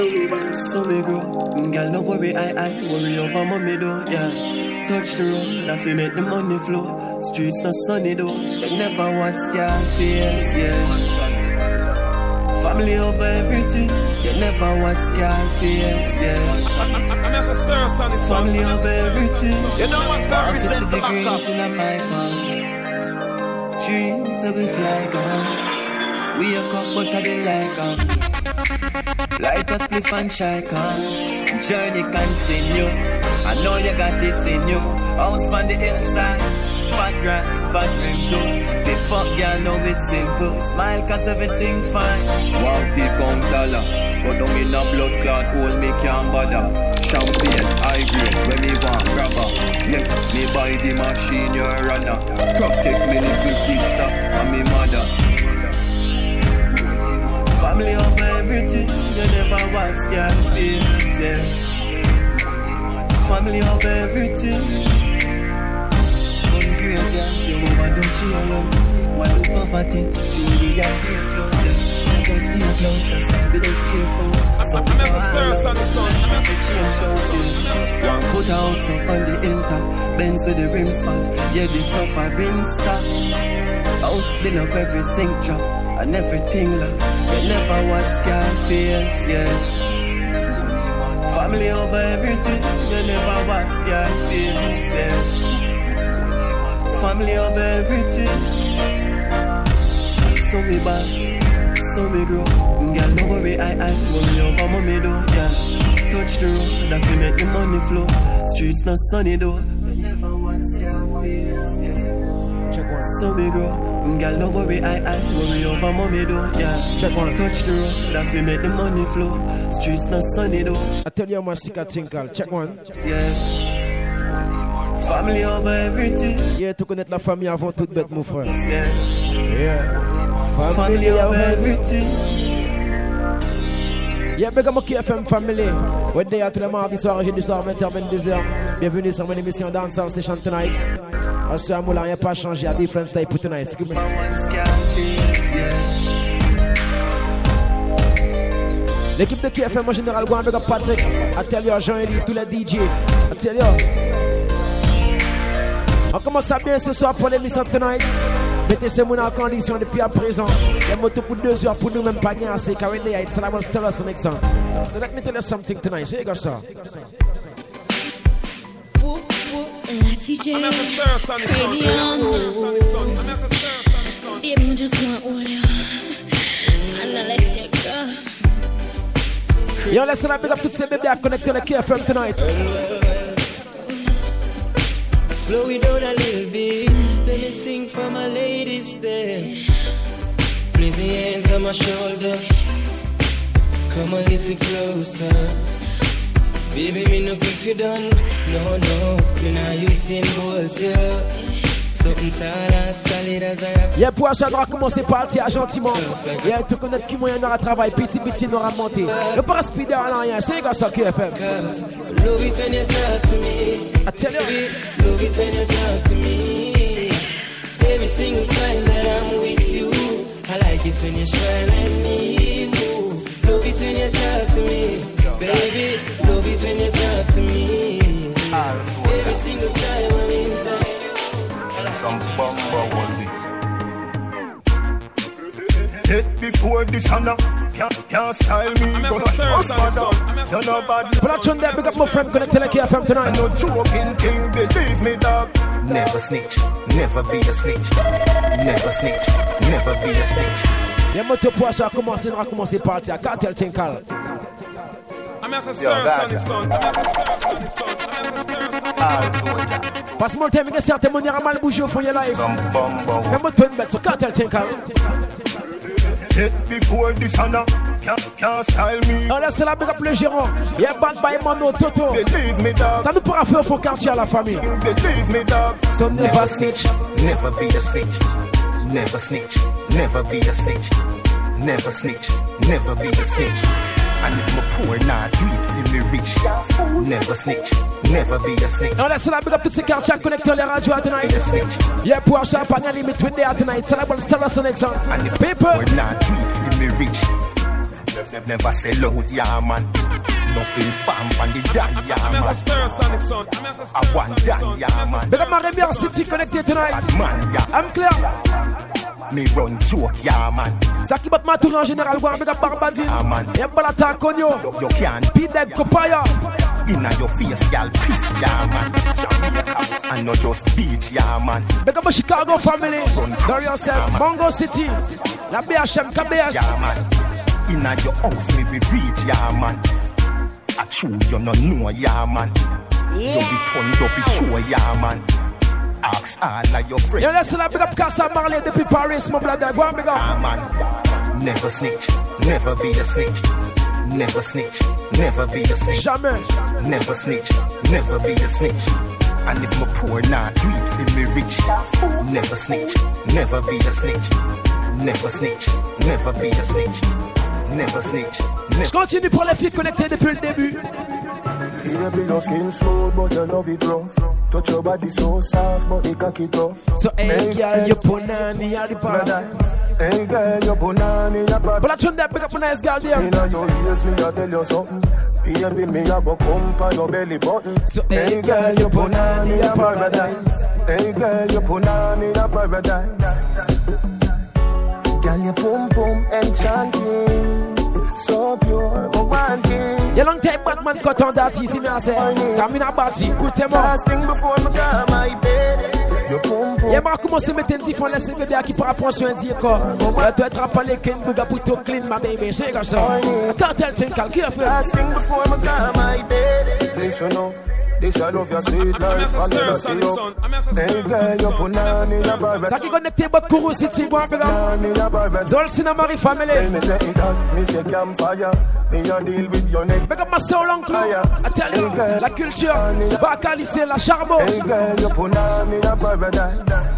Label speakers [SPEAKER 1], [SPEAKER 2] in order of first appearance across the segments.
[SPEAKER 1] So me grow, girl no worry, I worry over mommy though, yeah. Touch the road, I feel make the money flow. Streets not sunny though, they never want scar face, yeah. Family over everything, they never want scar face, yeah. Family over everything, you know what's that reason for degrees in my palm. Dreams that we fly on, we a cup but I dey like light us spliff and shake on. Journey continue. I know you got it in you. House on the hillside. Fat rap, fat rim too. They fuck girl, know it's simple. Smile cause everything fine. Wow, feel count dollar. Go down in a blood clot hole, me can't bother. Champagne, high grade, when me want grabber. Yes, me buy the machine, you're a runner. Protect me little sister and me mother. Family over everything, you never want scared feelings, yeah. Family over everything. One graveyard, you overdone your lungs. One do poverty, Julie and dear close, yeah. Just stay close, that's how we don't feel false. Some people are change shows, yeah. One put a house up on the hilltop, Benz with the rims fat, yeah, the suffering stop. House build up every sink drop. And everything like they never want scar face, yeah. Family over everything, they never want scar face, yeah. Family over everything. So me bad, so me grow. Girl, no worry, I worry over mommy though, yeah. Touch the road, I feel make the money flow. Streets not sunny though, they never want scar face, yeah. Check one. So me grow. Girl, no worry, I worry over mommy though, yeah. Check one. Touch the road, that feel make the money flow. Streets not sunny though. I tell you how much sick I think, I'll check one. Yeah. Family over everything. Yeah, to connaître la famille avant toute bête, mon frère. Yeah. Yeah. Family over everything. Yeah, big up mon KFM family. We're there tous les mardis soirs, jeudi soir, 20h, 22h. Bienvenue sur mon émission Dancehall Session Tonight. Also, I'm not pas changé à different style pour tonight. L'équipe de KFM en général, go avec Patrick, Atelier, Jean-Élie, tous les DJ. Atelier. On commence à bien ce soir pour l'émission Tonight. Mettez ce monde en condition depuis à présent. Les motos pour 2 heures pour nous même pas gagner assez. Car in the night, so I will tell us the next song. So let me tell you something tonight. Here you go, sir.
[SPEAKER 2] La TJ, baby, just want all you, and I let you go.
[SPEAKER 1] Yo, listen, I big up toutes ces bébés à connecter le KFM tonight.
[SPEAKER 3] Slow it down a little bit. Let me sing for my ladies there. Place your hands on my shoulder. Come a little closer. Baby, me no if you done. No, me not using balls, yeah. Something tall and solid as I have.
[SPEAKER 1] Yeah, pour achat, on va commencer par le gentiment. Yeah, tu connais qui moyen aura travail, petit, on aura monté. Le pas speeder à rien, c'est gars ça qui est fait.
[SPEAKER 3] Love it when you talk to me.
[SPEAKER 1] I tell you.
[SPEAKER 3] Love it when you talk to me. Every single time that I'm with you. I like it when you smile at me. Love it when you talk to me. Baby, love it when you talk to me. Every single time I'm inside.
[SPEAKER 4] Some bumper one beef. Hit before this honor. Can't style me. Go to father. You're not bad.
[SPEAKER 1] But I turn there, big up my friend, gonna tell a KFM tonight.
[SPEAKER 4] No joking thing, believe me, dog. Never snitch, never be a snitch. Never snitch, never be a snitch.
[SPEAKER 1] Les motos pour ça commencer, on va commencer par le cartel Tinkal. Parce que mon thème est certain, mon ira mal bouger au fond de live. Les motos une bête sur cartel Tinkal.
[SPEAKER 4] Hit before this honor. Can't style me.
[SPEAKER 1] On laisse la big up le gérant. Yeah, bad by Mano Toto.
[SPEAKER 4] Believe me, dog.
[SPEAKER 1] Ça nous pourra faire au fond quartier à la famille.
[SPEAKER 4] Believe me, dog.
[SPEAKER 1] So never snitch,
[SPEAKER 4] never be a snitch. Never snitch, never be a snitch. Never snitch, never be a snitch. And if my poor not do it, feel me rich. Never snitch, never be a snitch.
[SPEAKER 1] On laisse la big up tous ces quartiers connectés les radios tonight. Yeah, pour acheter pas limite with there tonight. Ça la bonne star son exemple.
[SPEAKER 4] And if my poor not do it, feel me rich. Never sell out, yeah, man. Nothing farm from the dan, yeah, man. I want dan, yeah, man.
[SPEAKER 5] Big up my Rebel City connected tonight.
[SPEAKER 4] Bad man, yeah.
[SPEAKER 5] I'm clear.
[SPEAKER 4] Me run joke, yeah, man.
[SPEAKER 5] Zaki bat ma tour en général, go big up Barbadine.
[SPEAKER 4] Yeah, man.
[SPEAKER 5] Y'a pas l'attaque on yo.
[SPEAKER 4] You can't
[SPEAKER 5] beat that copaya.
[SPEAKER 4] Inna your face, y'all piss, yeah, man. And not just beach, yeah, man.
[SPEAKER 5] Big up my Chicago family. Carry yourself, Mongo City. La BHM, KBS.
[SPEAKER 4] Yeah, man. Inna your house, me be reach, yeah, man. I true, you no know, yeah, man. You be turned, you be sure, yeah, man. Ask all like your friends.
[SPEAKER 5] Yeah, let's big up Casa Marley depuis Paris, my brother. Go on, big up.
[SPEAKER 4] Yeah, man. Never snitch, never be a snitch. Never snitch, never be a snitch.
[SPEAKER 5] Jamais.
[SPEAKER 4] Never snitch, never be a snitch. And if my poor nah, do it for me rich. Never snitch, never be a snitch. Never snitch, never be a snitch. Never snitch.
[SPEAKER 5] Je continue pour les filles connectées depuis le début.
[SPEAKER 6] Baby, your skin smooth, but you love it rough. Touch your body so soft, but you cock it off.
[SPEAKER 5] So hey girl, you punani at the paradise.
[SPEAKER 6] Hey girl, you punani at the
[SPEAKER 5] but I turn that big up a nice girl there.
[SPEAKER 6] Inna your ears, me I tell you something. Baby, me a go come pa your belly button.
[SPEAKER 5] So hey girl, you punani at paradise.
[SPEAKER 6] Hey girl, you punani at paradise. Girl, you pum pum enchanting. So pure, but one thing.
[SPEAKER 5] You long time Batman cut on that easy, me I say. Come in a batty, put them up.
[SPEAKER 6] Last thing before me come my bed. You pum pum.
[SPEAKER 5] Yeah, Marco, moi c'est mettre un petit fond, laisser bébé à qui prend prendre soin de corps. Tu dois être rappelé qu'un bouga pour tout clean, ma baby. C'est comme ça. Cartel Tinkal, qui a fait?
[SPEAKER 6] Last thing before me come my bed. Listen up. This I love your sweet life, I never see you. Hey girl, you punani in a barber.
[SPEAKER 5] Ça qui connecté bot Kourou City, go big up. Zol Sinamari family.
[SPEAKER 6] Me say it hot, me say campfire. Me a deal with your neck.
[SPEAKER 5] Big up my soul uncle. I tell you, la culture. Bakali c'est la charbon.
[SPEAKER 6] Hey girl, you punani in a paradise.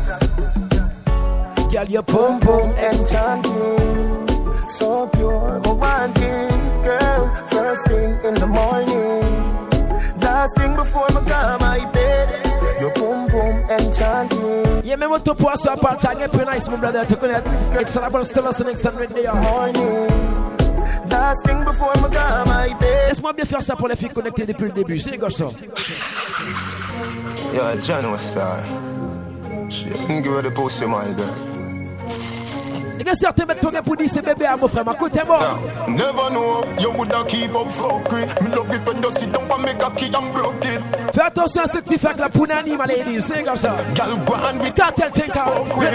[SPEAKER 5] Girl, you pum pum
[SPEAKER 6] enchanting. So pure, but one thing, girl. First thing in the morning. Last thing before me come my bed. You pum pum enchanting.
[SPEAKER 5] Yeah, me want to post a part again, pretty nice, my brother. To connect, it's all about still us next time right there.
[SPEAKER 6] Morning. Last thing before me come my bed.
[SPEAKER 5] Laisse-moi bien faire ça pour les filles connectées depuis le début. C'est quoi ça?
[SPEAKER 7] Yeah, John was star. She didn't give her the pussy, my girl.
[SPEAKER 5] Il y a certains mecs pour dire c'est bébé à mon frère, ma côté moi.
[SPEAKER 7] Never know, you woulda keep up fuckery. Me love it when you sit down and make a key and broke it.
[SPEAKER 5] Fais attention à ce que tu fais avec la punani, ma lady, c'est comme ça.
[SPEAKER 7] Girl, go on with
[SPEAKER 5] Cartel Tinkal.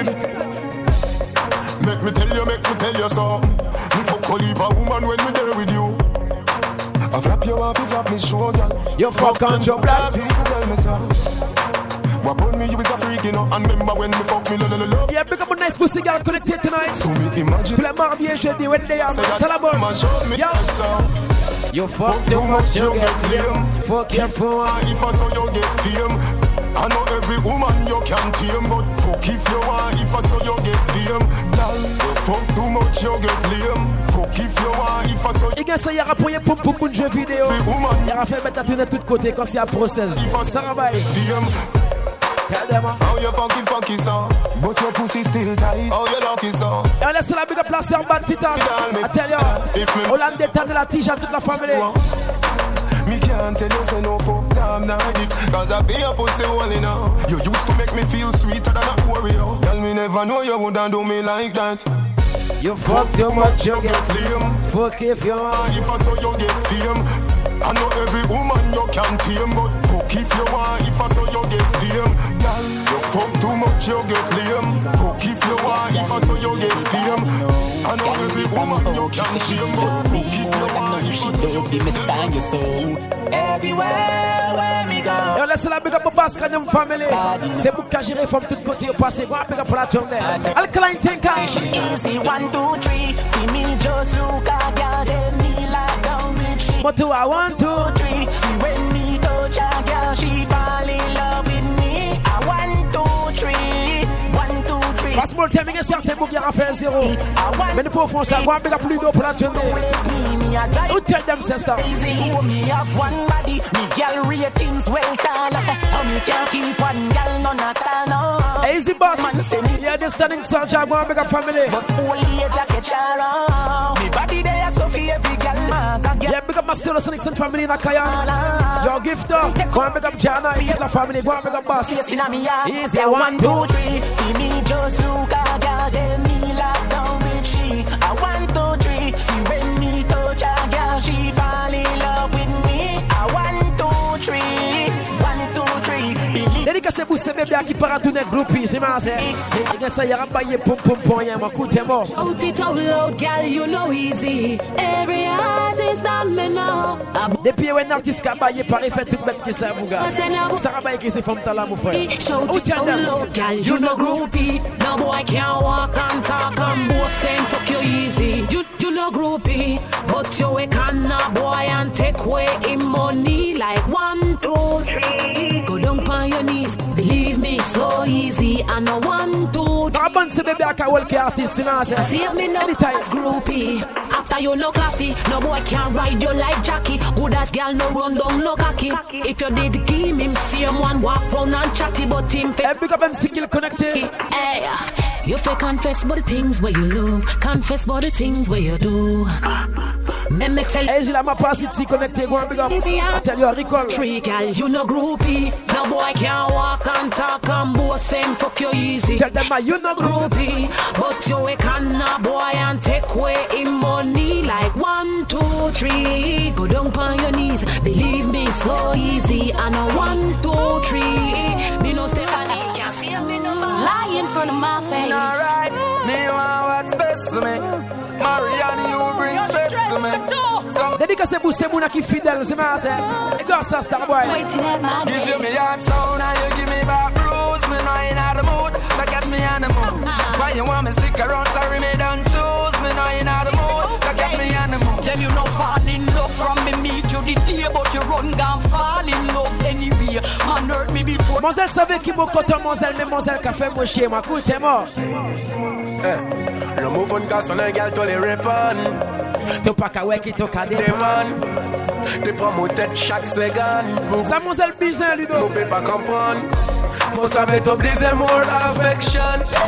[SPEAKER 7] Make me tell you so. Me fuck only a woman when me there with you. I flap you off, you flap me show, girl.
[SPEAKER 5] You fuck on your black.
[SPEAKER 7] Tell me so. What about me, you is a freak, you know. And remember when me fuck me, love.
[SPEAKER 5] Yeah, pick up a nice pussy girl connected tonight.
[SPEAKER 7] So me imagine.
[SPEAKER 5] Tous les mardis et jeudi, when they are, c'est la bonne.
[SPEAKER 7] Yeah.
[SPEAKER 5] You fuck too much, you get fame. Fuck your phone.
[SPEAKER 7] If I saw you get fame. I know every woman you can tame. But fuck if you want, if I saw you get fame. Girl, you fuck too much, you get lame. Fuck if you want, if I saw you.
[SPEAKER 5] Et bien ça, il y aura pour de jeux vidéo. Il y aura fait mettre à tourner de tous côtés quand c'est un process. Ça va. Tell them
[SPEAKER 7] how you funky song, but your pussy still tight. How you lucky song.
[SPEAKER 5] Et on laisse la big up la sœur Bantitas. I tell you, Hollandais t'as de la tige à toute la famille.
[SPEAKER 7] Me can't tell you say no fuck damn night. Cause I feel your pussy only now. You used to make me feel sweeter than a Oreo. Tell me never know you wouldn't do me like that.
[SPEAKER 5] You fuck too much, you get lame. Fuck if you want.
[SPEAKER 7] If I saw you get fame. I know every woman you can tame. But fuck if you want, if I saw you get fame. Girl, you fuck too much, you get lame. Fuck if you want, if I saw you get fame. I know every woman you can tame. But fuck if you want, if I saw you get fame.
[SPEAKER 8] Everywhere where we go.
[SPEAKER 5] Et on laisse la big up au Bascanium family. C'est pour qu'à gérer from tout côté au passé. Go big up pour la journée. Alkaline Tinkal.
[SPEAKER 8] Easy 1, 2, 3. See me just look at girl, they me like down with she.
[SPEAKER 5] But do I want to?
[SPEAKER 8] 3. See when me touch a girl, she fall in love with me. I 1, 2, 3. 1, 2, 3.
[SPEAKER 5] Passe-moi le timing et certains bouts qui a fait 0. Mais nous pouvons faire ça. Go big up plus d'eau pour la journée.
[SPEAKER 8] me a drive.
[SPEAKER 5] Who tell them, sister?
[SPEAKER 8] Easy. Oh, me have one body. Me girl ratings well tall. So me can't keep one girl none at all. No.
[SPEAKER 5] Easy boss.
[SPEAKER 8] Man say me.
[SPEAKER 5] Yeah, this standing soldier. Go and make a family.
[SPEAKER 8] But only a jacket charo. Me body there so for every girl.
[SPEAKER 5] Yeah, big up my Still Sonics and family in Akaya. Your gifter. Go and make up Jana. It's the family. Go and make up boss.
[SPEAKER 8] Easy.
[SPEAKER 5] 1, 2, 3.
[SPEAKER 8] See me just look a girl. Then me lock down with she. 1, 2, 3. See when me touch a girl, she fall in love with me. 1, 2, 3. 1, 2, 3. Believe.
[SPEAKER 5] Dédicace pour ces bébés qui partent tous les groupies, c'est ma sœur. Et que ça y a rabaillé pom pom pom, y'a ma coûte mort.
[SPEAKER 9] Out it out loud, girl, you know easy. Every artist that me know.
[SPEAKER 5] Depuis un artiste qui a baillé par effet toute bête qui ça, mon gars. Ça rabaille qui c'est femme talent, mon frère.
[SPEAKER 9] Shout it out loud, girl, you know groupie. No boy can't walk and talk and both saying fuck you easy. You know groupie, but you a canna boy and take away him money like 1, 2, 3. Go down on your knees, believe me, so easy. And no 1, 2, 3.
[SPEAKER 5] Abandon ce bébé à Kawal qui artiste,
[SPEAKER 9] see me no groupie. After you no coffee, no boy can ride you like Jackie. Good as girl no run down no cocky. If you did give him same one walk round and chatty, but him fake.
[SPEAKER 5] Big up MC Kill connected.
[SPEAKER 9] Hey, you fake confess about the things where you love, confess about the things where you do. Me tell you,
[SPEAKER 5] hey, j'ai la ma passe ici connecté, go and big up. I tell you, recall.
[SPEAKER 9] Tree girl, you no groupie. No boy can walk and talk and both same fuck you easy.
[SPEAKER 5] Tell them you no
[SPEAKER 9] groupie, but you a canna boy and take away him money like 1, 2, 3. Go down on your knees, believe me, so easy. And a 1, 2, 3. Me no Stephanie can't see me no lie in front of my face.
[SPEAKER 8] Alright, me want what's best to me. Marianne, you bring stress to me.
[SPEAKER 5] Dédicace pour ces mouna qui fidèles, c'est ma sœur. Et go ça, Starboy.
[SPEAKER 8] Give you me heart sound and you give me back bruise. Me know you're not the mood, so catch me on the mood. Why you want me stick around, sorry me don't choose. Me know you're not the mood, so catch me on the mood.
[SPEAKER 10] Tell you no fall in love from me meet you the day, but you run down fall in love anyway. Man hurt me before.
[SPEAKER 5] Monselle savait qui m'a coton, Monselle, mais Monselle qui a fait mon chien, ma coute est mort.
[SPEAKER 1] Le mouvement de son un gars, toi les répondre.
[SPEAKER 5] T'as pas qu'à ouais qui t'as qu'à dépendre.
[SPEAKER 1] T'es prends mon tête chaque seconde.
[SPEAKER 5] Ça Monselle bizarre, Ludo.
[SPEAKER 1] Vous pouvez pas comprendre. Moi ça va t'obliger more affection.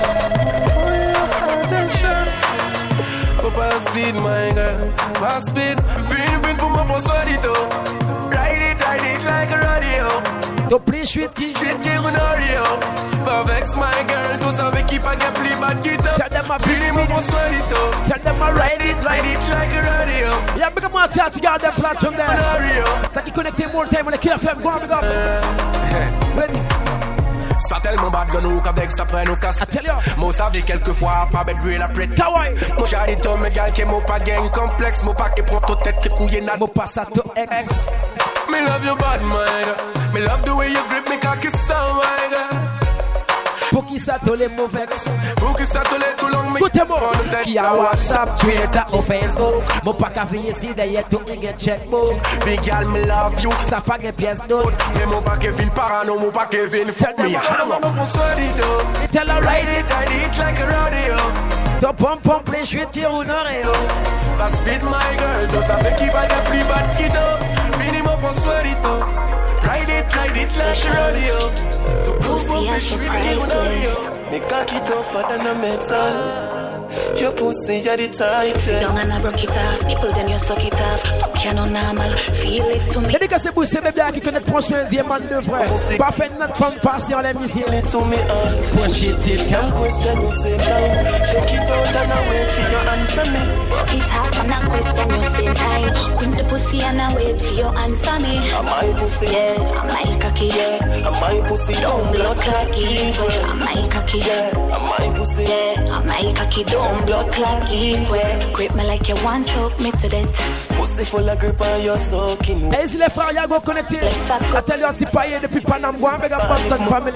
[SPEAKER 1] Pas speed, my girl. Pas speed. Vin pour moi pour solito. Ride it like a radio.
[SPEAKER 5] T'as plus chouette qui
[SPEAKER 1] on Oreo. Pas vex, my girl. Tout ça avec qui pas qu'à plus bad guitar.
[SPEAKER 5] Tell them my
[SPEAKER 1] Vin pour moi solito.
[SPEAKER 5] Tell them my ride it
[SPEAKER 1] like a radio.
[SPEAKER 5] Yeah, big up my chat, you got that platform there.
[SPEAKER 1] Oreo.
[SPEAKER 5] Ça qui connecte more time on the Kill FM. Go on, big up. Ready.
[SPEAKER 1] Ça tellement bad que nous qu'avec ça prend nous casse. Moi savais quelquefois pas bête brûler la prête. Moi j'ai dit toi mes gars qui m'ont pas gang complexe. Moi pas qui prend toute tête qui couille n'a.
[SPEAKER 5] Moi pas ça to ex.
[SPEAKER 1] Me love you bad my girl. Me love the way you grip me cocky so my girl.
[SPEAKER 5] Pour qui ça te les mauvais.
[SPEAKER 1] Pour qui ça te les tout long.
[SPEAKER 5] Écoutez-moi. Qui a WhatsApp, Twitter ou Facebook. Moi pas qu'à veiller si d'ailleurs tout y get checkbook.
[SPEAKER 1] Big girl me love you.
[SPEAKER 5] Ça pas de pièce d'autre.
[SPEAKER 1] Mais moi pas Kevin parano, moi pas Kevin fuck me. Tell her ride it like a radio.
[SPEAKER 5] Ton pom les chouettes qui roulent Oreo.
[SPEAKER 1] Pas speed my girl, tu savais qui va y a plus bad guitar. Minimum pour suerito. Ride it like a radio.
[SPEAKER 11] Pussy and surprises.
[SPEAKER 1] Me cocky tougher than a metal. Your pussy, you're the type.
[SPEAKER 11] Sit down and I broke it off. Nipple then you suck it off. Fuck you no normal. Feel it to me.
[SPEAKER 5] Dédicace pour ces bébés qui connaissent prochain diamant de frère. Pas fait notre femme passer en l'émission.
[SPEAKER 1] To me heart.
[SPEAKER 5] Push it till
[SPEAKER 1] can't question you same time. Take it out and I wait for your answer me.
[SPEAKER 11] Broke it off and I question you same time. Queen the pussy and I wait for your answer me.
[SPEAKER 1] I'm my pussy.
[SPEAKER 11] Yeah, I'm my cocky.
[SPEAKER 1] Yeah, I'm my pussy.
[SPEAKER 11] Don't blood clot it. I'm my cocky.
[SPEAKER 1] Yeah, I'm my pussy.
[SPEAKER 11] Yeah, I'm my cocky. Don't blood clot it. Grip me like you want choke me to death.
[SPEAKER 1] Pussy pussy full of grip and you're soaking.
[SPEAKER 5] Et si les frères y'a go connecté, I tell you un petit paillé depuis Panam, go and beg up Boston family.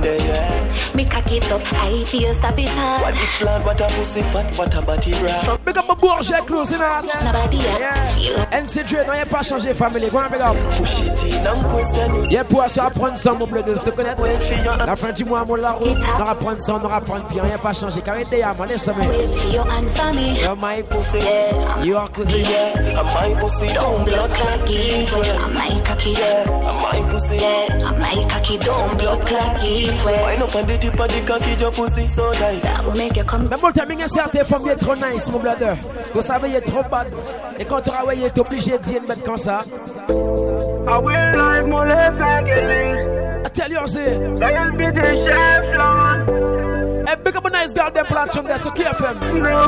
[SPEAKER 11] Me cock it up, I feel stop it up.
[SPEAKER 1] What is flat, what a pussy fat, what a body bra.
[SPEAKER 5] Beg up my bourgeois close in us.
[SPEAKER 11] Nobody
[SPEAKER 5] NCJ, non y'a pas changé family, go and beg up.
[SPEAKER 1] Push it in and question you.
[SPEAKER 5] Y'a pour ça apprendre ça mon bleu de te connaître. La fin du mois mon la route, on va prendre ça, on va prendre bien, y'a pas changé. Car il y a mon laisse-moi. You're my pussy, you are cousin.
[SPEAKER 1] I'm my pussy, don't block like it.
[SPEAKER 11] I'm my cocky,
[SPEAKER 1] I'm my pussy,
[SPEAKER 11] I'm my cocky, don't block like it.
[SPEAKER 1] Wind up on the tip of the cocky, your pussy so tight.
[SPEAKER 11] That will make you come.
[SPEAKER 5] Mais bon, t'as mis un certain femme, il est trop nice, mon blader. Vous savez, il est trop bad. Et quand tu travailles, il est obligé de dire une bête comme ça.
[SPEAKER 12] I will live mon left again.
[SPEAKER 5] I tell you, c'est.
[SPEAKER 12] I'll be the chef, Lord.
[SPEAKER 5] Hey, big up a nice girl, them platform there, so KFM.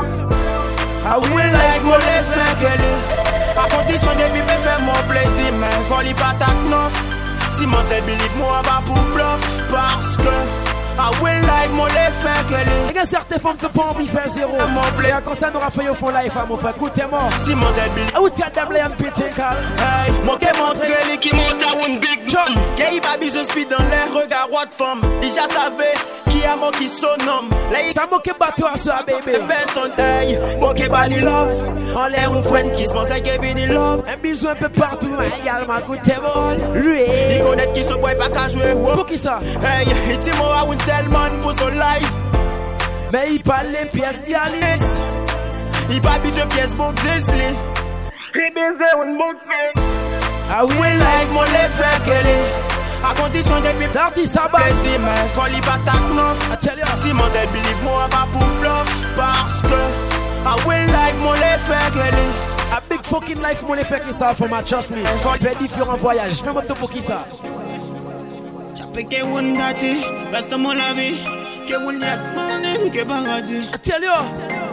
[SPEAKER 3] I will like mon left again. À condition de vivre faire mon plaisir, mais faut l'y pas ta knof. Si mon tel believe moi, va pour bluff. Parce que I will like mon left again.
[SPEAKER 5] Il y a certaines femmes qui n'ont pas envie de faire zéro. Et quand ça nous a fait au fond life, mon frère, écoutez-moi.
[SPEAKER 3] Si mon tel believe.
[SPEAKER 5] Ah, où tu as d'abler un petit cal.
[SPEAKER 3] Hey, mon qu'est montré lui qui monte à une big jump. Qu'il va bise speed dans les regards, what femme. Déjà savait qui a mon qui son homme.
[SPEAKER 5] Ça m'a qu'est bateau à soi, baby.
[SPEAKER 3] Personne, hey, mon qu'est bali love. On l'air une friend qui se pense à Kevin in love.
[SPEAKER 5] Un bisou un peu partout, mais également, écoutez-moi. Lui.
[SPEAKER 3] Il connaît qui se boit pas qu'à jouer.
[SPEAKER 5] Pour qui ça?
[SPEAKER 3] Hey, il dit moi à une seule man pour son life.
[SPEAKER 5] Mais il parle les pièces d'Alice.
[SPEAKER 3] Il parle de pièces book Disney.
[SPEAKER 12] Il bise une boucle.
[SPEAKER 5] Ah oui,
[SPEAKER 3] like mon left qu'elle à condition de vivre.
[SPEAKER 5] Ça dit ça, bah.
[SPEAKER 3] Plaisir, mais faut l'y pas ta knof. Si mon tel believe moi, pas pour bluff. Parce que I will like mon left qu'elle
[SPEAKER 5] a big fucking life, mon effet qui ça, for my trust me. Fait différents voyages. Fais-moi tout pour qui ça.
[SPEAKER 3] J'appelle que one dati, reste mon la vie. Que one yes, man, que paradis.
[SPEAKER 5] Tell you.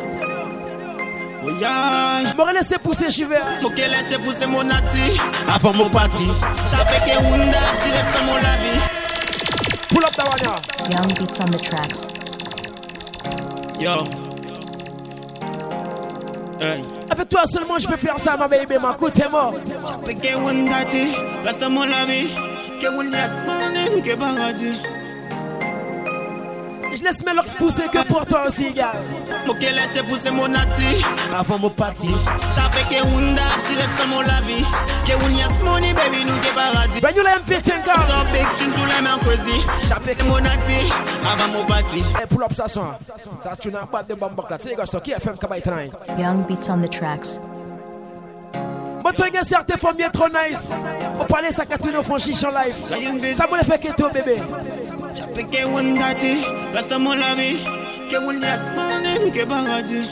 [SPEAKER 5] M'aurais laissé pousser chiver.
[SPEAKER 3] Faut qu'elle laisse pousser mon nati. Avant mon parti. J'appelle que one dati, reste mon la vie.
[SPEAKER 5] Pull up that one now.
[SPEAKER 13] Young beats on the tracks.
[SPEAKER 3] Yo. Hey.
[SPEAKER 5] Avec toi seulement je peux faire ça, ma baby, ma coup t'es mort.
[SPEAKER 3] J'appelle que one dati, reste mon la vie. Que one yes, man, que paradis.
[SPEAKER 5] Je laisse mes locks pousser que pour toi aussi, gars.
[SPEAKER 3] Faut qu'elle laisse pousser mon nati.
[SPEAKER 5] Avant mon parti.
[SPEAKER 3] J'appelle que one dati, reste mon la vie. Que one yes, money, baby, nous que paradis.
[SPEAKER 5] Ben nous l'aime pété encore.
[SPEAKER 3] So big, tu nous l'aime en crazy. J'appelle que mon nati, avant mon parti.
[SPEAKER 5] Hey, pull up ça son. Ça tu n'as pas de bambok là. Tu sais quoi ça, qui a fait kabay train.
[SPEAKER 13] Young beats on the tracks.
[SPEAKER 5] Moi tu regardes certaines femmes bien trop nice. On parlait ça quand tu nous font chiche en live. Ça me fait que toi bébé.
[SPEAKER 3] J'appelle que one dati, reste mon la vie. Que one yes, man, que paradis.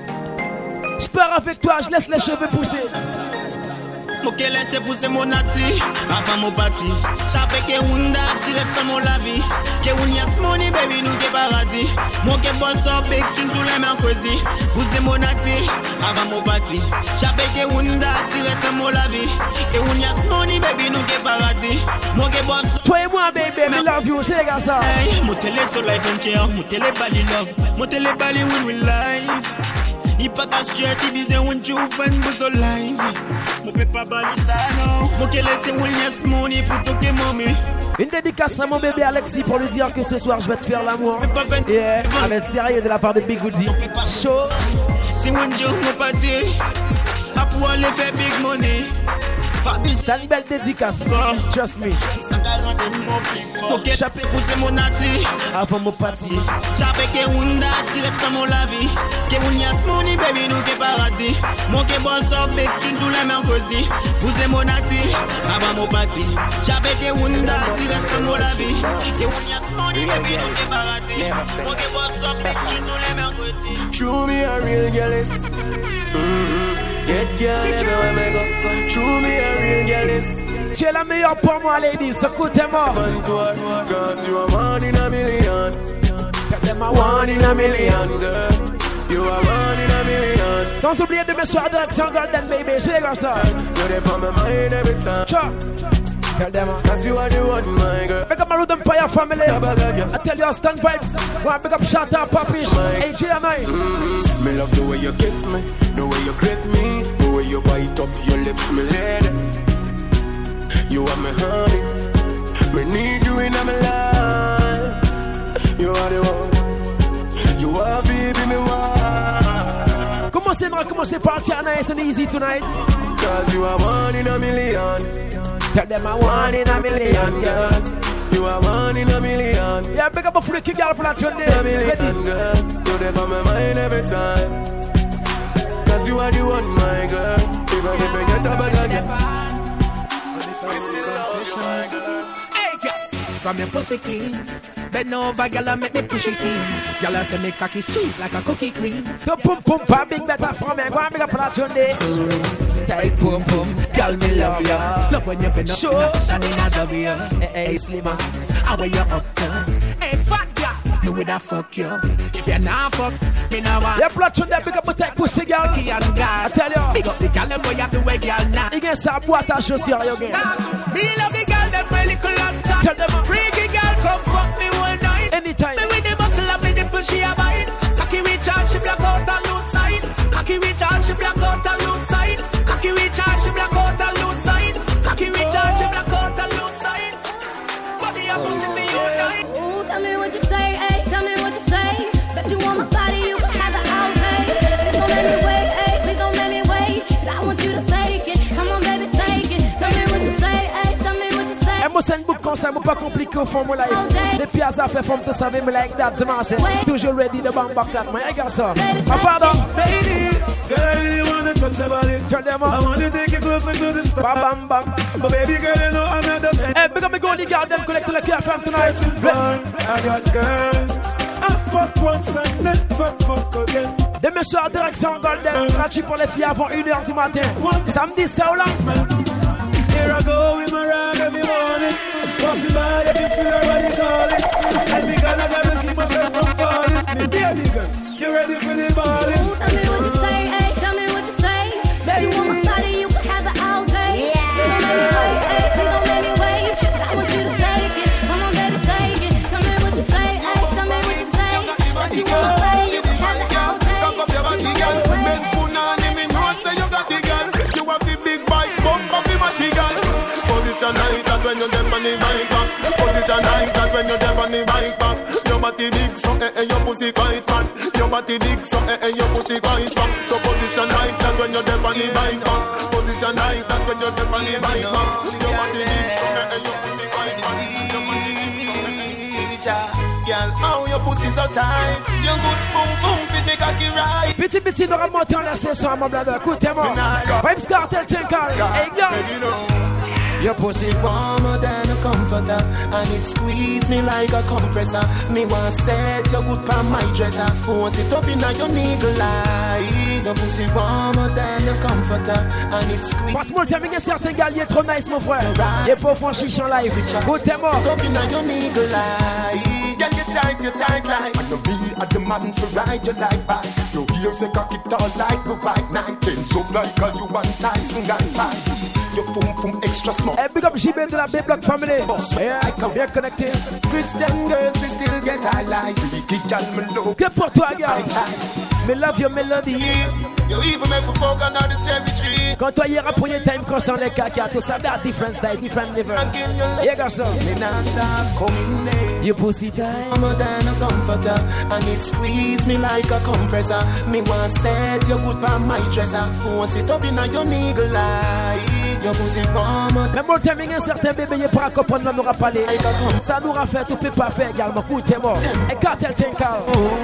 [SPEAKER 5] Je pars avec toi, je laisse les cheveux pousser.
[SPEAKER 3] Faut qu'elle laisse pousser mon nati, avant mon parti. J'appelle que one dati, reste mon la vie. Que one yes, money, baby, nous que paradis. Moi que boss up, big, tu nous l'aime en crazy. Pousser mon nati, avant mon parti. J'appelle que one dati, reste mon la vie. Que one yes, money, baby, nous que paradis. Moi que boss up.
[SPEAKER 5] Toi et moi, baby, me love you, c'est comme ça.
[SPEAKER 3] Hey, mon télé sur life and chair, mon télé bali love, mon télé bali win with life. Il pas qu'à stress, il bise un jour, fan bouso live. Mon peut pas bali ça, non. Mon qu'elle laisse un yes money pour toquer mommy.
[SPEAKER 5] Une dédicace à mon bébé Alexis pour lui dire que ce soir je vais te faire l'amour. Yeah, avec sérieux de la part de Big Goody. Chaud.
[SPEAKER 3] Si un jour mon parti, à pouvoir aller faire big money.
[SPEAKER 5] C'est une belle dédicace. Trust me.
[SPEAKER 3] Ok, j'appelle pousser mon nati.
[SPEAKER 5] Avant mon parti.
[SPEAKER 3] J'appelle que one dati, reste mon la vie. Que one yes money, baby, nous que paradis. Mon que boss up, big, tu nous la mercredi. Pousser mon nati, avant mon parti. J'appelle que one dati, reste mon la vie. Que one yes money, baby, nous que paradis. Mon que boss up, big, tu nous la mercredi.
[SPEAKER 1] Show me a real girl is. Get girl everywhere me go. Show me a real girl is.
[SPEAKER 5] Tu es la meilleure pour moi, ladies. Écoutez-moi.
[SPEAKER 1] Cause you are one in a million. One in a million, girl. You are one in a million.
[SPEAKER 5] Sans oublier de me soir direction Golden Baby. C'est comme ça.
[SPEAKER 1] You're there on my mind every time.
[SPEAKER 5] Ciao. Tell them,
[SPEAKER 1] cause you are the one, my girl.
[SPEAKER 5] Pick up my Rhythm Empire family. I tell you, stand vibes. Go and pick up Shot Up, Papish. AJ and I.
[SPEAKER 1] Me love the way you kiss me, the way you grip me, the way way you bite up your lips, me lady. You are my honey. Me need you in my life. You are the one. You are baby, me one.
[SPEAKER 5] Commencez par China, it's an easy tonight.
[SPEAKER 1] Cause you are one in a million.
[SPEAKER 5] Tell them I one in a million, girl.
[SPEAKER 1] You are one in a million.
[SPEAKER 5] Yeah, big up a freaky girl for that one day.
[SPEAKER 1] A million, girl. You're there on my mind every time. Cause you are the one, my girl. Even if I get a bag again.
[SPEAKER 14] Hey, girl. From your pussy clean. Bend over, girl, and make me push it in. Girl, I say make cocky sweet like a cookie cream.
[SPEAKER 5] The pum pum pa big better from me. Go and big up for that one day.
[SPEAKER 14] Tight pum pum, girl, me love ya. Love when you bend up,
[SPEAKER 5] sure.
[SPEAKER 14] And in a W.
[SPEAKER 5] Hey, Slimmer.
[SPEAKER 14] How are you up there? Hey, fat girl. Me with a fuck you. If you're not fuck, me no want.
[SPEAKER 5] Yeah, platform there, big up a tight pussy, girl. I tell you.
[SPEAKER 14] Big up the girl, them boy have the way, girl, now.
[SPEAKER 5] You get some boîte à chaussures, you get.
[SPEAKER 14] Me love the girl, them my little long time.
[SPEAKER 5] Tell them.
[SPEAKER 14] Freaky girl, come fuck me one night.
[SPEAKER 5] Anytime.
[SPEAKER 14] Me with the muscle up, me nipple, she a bite. Cocky reach out, she black out and loose side. Cocky reach out, she black out and loose side. Cocky reach out, she black out and loose side. Cocky reach out, she black out and loose side. Body up, pussy for you night.
[SPEAKER 2] Ooh, tell me what you say, ayy. Tell me what you say. Bet you want my body, you can have it all day. Please don't let me wait, ayy. Please don't let me wait. 'Cause I want you to take it. Come on, baby, take it. Tell me what you say, ayy. Tell me what you say.
[SPEAKER 5] Et moi, c'est une boucle comme ça, moi pas compliqué au fond, mon life. Les pièces à faire, faut me savoir, me like that, c'est marrant. Toujours ready de bang back that, moi, regarde ça. Ah, pardon.
[SPEAKER 1] Baby, girl, you wanna touch your body.
[SPEAKER 5] Tell them up.
[SPEAKER 1] I wanna take you closer to the stars.
[SPEAKER 5] Bam, bam, bam.
[SPEAKER 1] But baby girl, you know I'm not the same.
[SPEAKER 5] Hey, big up me golden girl, them collect the care from tonight.
[SPEAKER 1] I got girls. I fuck once and never fuck again.
[SPEAKER 5] Demain soir, direction Golden. Gratuit pour les filles avant 1h du matin. Samedi, c'est au lendemain.
[SPEAKER 1] Here I go with my rag every morning. Bossy by, if you feel her body calling. Every girl I gotta keep myself from falling. Me baby girl, you ready for the balling?
[SPEAKER 2] Ooh, tell me what you say, ayy. Tell me what you say. Bet you want my body, you can have it all day. Please don't let me wait, ayy. Please don't let me wait. 'Cause I want you to take it. Come on, baby, take it. Tell me what you say, ayy. Tell me what you say. Bet you want my body, you can have it all day.
[SPEAKER 7] Cock up your body, girl. Ben spoon on him, me know say you got the girl. You have the big bike, bump up the matchy girl. Position like that when you dem on the bike back. Position like that when you dem on the bike back. Your body big, so your pussy quite fat. Your body big, so your pussy quite fat. So position like that when you dem on the bike back. Position like that when you dem on the bike back. Your body big, so your pussy quite fat. Your body big, so girl, how your pussy so tight. Your good boom boom fit me cocky right.
[SPEAKER 5] Petit, nous remontons la session, mon blabla. Écoutez-moi. Vibes Cartel, Chenkal. Hey, girl.
[SPEAKER 3] Your pussy warmer than a comforter, and it squeeze me like a compressor. Me want set your good pa my dresser, force it up in your niggle eye. Your pussy warmer than a comforter, and it squeeze.
[SPEAKER 5] Passe-moi le timing, certain gars, il est trop nice, mon frère. Il est pas franchi en live. Écoutez-moi.
[SPEAKER 3] Up in your niggle eye. Girl, you tight like.
[SPEAKER 7] I know me at the man for ride you like back. Your ears a cock it all like the white night. Things up like a you and Tyson got fight. Your pum pum extra small.
[SPEAKER 5] Hey, big up JB de la B-Block family. Yeah, bien connecté.
[SPEAKER 3] Christian girls, we still get high lies.
[SPEAKER 5] Que pour toi, gars. Me love your melody.
[SPEAKER 7] You even make a fuck under the cherry tree.
[SPEAKER 5] Quand toi, hier, à premier time, concerne les caca, tout ça, that different style, different level. Yeah, garçon. Your pussy tight.
[SPEAKER 3] Warmer than a comforter, and it squeeze me like a compressor. Me want set your good pa my dresser, force it up in your niggle eye. Your pussy warmer.
[SPEAKER 5] Même au timing, un certain bébé, il pourra comprendre, on n'aura pas les. Ça nous aura fait, tout peut pas faire également. Écoutez-moi. Et Cartel Chenkal.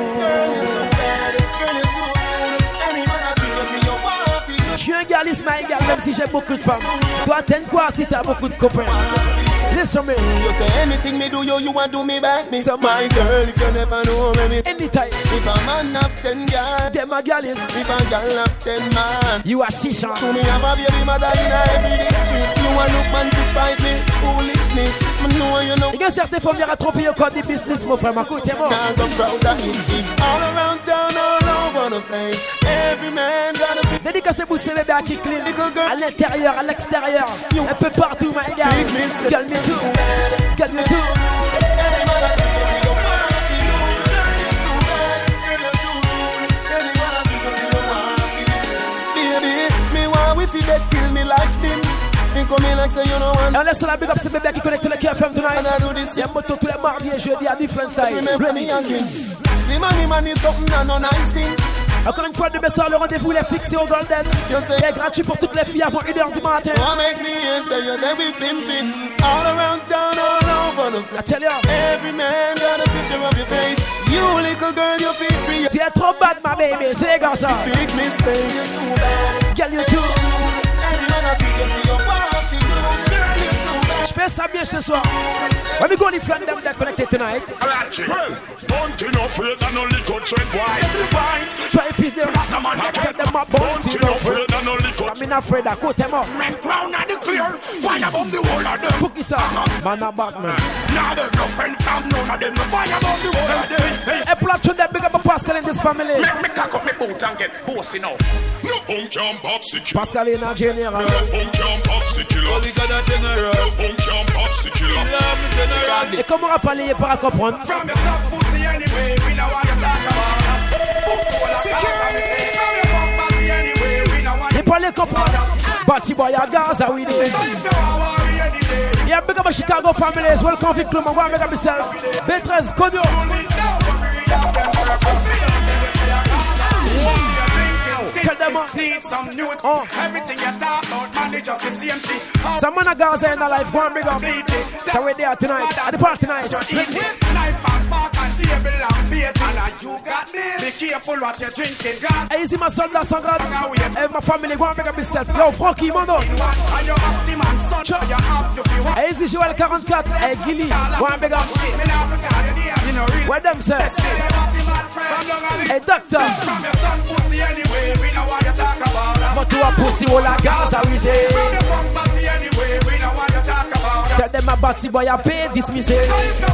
[SPEAKER 5] Je suis un gars, my girl, même si j'ai beaucoup de femmes. Toi, t'aimes quoi si t'as beaucoup de copains? Listen me.
[SPEAKER 3] You say anything me do you want do me back me. So my girl, if you never know me.
[SPEAKER 5] Anytime.
[SPEAKER 3] If a man have 10 girls,
[SPEAKER 5] them a girl is.
[SPEAKER 3] If a girl have 10 man,
[SPEAKER 5] you a shisha.
[SPEAKER 3] To me have a baby mother in every district. You a look man to spite me. Foolishness. Me know you know.
[SPEAKER 5] Il y a certaines femmes qui ont trompé au code du business, mon frère. Écoutez-moi.
[SPEAKER 3] All around town, all over the place. Every man gotta be.
[SPEAKER 5] Dédicacé vous c'est bébé à qui clean. À l'intérieur, à l'extérieur. Un peu partout, my girl. Calme tout. Calme tout.
[SPEAKER 3] Baby, me want
[SPEAKER 6] like say you know one.
[SPEAKER 5] Et on laisse la big up ces bébés qui connectent le KFM tonight. Y'a moto tous les mardis et jeudis à different style.
[SPEAKER 6] The money is something and no nice thing.
[SPEAKER 5] Encore une fois, demain soir, le rendez-vous est fixé au Golden. Il est gratuit pour toutes les filles avant 1h du matin. I tell you,
[SPEAKER 6] every man got a picture of your face. You little girl, you feel free.
[SPEAKER 5] Tu es trop bad, ma baby, c'est comme ça.
[SPEAKER 6] Big mistake, you're too bad.
[SPEAKER 5] Girl, you too.
[SPEAKER 6] Everyone has to see your wife. Girl, you're too bad.
[SPEAKER 5] Je fais ça bien ce soir. When we go to friend them that connected tonight.
[SPEAKER 15] Bunting up for it and no liquor tread wide.
[SPEAKER 5] Try to fix them. Get them up.
[SPEAKER 15] Bunting up for it and no liquor.
[SPEAKER 5] I'm not afraid I quote them up.
[SPEAKER 15] Men crown at the clear. Fire bomb the whole of them.
[SPEAKER 5] Pookie sir. Man a Batman.
[SPEAKER 15] Now there's no friend from none of them. Fire bomb the whole of them.
[SPEAKER 5] Hey, platoon them big up a Pascal in this family.
[SPEAKER 15] Make me cock up my boot and get bossy now. No can pop sticky.
[SPEAKER 5] Pascal in a general.
[SPEAKER 15] No can pop sticky.
[SPEAKER 6] We got a general.
[SPEAKER 15] No can pop sticky.
[SPEAKER 5] Et comment on va parler, il pourra comprendre.
[SPEAKER 15] From your top pussy anyway, we know what you talk about.
[SPEAKER 5] Il parlait comprendre. Batty boy à Gaza, we did. Yeah, big up a Chicago families. Welcome to Club. I'm going to make up myself. B13, Kodio. Tell them
[SPEAKER 15] need some new everything you talk about, man, it's just the same thing.
[SPEAKER 5] Some man of Gaza in the life, go and big up. So we're there tonight, at the party tonight.
[SPEAKER 15] Knife and fork and table and plate, and you got this. Be careful what you're drinking, God.
[SPEAKER 5] Hey, is my son that song? Hey, my family, go and big up myself. Yo, Frankie, Mondo. Hey, is this Joel 44? Hey, Gilly, go and big up. What them say? Hey, doctor. But to a pussy all a Gaza we say. Tell them a batty boy a pay dismiss it.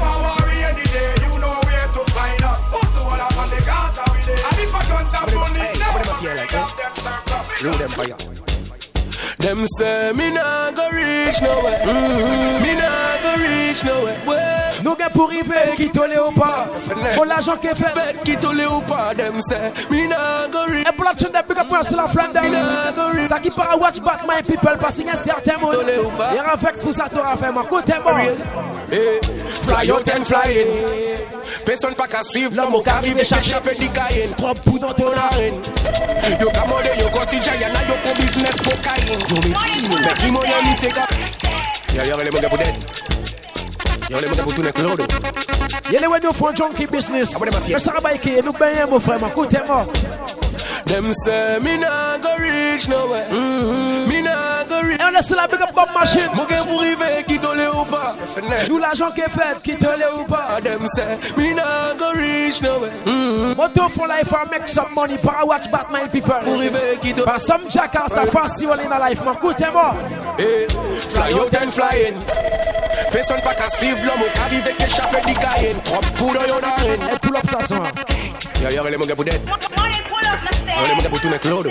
[SPEAKER 3] Them say me nah go reach nowhere. Me nah go reach nowhere.
[SPEAKER 5] Nous gars pour river qui tolé ou pas. Pour l'argent qui est fait
[SPEAKER 3] qui tolé ou pas. Them say me nah go reach.
[SPEAKER 5] Et pour la chaîne de big up pour la Flandre. Ça qui part à watch back my people parce qu'il y a certains mots. Il y a un vex pour ça t'aura fait moi. Côté-moi.
[SPEAKER 3] Fly out and fly in. Personne pas qu'à suivre l'homme qui arrive et échapper du caïn.
[SPEAKER 5] Trop pou dans ton arène.
[SPEAKER 3] Yo kamode yo kosi jaya na yo for business cocaine. Yo me team me ki mo yo mi seka. Ya le mo pour dead. Yo le mo pour tourner clodo.
[SPEAKER 5] Yele when you for junkie business. Mais ça va qui nous ben mon frère, écoutez-moi.
[SPEAKER 3] Them say me nah go reach nowhere. Me nah go reach.
[SPEAKER 5] Et on laisse la big up Bob Machine.
[SPEAKER 3] Mon gars pour arriver qui tolé ou pas.
[SPEAKER 5] Nous l'argent qui est fait qui tolé ou pas.
[SPEAKER 3] Them say me nah go reach nowhere.
[SPEAKER 5] Moto for life and make some money for watch Batman people.
[SPEAKER 3] Pour arriver qui tolé.
[SPEAKER 5] But some jackass are festival in a life, man. Écoutez-moi.
[SPEAKER 3] Fly out and fly in. Personne pas qu'à suivre l'homme qui arrive et échapper du caïn. Trop pour yo narine.
[SPEAKER 5] Et pull up ça son.
[SPEAKER 3] Ya le mo gars pour dead. Yo le mo gars pour tourner clodo.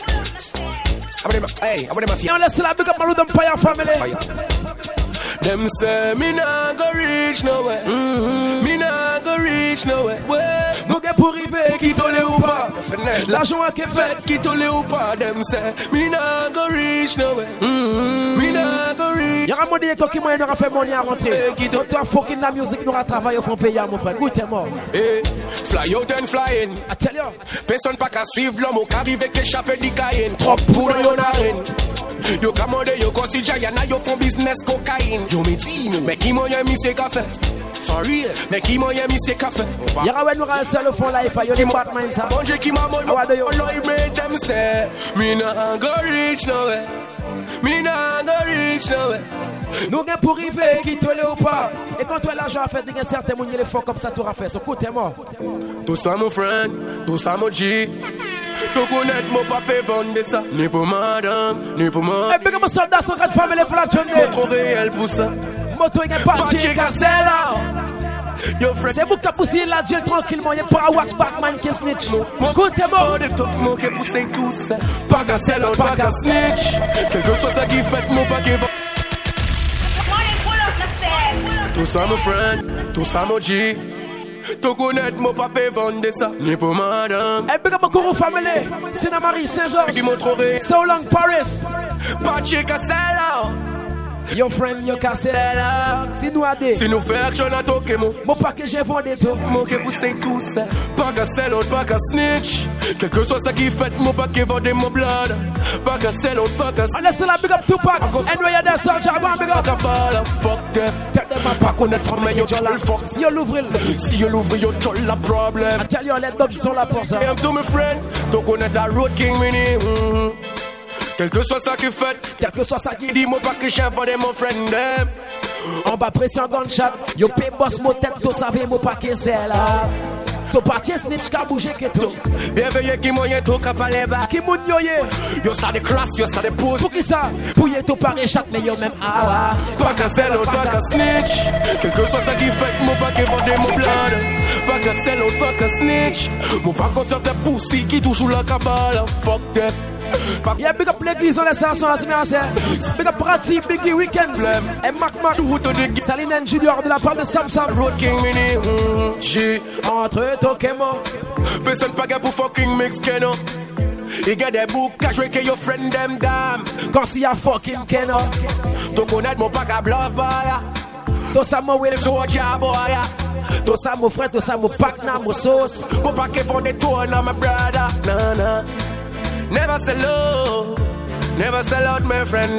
[SPEAKER 3] Hey, abone ma fille.
[SPEAKER 5] On laisse la big up Malou Empire family.
[SPEAKER 3] Them say me nah go reach nowhere. Me nah go reach nowhere.
[SPEAKER 5] Nous gars pour river qui tolé ou pas. L'argent qui est fait
[SPEAKER 3] qui tolé ou pas. Them say me nah go reach nowhere. Me nah go reach.
[SPEAKER 5] Y'a un monde qui moyen n'aura fait money à rentrer. Toi fucking la musique n'aura travaillé au fond pays à mon frère. Écoutez-moi.
[SPEAKER 3] Fly out and fly in.
[SPEAKER 5] I tell you.
[SPEAKER 3] Personne pas qu'à suivre l'homme qui arrive et échapper du caïn. Trop pour yo narine. Yo kamode yo kosi jaya na yo for business cocaine. Yo me team me ki moyen mi se café. For real, me ki moyen mi se café.
[SPEAKER 5] Y'a un nous rassel le fond life yo les Batman ça.
[SPEAKER 3] Bon Dieu qui m'a mon Lord made them say me nah go reach nowhere. Me nah go reach nowhere.
[SPEAKER 5] Nous gain pour river qui tolé ou pas. Et quand toi l'argent a fait des certains monde les fort comme ça t'aura fait. So écoutez-moi.
[SPEAKER 3] Tout ça mon friend, tout ça mon G. Tu connais mon papa vendre ça. Ni pour madame, ni pour moi.
[SPEAKER 5] Et bien que mon soldat sont quatre familles pour la journée.
[SPEAKER 3] Mais trop réel pour ça.
[SPEAKER 5] Moto il est parti. Yo friend. C'est vous qui poussez la gel tranquillement. Y'a pas à watch Batman qui snitch. Écoutez-moi.
[SPEAKER 3] Mon qui pousse tout ça. Pas qu'à sell out, pas qu'à snitch. Quelque chose ça qui fait mon paquet. Tout ça mon friend, tout ça mon G. Tu connais mon papa vendre ça. Ni pour madame.
[SPEAKER 5] Et bien que mon courroux famille. Sina Marie Saint-Georges.
[SPEAKER 3] Qui m'ont trouvé.
[SPEAKER 5] So long Paris.
[SPEAKER 3] Pas chic à sell out.
[SPEAKER 5] Your friend, your cassette. Si nous adé.
[SPEAKER 1] Si nous fait action à toquer mon.
[SPEAKER 5] Mon paquet j'ai vendu tout.
[SPEAKER 1] Mon que vous c'est tout ça. Pas qu'à sell out, pas qu'à snitch. Quel que soit ça qui fait, mon paquet vendu mon blood. Pas qu'à sell out, pas qu'à snitch.
[SPEAKER 5] On laisse la big up Tupac. And we are there, soldier, go and big up.
[SPEAKER 1] Fuck them. Tell them pas connaître from yo jol fuck.
[SPEAKER 5] Si yo l'ouvre,
[SPEAKER 1] yo jol la problem.
[SPEAKER 5] I tell you, les dogs sont là pour ça.
[SPEAKER 1] I am to my friend. Donc on est à Road King Mini. Quel que soit ça qui fait,
[SPEAKER 5] quel que soit ça qui
[SPEAKER 1] dit, mon paquet chef vendu mon friend them.
[SPEAKER 5] En bas pression gunshot. Yo pay boss mo tête, to savez mon paquet c'est là. So parti snitch ka bouger que tout.
[SPEAKER 1] Bienvenue qui moyen tout ka parler bas.
[SPEAKER 5] Qui moun yo ye.
[SPEAKER 1] Yo ça des classes, yo ça des poses.
[SPEAKER 5] Pour qui ça? Pour y tout paré chat mais yo même ah.
[SPEAKER 1] Pas qu'à sell out, pas qu'à snitch. Quel que soit ça qui fait, mon paquet vendu mon blood. Pas qu'à sell out, pas qu'à snitch. Mon paquet sur tes poussi qui toujours la cabale. Fuck that.
[SPEAKER 5] Yeah, big up l'église, on laisse ça ensemble, c'est bien ça. Big up Prati, Biggie Weekends. Et Mac Saline Junior de la part de Sam Sam.
[SPEAKER 1] Road King Mini, G.
[SPEAKER 5] Entre Tokemo.
[SPEAKER 1] Personne pas gars pour fucking mix Keno. Il y a des boucs à jouer que your friend them dam.
[SPEAKER 5] Quand s'il y a fucking Keno.
[SPEAKER 1] Donc on aide mon pack à bluff, voilà.
[SPEAKER 5] Tout ça, mon will.
[SPEAKER 1] Soja, boy.
[SPEAKER 5] Tout ça, mon frère, tout ça, mon pack, na, mon sauce.
[SPEAKER 1] Mon pack est fond des tours, na, my brother. Nah. Never sell out, never sell out, my friend.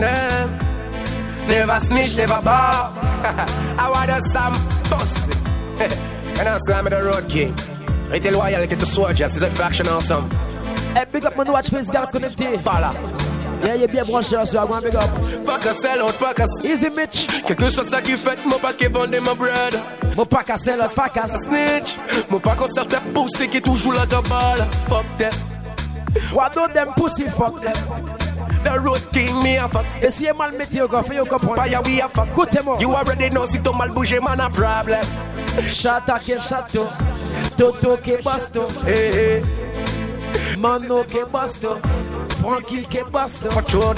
[SPEAKER 1] Never snitch, never bow. I want a some pussy. And I'm Sam the Road King. Rete loyal to the soldiers, c'est cette faction ensemble.
[SPEAKER 5] Hey, big up mon watch face gars connecté.
[SPEAKER 1] Voilà.
[SPEAKER 5] Yeah, il est bien branché, so I'm big up.
[SPEAKER 1] Pas qu'à sell out, pas qu'à
[SPEAKER 5] Easy Mitch.
[SPEAKER 1] Quel que soit ça qui fait, mon paquet vendé ma bread.
[SPEAKER 5] Mon pas qu'à sell out, pas qu'à
[SPEAKER 1] snitch. Mon pas qu'on sort ta poussée qui toujours la cabale. Fuck that.
[SPEAKER 5] What do them pussy fuck them?
[SPEAKER 1] The Road King me a fuck.
[SPEAKER 5] Et si y'a mal métier, go fait, you comprends.
[SPEAKER 1] Pas y'a we a fuck.
[SPEAKER 5] Écoutez-moi.
[SPEAKER 1] You already know si ton mal bouge, man a problem.
[SPEAKER 5] Chata ke chato. Toto ke basto.
[SPEAKER 1] Hey.
[SPEAKER 5] Mano ke basto. Frankie ke basto.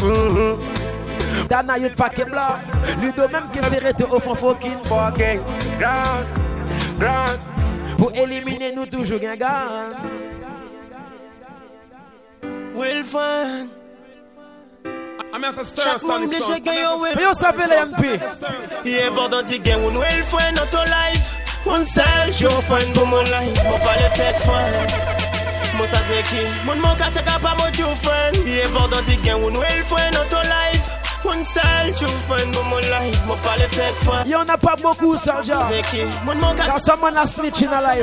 [SPEAKER 5] Dana yut pa ke bla. Ludo même ke serré te offre fucking
[SPEAKER 1] ground.
[SPEAKER 5] Pour éliminer nous toujours gagnant.
[SPEAKER 3] Will find.
[SPEAKER 16] I'm as a star sonic song.
[SPEAKER 5] You savez les MP.
[SPEAKER 3] Yeah, but don't you get one will find not to life. One side, show find go mon life. Mon pas le fait find. Mon savait qui. Mon catch a pas mon true friend. Yeah, but don't you get one will find not to life. One side, show find go mon life. Mon pas le fait find.
[SPEAKER 5] Y'en a pas beaucoup, soldier. Car someone a snitch in a life.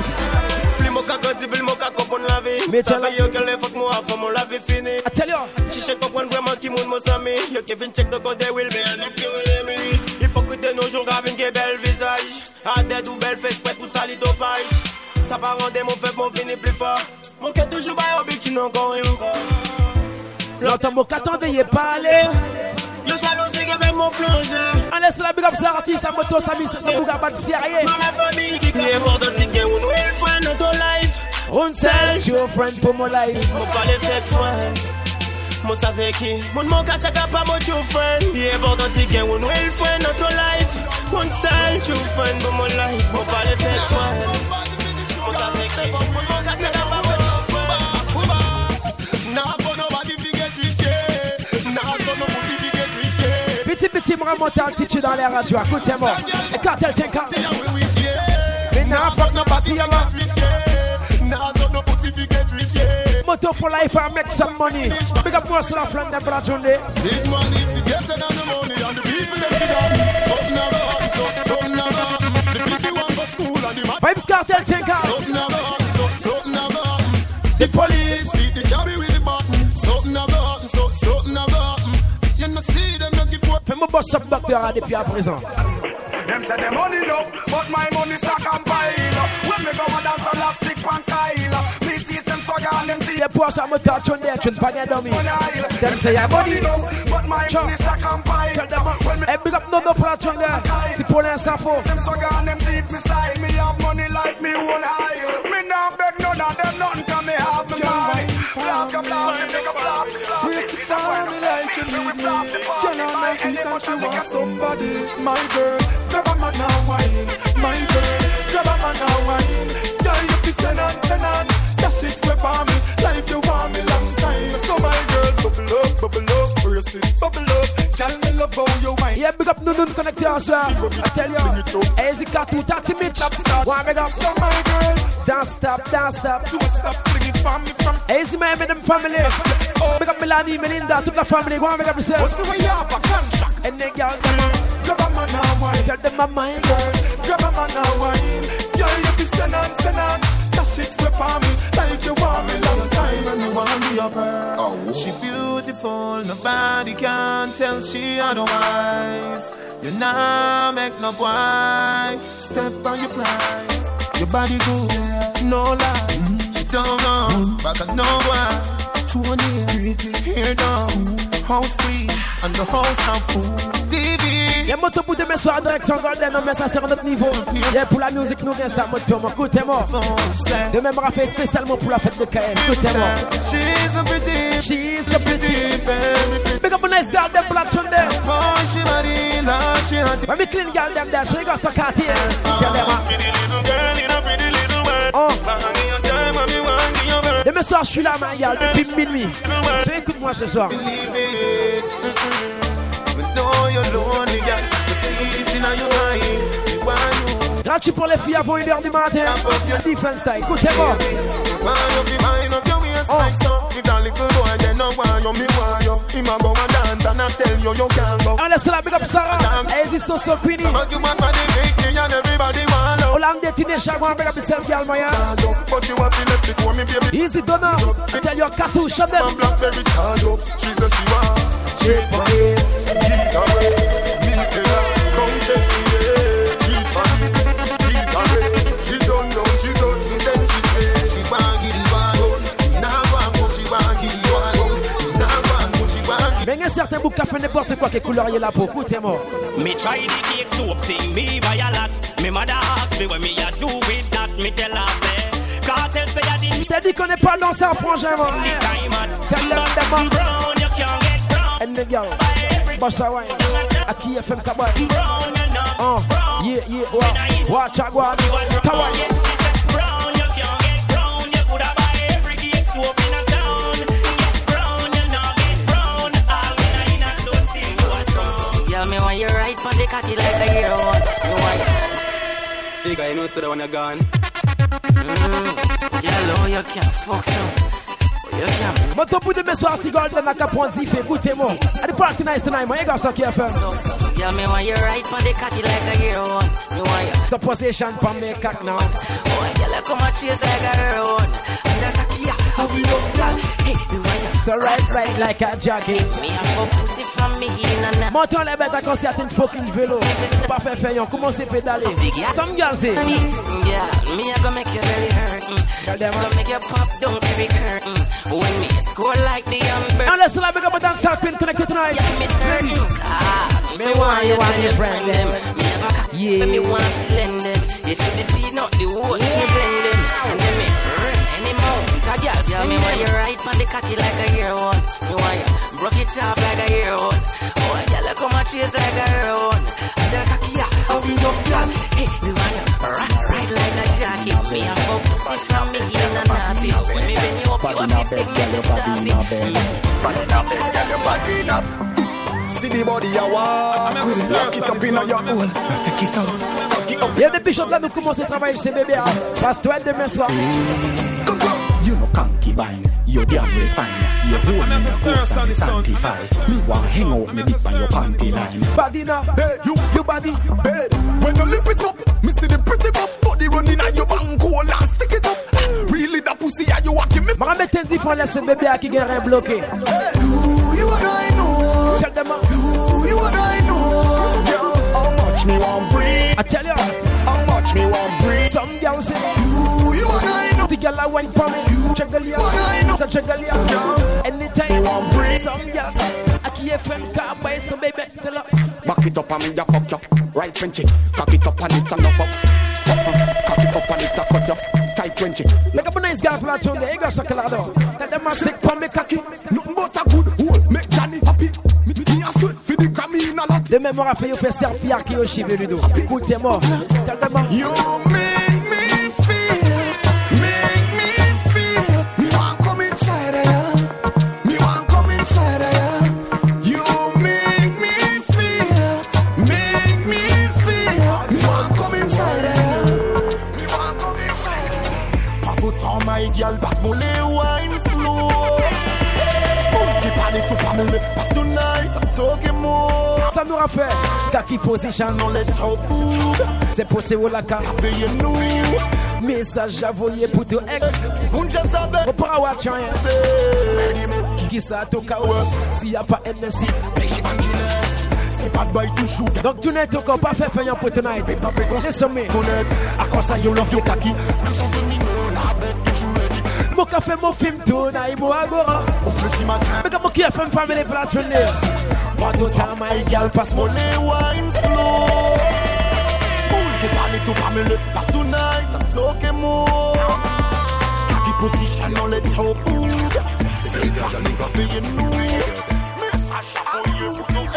[SPEAKER 3] Mais tu as yo qu'elle fuck moi avant mon lave fini.
[SPEAKER 5] I tell you.
[SPEAKER 3] Si je comprends vraiment qui moun mon ami, yo Kevin check the code they will be and up you enemy. Hypocrite de nos jours grave une belle visage. A dead ou belle fesse prêt pour salir dopage. Ça va rendre mon fait mon fini plus fort. Mon cœur toujours bas au but tu n'en encore rien.
[SPEAKER 5] L'autre mot qu'attendait y est pas allé.
[SPEAKER 3] Yo jalousie avec mon plongeur.
[SPEAKER 5] On laisse la big up sa artiste, sa moto, sa mise, sa bouga pas de sérieux.
[SPEAKER 3] Dans la famille qui est mort dans tigre, on will find notre life.
[SPEAKER 5] On sell your friend pour mon life.
[SPEAKER 3] Mon pas les fait friend. Mon savait qui. Mon catch a pas mon true friend. Yeah, mort dans tigre, on will find notre life. On sell true friend pour mon life. Mon pas les fait friend. Mon savait qui. Mon catch a pas mon true friend.
[SPEAKER 7] Nah, for nobody to get rich, yeah. Nah, for nobody to get rich, yeah.
[SPEAKER 5] Petit m'remonte titre dans les radios, écoutez-moi. Et cartel tiens car. Mais n'a pas de parti avant. Moto for life and make some money. Big up most of the them for Sunday.
[SPEAKER 7] Big money if you get it on the money and the people that figure. Something never happen, something never happen. The people want for school and the
[SPEAKER 5] Vibes cartel think out.
[SPEAKER 7] Something never happen, something never happen. The police beat the cabby with the button. Something never happen, something never happen. You know see them not give up.
[SPEAKER 5] Fais-moi boss up docteur depuis à présent.
[SPEAKER 15] Them say the money enough, but my money stack and pile. When me go and dance on last stick pan Kyle. Me teach them swagger and them teeth.
[SPEAKER 5] The boss I'm a touch on there, tune pagay dummy. Them say your money
[SPEAKER 15] enough, but my money stack and pile.
[SPEAKER 5] Tell them, hey big up no platch on there. Si pour l'instant faux.
[SPEAKER 15] Them swagger and them teeth me style. Me have money like me own high. Me not beg none of them nothing 'cause me have me money. Blast a blast, make a blast,
[SPEAKER 6] Twist it down me like you need me. Can I make it and she want somebody? My girl, grab a man now wine. My girl, grab a man now wine. Girl, you fi send on. Dash it whip on me like you want me long time. So my girl, bubble up, brace it, bubble up. Girl, me love how you wine.
[SPEAKER 5] Yeah, big up Nunun connecté en soir. I tell you, easy cut to 30 minutes. One big up.
[SPEAKER 15] So my girl,
[SPEAKER 5] don't stop.
[SPEAKER 15] don't stop flinging for me from.
[SPEAKER 5] Easy man with them family. Big up Melanie, Melinda, toute la famille. Go on, big up yourself.
[SPEAKER 15] What's the way you have a contract?
[SPEAKER 5] And then girl,
[SPEAKER 15] grab a man now wine.
[SPEAKER 5] Tell them my mind, girl.
[SPEAKER 15] Grab a man now wine. Girl, you be send on. Cash it whip on me like you want me long time and you want to be up her. Oh. She beautiful, nobody can tell she otherwise. You nah make no boy step on your pride. Your body good, no lie. She don't know, but I know why. Too near, pretty hair down. How sweet, and the house how full.
[SPEAKER 5] Y'a moto pour demain soir, direction Golden, mais ça c'est à notre niveau. Y'a pour la musique, nous vient ça, moto, écoutez-moi. Demain, on va faire spécialement pour la fête de KM, écoutez-moi.
[SPEAKER 15] She's a pretty baby.
[SPEAKER 5] Big up a nice girl, them black chun there.
[SPEAKER 15] Oh, she body like she hot.
[SPEAKER 5] When me clean girl, them there, so you got some Cartier. Tell them,
[SPEAKER 15] pretty little girl in a pretty little world.
[SPEAKER 5] Demain soir, je suis là, ma gueule, depuis minuit. So écoute-moi ce soir. Gratuit pour les filles avant 1h du matin. Defense style, écoutez-moi. On laisse la big up Sarah. Easy so Queenie. Hollande teenage, I want to big up yourself, girl, Maya. Easy Donna. Tell your cartouche, shut them.
[SPEAKER 15] She says she want. Cheap money, eat away, meet it up, come check me, cheap money, she don't know, she don't know, then she say, she want get it one, now one, she want get it one, now one, she want get it one.
[SPEAKER 5] Mais il y a certains boucs qui font n'importe quoi qui colorier la peau, écoutez-moi.
[SPEAKER 17] Me try the cake soap thing, me buy a lot, me mother ask me what me a do with that, me tell her say, cartel say I didn't.
[SPEAKER 5] Je t'ai dit qu'on n'est pas dans ça, franchement. Tell them,
[SPEAKER 17] brown, you can't get.
[SPEAKER 5] And the girl, Bossa Wine, Aki FM Kabay. Yeah, watch out, watch Kabay.
[SPEAKER 17] Brown, you can't get brown. You coulda buy every cake soap in a town. Get brown, you not get brown. All in a something what's wrong.
[SPEAKER 8] Yeah, me want you right on the cocky like a hero. You want
[SPEAKER 17] you. Big guy, you know so that when you're gone.
[SPEAKER 8] Yellow, you can't fuck so.
[SPEAKER 5] Mon top de mes soirs, Tigol, de Naka Point d'If, écoutez-moi. And the party nice tonight, my got some KFM.
[SPEAKER 8] Yeah, me want you right on the cocky like a hero. Me want you.
[SPEAKER 5] So position for me cock now.
[SPEAKER 8] Oh, girl, come and chase like a hero. And the cocky, yeah, how we love that. Hey, me want you.
[SPEAKER 5] So right like a jogging.
[SPEAKER 8] Me have a pussy from me in and out.
[SPEAKER 5] Monton les bêtes à concert une fucking vélo. Pas fait faire, commencez à pédaler. Some girls say.
[SPEAKER 8] Yeah, me I gonna make you really hurt. Gonna make you pop down every curtain. When me score like the young bird.
[SPEAKER 5] And let's like a dance queen connected tonight.
[SPEAKER 8] Yeah, me certain.
[SPEAKER 5] Me want you want your friend them.
[SPEAKER 8] Me have a cock, me want to lend them. You see the peanut, the oats, me blend them. And then me any mount, a girl. Yeah, me want you right on the cocky like a hero. Me want you broke it off like a hero. Oh, girl, come and chase like a hero. And the cocky, yeah, how we love that. Hey, me want you right like a jockey. Me have a pussy from me in and out. When me bend you up, you have to take me to stop it.
[SPEAKER 15] Body in a bed, girl, your body in a bed. See the body you walk with it, lock it up in your hole. Now take it out, cock it up.
[SPEAKER 5] Y'a des bichots là, nous commençons à travailler ces bébés. Passe-toi demain soir.
[SPEAKER 4] You know concubine, you're damn refined. You hold me in the house and me sanctify. Me want hang out me dip on your panty line.
[SPEAKER 5] Body now,
[SPEAKER 15] hey,
[SPEAKER 5] you body.
[SPEAKER 15] Hey, when you lift it up, me see the pretty buff body running on your bank hole and stick it up. Really that pussy are you walking me?
[SPEAKER 5] M'a mettre un différent laisse bébé qui gagne bloqué.
[SPEAKER 15] You what I know.
[SPEAKER 5] Tell them
[SPEAKER 15] you what I know. Girl, how much me want breathe?
[SPEAKER 5] I tell you
[SPEAKER 15] how much me want breathe.
[SPEAKER 5] Some girls say
[SPEAKER 15] you what I know.
[SPEAKER 5] The girl I went for me. Chagalia, so chagalia. Anytime
[SPEAKER 15] me want breathe.
[SPEAKER 5] Some girls I can't friend car buy some baby. Tell her
[SPEAKER 4] back it up and me ya fuck you. Right when chick, cock it up and it and up. Cock it up and it a cut you. Tight when chick.
[SPEAKER 5] Make up a nice guy for that tune there. You got some color. That them are sick for me cocky.
[SPEAKER 15] Nothing but a good hole. Make Johnny happy. Me a sweat for the Grammy in a lot.
[SPEAKER 5] De mémoire à fait you fait serpillard qui au cheveux du dos. Écoutez-moi. Tell them
[SPEAKER 15] you make me feel. Me want come inside of ya. Me want come inside of ya. You make me feel.
[SPEAKER 6] talking more.
[SPEAKER 5] Ça nous a fait Kaki position. C'est possible la carte. Message à voyer pour ton ex. Au parawatch rien. Qui ça toka s'il n'y a pas NSC. Donc tu n'es encore pas fait faire pour tonight. C'est sommé.
[SPEAKER 6] À quoi ça you love your Kaki?
[SPEAKER 5] Mon café, mon film, tout naïf, mon agora. Mais comment qui a fait une famille pour la tournée? Pas de temps, my girl, passe mon
[SPEAKER 6] nez, wine slow. Qui parle tout parmi le pass tonight. Talking more. Kaki position on le top. C'est le gars, j'en ai pas fait nous. Message for you.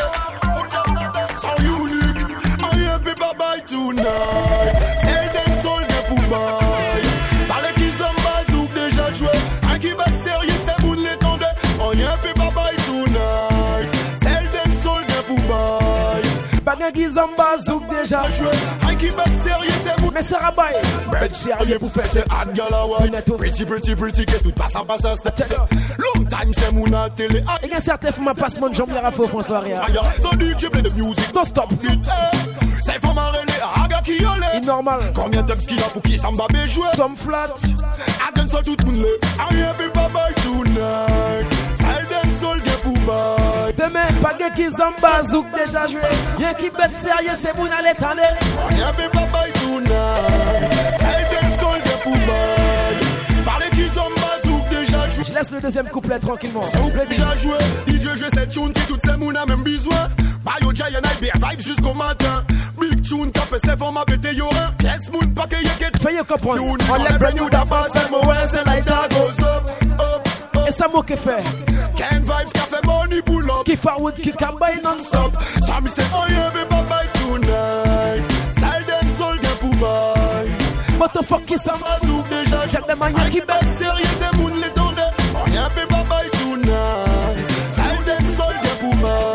[SPEAKER 6] So unique. I am bye bye tonight. Say them soul de pour buy. Parle qui zamba zouk déjà joué. Un qui bat sérieux, c'est bout les tendait. On y a fait bye bye tonight. Say them soul de pour buy.
[SPEAKER 5] Bagay qui zamba zouk déjà joué.
[SPEAKER 6] Un qui bat sérieux, c'est bout.
[SPEAKER 5] Mais ça rabaille.
[SPEAKER 6] Bête sérieux pour faire ce hard galawa. Pretty, que tout passe à passe à step. Long time, c'est mon à télé.
[SPEAKER 5] Il y a certains fois, ma passe mon jambe, il y a faux François Ria.
[SPEAKER 6] So du tu play the music.
[SPEAKER 5] Don't stop.
[SPEAKER 6] C'est faut m'arrêter. Aga qui yole.
[SPEAKER 5] Normal.
[SPEAKER 6] Combien de textes qu'il a pour qui s'en va jouer?
[SPEAKER 5] Some flat.
[SPEAKER 6] Again, so tout le monde l'est. I am bye bye tonight. Silent soul de pour bye.
[SPEAKER 5] Demain, pas de qui zamba zouk déjà joué. Y'a qui bête sérieux, c'est bon à l'étendre.
[SPEAKER 6] I am bye bye tonight. Silent soul de pour bye. Parlez qui zamba zouk déjà joué.
[SPEAKER 5] Je laisse le deuxième couplet tranquillement.
[SPEAKER 6] Déjà joué. DJ joue cette tune qui toutes ces mounes a même besoin. Bayo Jay and I bear vibes jusqu'au matin. Big tune qui fait ses formes à péter y'aura. Yes, moon paquet y'a qu'est.
[SPEAKER 5] Fais-y comprendre.
[SPEAKER 6] On l'a brand new d'abord, c'est mon c'est like that goes up.
[SPEAKER 5] Et ça m'a que fait.
[SPEAKER 6] Ken vibes qui fait money pull up.
[SPEAKER 5] Qui forward, qui campagne non-stop.
[SPEAKER 6] Ça me c'est oh yeah, bye bye tonight. Silent soul de pour bye.
[SPEAKER 5] What the fuck is ça?
[SPEAKER 6] Zouk déjà.
[SPEAKER 5] J'ai des manières qui bête.
[SPEAKER 6] Sérieux, c'est moon les tendait. Oh yeah, bye bye tonight. Silent soul de pour bye.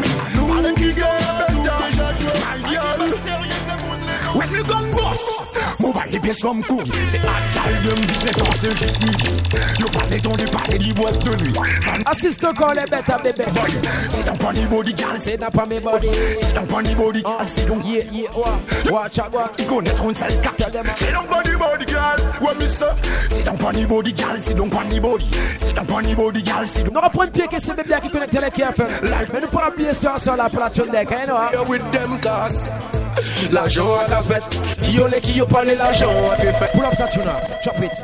[SPEAKER 6] When we gun boss, mobile les pièces comme courrier. C'est à taille de me dire c'est juste midi. Yo parlez ton parler des boîtes de nuit.
[SPEAKER 5] Assiste encore les bêtes à bébé.
[SPEAKER 6] C'est dans pas ni body gal,
[SPEAKER 5] c'est dans pas mes body.
[SPEAKER 6] C'est dans pas ni body gal, c'est donc
[SPEAKER 5] yeah, watch out.
[SPEAKER 6] Ils connaîtront une sale carte. C'est dans pas ni body gal, ouais mais ça. C'est dans pas ni body gal, c'est donc pas ni body. C'est dans pas ni body gal, c'est donc.
[SPEAKER 5] On reprend pied que c'est bébé qui connecte les KFM. Mais nous pourrons appuyer sur la plateforme deck, hein, non?
[SPEAKER 6] With them cars. L'argent à la fête, qui ont les qui ont parlé l'argent à la fête.
[SPEAKER 5] Pull up ça, tuna, chop it.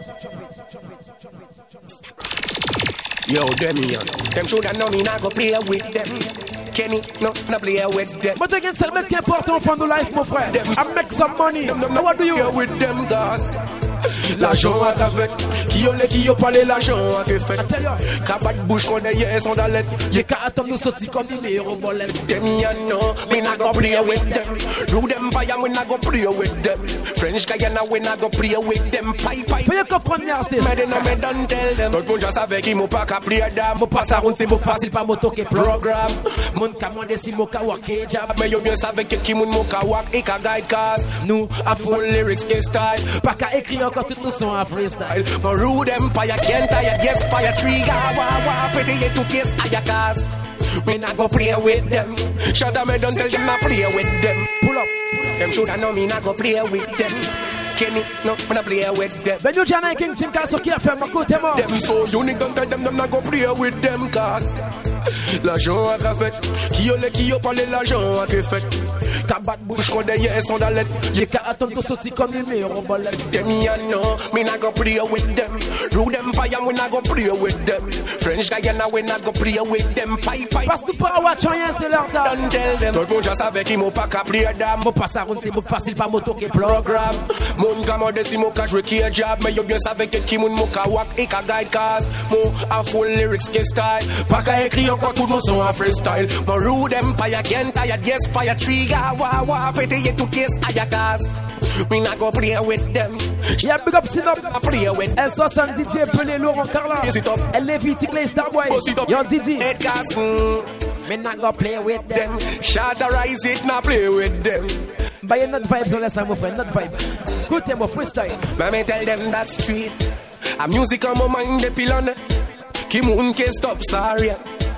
[SPEAKER 6] Yo, Demian, them should have known me not go play with them. Kenny, no play with them.
[SPEAKER 5] But again, c'est le mec qui est important for the life, mon frère. I make some money. Now what do you?
[SPEAKER 6] With them guys. L'argent à la fête, qui ont parlé l'argent à la fête. Cabat bouche qu'on est hier sans d'aller.
[SPEAKER 5] Y'a qu'à attendre nous sortir comme des numéros volés.
[SPEAKER 6] Demian, no, me not go play with them. Do them fire, we not go play with them. French Guyana, we not go play with them. Pipe.
[SPEAKER 5] Faut y comprendre, Nasty.
[SPEAKER 6] Mais de non, me don't tell them. Tout le monde just avec qui m'ont pas qu'à play dame.
[SPEAKER 5] Mon passe à route, c'est beaucoup facile, pas moto qui
[SPEAKER 6] programme.
[SPEAKER 5] Mon commande, c'est mon kawak et jab.
[SPEAKER 6] Mais yo bien savez que qui mon kawak et ka guide cause.
[SPEAKER 5] Nous,
[SPEAKER 6] a full lyrics et style.
[SPEAKER 5] Pas qu'à écrire encore tout nous son à freestyle.
[SPEAKER 6] My rude empire can't tire, yes, fire trigger. Wah, pretty to kiss ayakas. Me not go play with them. Shut up, me don't tell them not play with them.
[SPEAKER 5] Pull up.
[SPEAKER 6] Them shoulda know me not go play with them. Kenny, no, me not play with them.
[SPEAKER 5] Ben you Jana King Team Castle qui a fait ma côté mort.
[SPEAKER 6] Them so unique, don't tell them not go play with them cause. L'argent à la fête, qui ont parlé l'argent à la fête. Cabat bouche qu'on est hier sans d'aller.
[SPEAKER 5] Y'a qu'à attendre de sortir comme des numéros volés.
[SPEAKER 6] Them ya know, me not go play with them. Rude Empire, we not go play with them. French Guyana, we not go play with them. Pipe.
[SPEAKER 5] Parce que pas watch rien, c'est leur temps.
[SPEAKER 6] Don't tell them. Tout le monde just avec qui m'ont pas qu'à play dame.
[SPEAKER 5] Mon passe à route, c'est beaucoup facile, pas moto qui
[SPEAKER 6] programme. Mon commande, si mon cas jouer qui est job. Mais yo bien savez que qui mon ka wak et ka guide cause. Mon a full lyrics qui style. Pas qu'à écrire encore tout le monde son en freestyle. Mon Rude Empire, can't tire, yes, fire trigger. Wah, pretty to kiss ayakas. We not go play with them.
[SPEAKER 5] Yeah, big up, sit up.
[SPEAKER 6] Play with
[SPEAKER 5] them. S60 Didier Pelé, Laurent Carla. Elle est vite, Clay Starboy. Yo, Didi.
[SPEAKER 6] Ed Carson.
[SPEAKER 5] Me not go play with them.
[SPEAKER 6] Shatterize it, not play with them.
[SPEAKER 5] But you're not vibes unless I'm a friend, not vibe. Good time of freestyle.
[SPEAKER 6] But me tell them that's street. A music on my mind, the pillar. Ki moun ke stop, sorry.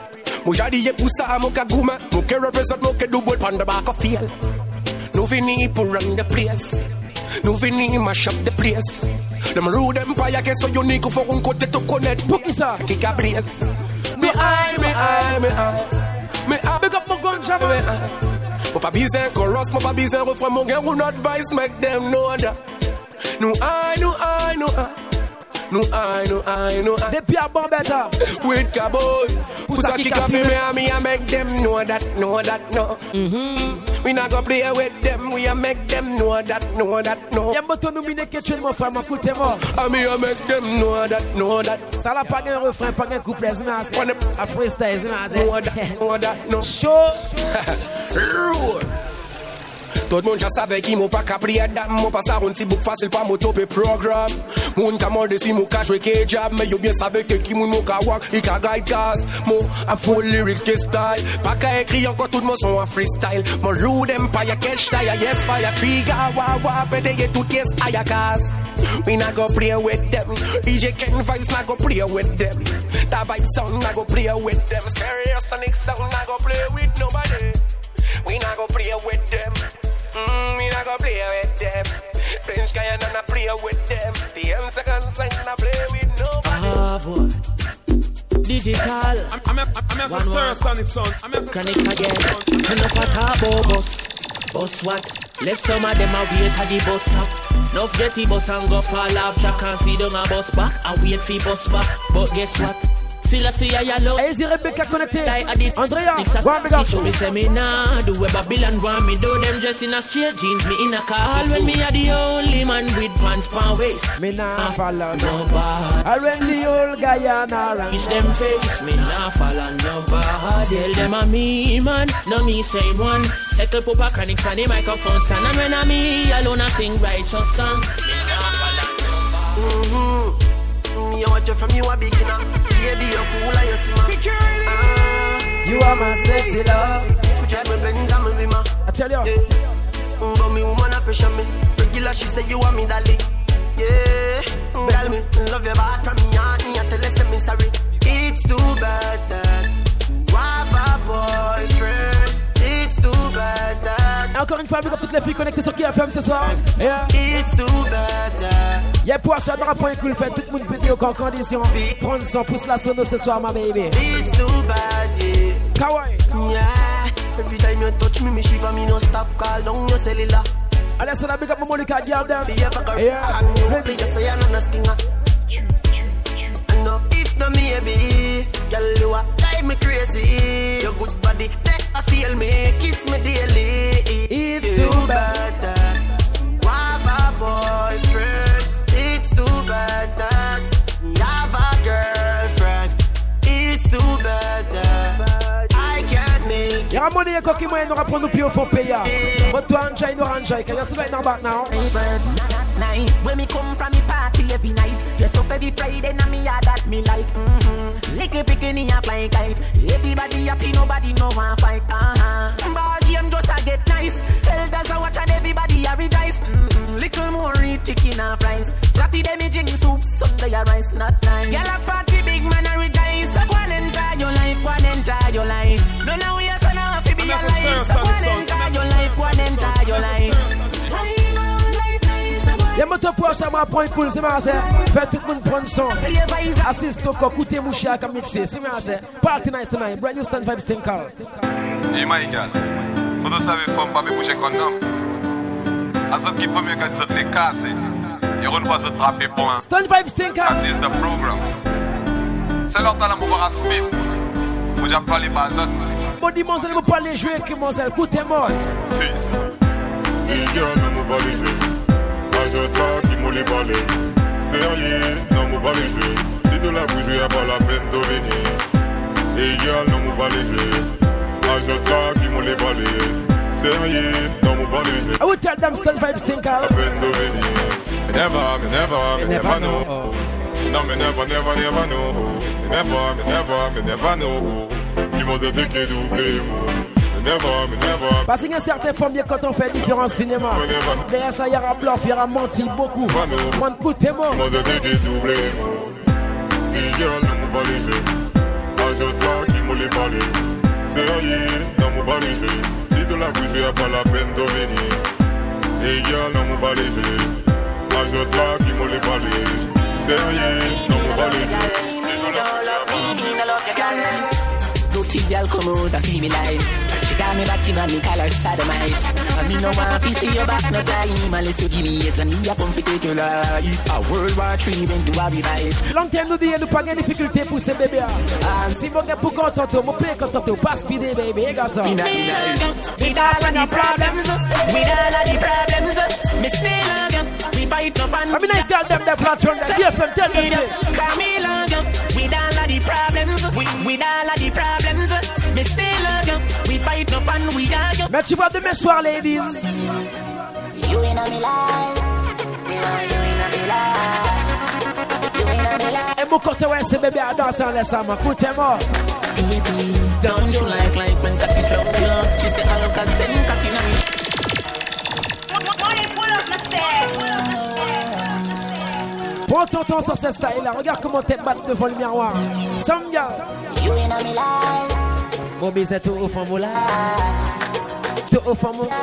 [SPEAKER 18] Mo jadi ye pusa mo ka gume. Mo ke represent mo ke do both on the back of field. No vini pour run the place. No vini mash up the place. Them rude empire ke so unique for un côté to connect.
[SPEAKER 5] Pour qui ça?
[SPEAKER 18] Qui ka blaze. Me I.
[SPEAKER 5] Big up mon ganja man.
[SPEAKER 18] Mo pa bizin chorus, mo pa bizin refrain. Mo gen one advice make them know that. No I.
[SPEAKER 5] Depuis à Bambetta.
[SPEAKER 18] With Cowboy. Pusa kick off me and me, I make them know that, no. We not go play with them, we a make them know that, no.
[SPEAKER 5] Y'a moto nominé que tu es mon frère, mon foot est mort.
[SPEAKER 18] I me I make them know that.
[SPEAKER 5] Ça l'a pas un refrain, pas un couplet, c'est ma a freestyle, c'est ma
[SPEAKER 18] know that, no.
[SPEAKER 5] Show.
[SPEAKER 18] Tout le monde já savait qui m'a pas capri à dame. M'a pas ça un petit book facile pour moi topé programme. Moun ka morde si mou ka jouer que job. Mais yo bien savait que qui moun mou ka walk, il ka guide cause. Mo a full lyrics que style. Pas qu'à écrire encore tout le monde son en freestyle. Mon rude empire catch tire, yes fire trigger. Wa pété tout yes aya cause. We not go play with them. DJ Ken vibes not go play with them. That vibe sound not go play with them. Stereo sonic sound not go play with nobody. We not go play with them. We not go play with them. French guy and not play with them. The M2nd sign not play with nobody.
[SPEAKER 3] Ah boy. Digital.
[SPEAKER 16] I'm a Stereosonic son.
[SPEAKER 3] Chronics again. Enough a turbo bus. Bus what? Left some of them a wait at the bus stop. Enough get the bus and go fall off track and see down a bus back. I wait for bus back. But guess what? Still I see a yellow.
[SPEAKER 5] Easy Rebecca connected. Andrea,
[SPEAKER 3] one big up. Me say me nah do what Babylon want me do. Them dress in a straight jeans, me in a car. When me a the only man with pants pan waist.
[SPEAKER 5] Me nah follow nobody. I when the old guy and around.
[SPEAKER 3] Reach them face, me nah follow nobody. Tell them a me man, no me say one. Settle Papa Chronic for the microphone stand. And when I me alone I sing righteous song. Me nah follow nobody.
[SPEAKER 19] Me I watch you from you a beginner. Baby, you're cool and you're smart. Security.
[SPEAKER 5] You are my sexy love.
[SPEAKER 19] If you drive my Benz, I'm a bimmer.
[SPEAKER 5] I tell you.
[SPEAKER 19] But me woman a pressure me. Regular, she say you want me, darling. Yeah. Tell me, love your bad from me, and me, I tell her, say me sorry. It's too bad that you have a boyfriend. It's too bad that.
[SPEAKER 5] Encore une fois, avec toutes les filles connectées sur KFM ce soir. Yeah.
[SPEAKER 19] It's too bad that.
[SPEAKER 5] Y'a pour ça, dans la point cool, fait tout le monde vidéo en condition. Prendre son pouce la sono ce soir, ma baby.
[SPEAKER 19] It's too bad, yeah.
[SPEAKER 5] Kawaii.
[SPEAKER 19] Yeah. Every time you touch me, me shiver, me no stop, call down your cellular.
[SPEAKER 5] Allez, c'est la big up, Monica, girl, them.
[SPEAKER 19] Yeah. Ready, you say I'm not a stinger. I know if not me, baby, girl, you are drive me crazy. Your good body, I feel me, kiss me daily.
[SPEAKER 5] It's too bad
[SPEAKER 19] that you have a boyfriend. It's too bad that you have a girlfriend. It's too bad that I can't make.
[SPEAKER 5] Y'a money et coquille moyen, nous rapprendre nous pire pour payer. But to enjoy, no enjoy. Can you see right now back now?
[SPEAKER 8] Nice. When me come from me party every night, dress up every Friday, now me yard that me like. Licky bikini a flying kite. Everybody happy, nobody no one fight. Ball game just a get nice. Elders a watch and everybody a rejoice. Little more eat chicken and fries. Saturday me drink soup, Sunday a rice, not nice. Girl a party, big man a rejoice. So go and enjoy your life, go and enjoy your life. No now we are son of a be alive. So go and enjoy your life, go and enjoy your life.
[SPEAKER 5] Y'a mon top pour ça, moi, point cool, c'est ma sœur. Fait tout le monde prendre son. Assiste au corps, écoutez mon chien comme mixé, c'est ma sœur. Party night tonight, brand new stand vibe stinker.
[SPEAKER 20] Hey, my girl, faut de savoir, faut pas me bouger condom. À ce qui peut mieux que de les casser. Et on va se trapper pour un.
[SPEAKER 5] Stand vibe stinker.
[SPEAKER 20] That is the program. C'est l'heure de la mouvoir à speed. Moi, j'ai pas les bases.
[SPEAKER 5] Bon, dis-moi, vous pas les jouer, que mon zèle, écoutez-moi.
[SPEAKER 20] Peace.
[SPEAKER 21] Hey, girl, ne me pas les jouer. Je t'ai qui m'ont les balais. Sérieux, non m'ont pas les jeux. Si de la bouche, y'a pas la peine de venir. Et girl, non m'ont pas les jeux. Je t'ai qui m'ont les balais. Sérieux, non m'ont pas les jeux.
[SPEAKER 5] I will tell them stand vibe stinker.
[SPEAKER 21] La peine de venir. Me never know. No, me never know. Me never know. Qui m'ont dit que doublé moi.
[SPEAKER 5] Parce qu'il y a certaines formes quand on fait différents cinémas. Derrière ça, il y aura bluff, il y aura menti beaucoup. Mon coup de témoin.
[SPEAKER 21] Moi, je t'ai doublé. Et girl, ne m'oublie pas les jeux. Je t'ai m'ont les parlé. Sérieux, dans mon bas léger. Si de la bouche, y'a pas la peine de venir. Et girl, dans mon bas léger. Ajoute là qui m'ont les parlé. Sérieux, dans mon bas léger.
[SPEAKER 8] Dirty girl come out and feel me like she got me back in and me call her sodomite. And me no want to see your back no time unless you give me it and me a come to take your life. A World War III went to a be fight.
[SPEAKER 5] Long time nous dit nous pas de difficulté pour ces bébés. Si vous êtes pour contenter, mon père contenter, pas speeder baby, garçon.
[SPEAKER 8] With all of the problems, me still love you. We fight no fun.
[SPEAKER 5] I mean, nice girl, them platform, the BFM, tell them say.
[SPEAKER 8] Me love you. With all of the problems, with all of the problems, me still love you. We fight no fun, we argue.
[SPEAKER 5] Mais tu vois demain soir, ladies.
[SPEAKER 8] You in a me life. You in a me life. You in a me life.
[SPEAKER 5] Et mon côté, ouais, c'est bébé à danser en laissant ma coute, c'est mort.
[SPEAKER 8] Don't you like when cocky slow you? She say, I look at send cocky na me.
[SPEAKER 5] Prends ton temps sur ce style là, regarde comment t'es battu devant le miroir. Sanga.
[SPEAKER 8] You in a me life.
[SPEAKER 5] Mon baiser tout au fond moula. Tout au fond moula.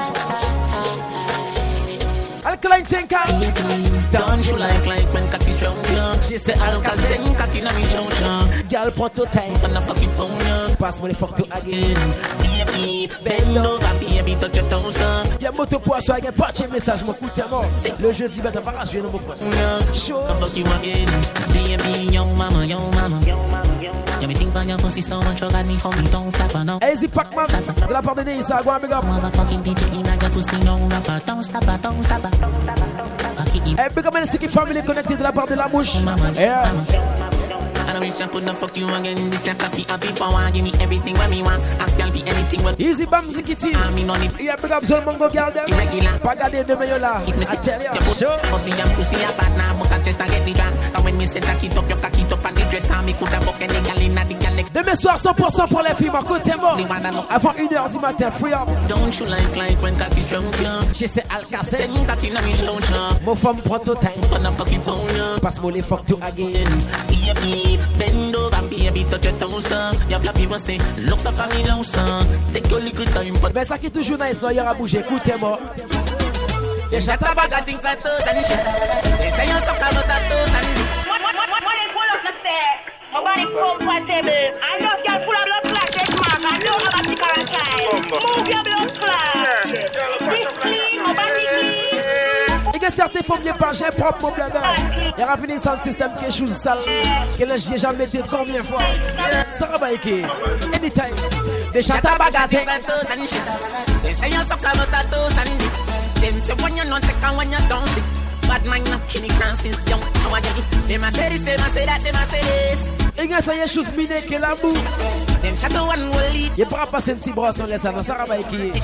[SPEAKER 5] Alkaline Chenka.
[SPEAKER 8] Don't you like when cocky slow you? She say, I look at send cocky na me chow.
[SPEAKER 5] Girl, prends ton time.
[SPEAKER 8] And a cocky pound you.
[SPEAKER 5] Passe-moi les fuck to again.
[SPEAKER 8] Baby, bend over, baby, touch your toes.
[SPEAKER 5] Y'a moto poisson, y'a pas de message, mon coup t'es mort. Le jeudi, ben t'as pas rajoué dans mon pote.
[SPEAKER 8] Show. Fuck you again. Baby, yo mama, yo mama. You me think about your pussy so much, you got me homie, don't flap her, no.
[SPEAKER 5] Easy Pac-Man, de la part de Nisa, go and big up.
[SPEAKER 8] Motherfucking DJ, you make your pussy, no rapper, don't stop her, don't stop her.
[SPEAKER 5] Hey, big up, City Family connected de la part de la bouche. Yeah.
[SPEAKER 8] I don't reach and put the fuck you again. This is happy, happy power. Give me everything when me want. Ask girl be anything when.
[SPEAKER 5] Easy bam zikiti.
[SPEAKER 8] I mean on it.
[SPEAKER 5] Yeah, big up Zol Mongo girl them. Pas garder de meilleur là. I tell you.
[SPEAKER 8] Sure. Pussy and pussy a bad now. But I just a get the drunk. And when me say jack it up, you cock it up and the dress on me coulda fuck any girl in the girl next.
[SPEAKER 5] Demain soir 100% pour les filles. Ma côte est mort. Avant 1h du matin, free up.
[SPEAKER 8] Don't you like when cocky strong you?
[SPEAKER 5] She say Alcacel.
[SPEAKER 8] Then cocky na me slow you.
[SPEAKER 5] Mon femme prend ton time.
[SPEAKER 8] On a cocky pound you.
[SPEAKER 5] Passe-moi les fuck to again.
[SPEAKER 8] Baby, bend over. Baby, touch your toes, y'a plein people say, looks up at me now, son. Take your little time, but.
[SPEAKER 5] Mais ça qui est toujours nice, là, y'aura bougé, écoutez-moi.
[SPEAKER 8] Déjà t'as pas gâté ça tous, and shit. They say you're so clever, that tous, and shit.
[SPEAKER 2] When they pull up the stairs, my body comfortable. I know you're full of blood clot, this man. I know I'm a ticker and child. Move your blood clot. This clean, my body clean.
[SPEAKER 5] Il y a certains femmes qui pas j'ai propre problème. Il y a fini sans système quelque chose sale. Que là j'ai jamais dit combien de fois. Ça va équipe. Anytime. Déjà t'as pas gâté.
[SPEAKER 8] They say you're so clever, that tous, and shit. Them say when you're not take and when you don't see. Bad man not killing Francis young. How are you? Them a say this, them a say that, them a say this.
[SPEAKER 5] Il y a ça y est chose miné que la boue.
[SPEAKER 8] Them shadow one will lead.
[SPEAKER 5] Il pourra passer un petit bras sur les savants. Ça va équipe.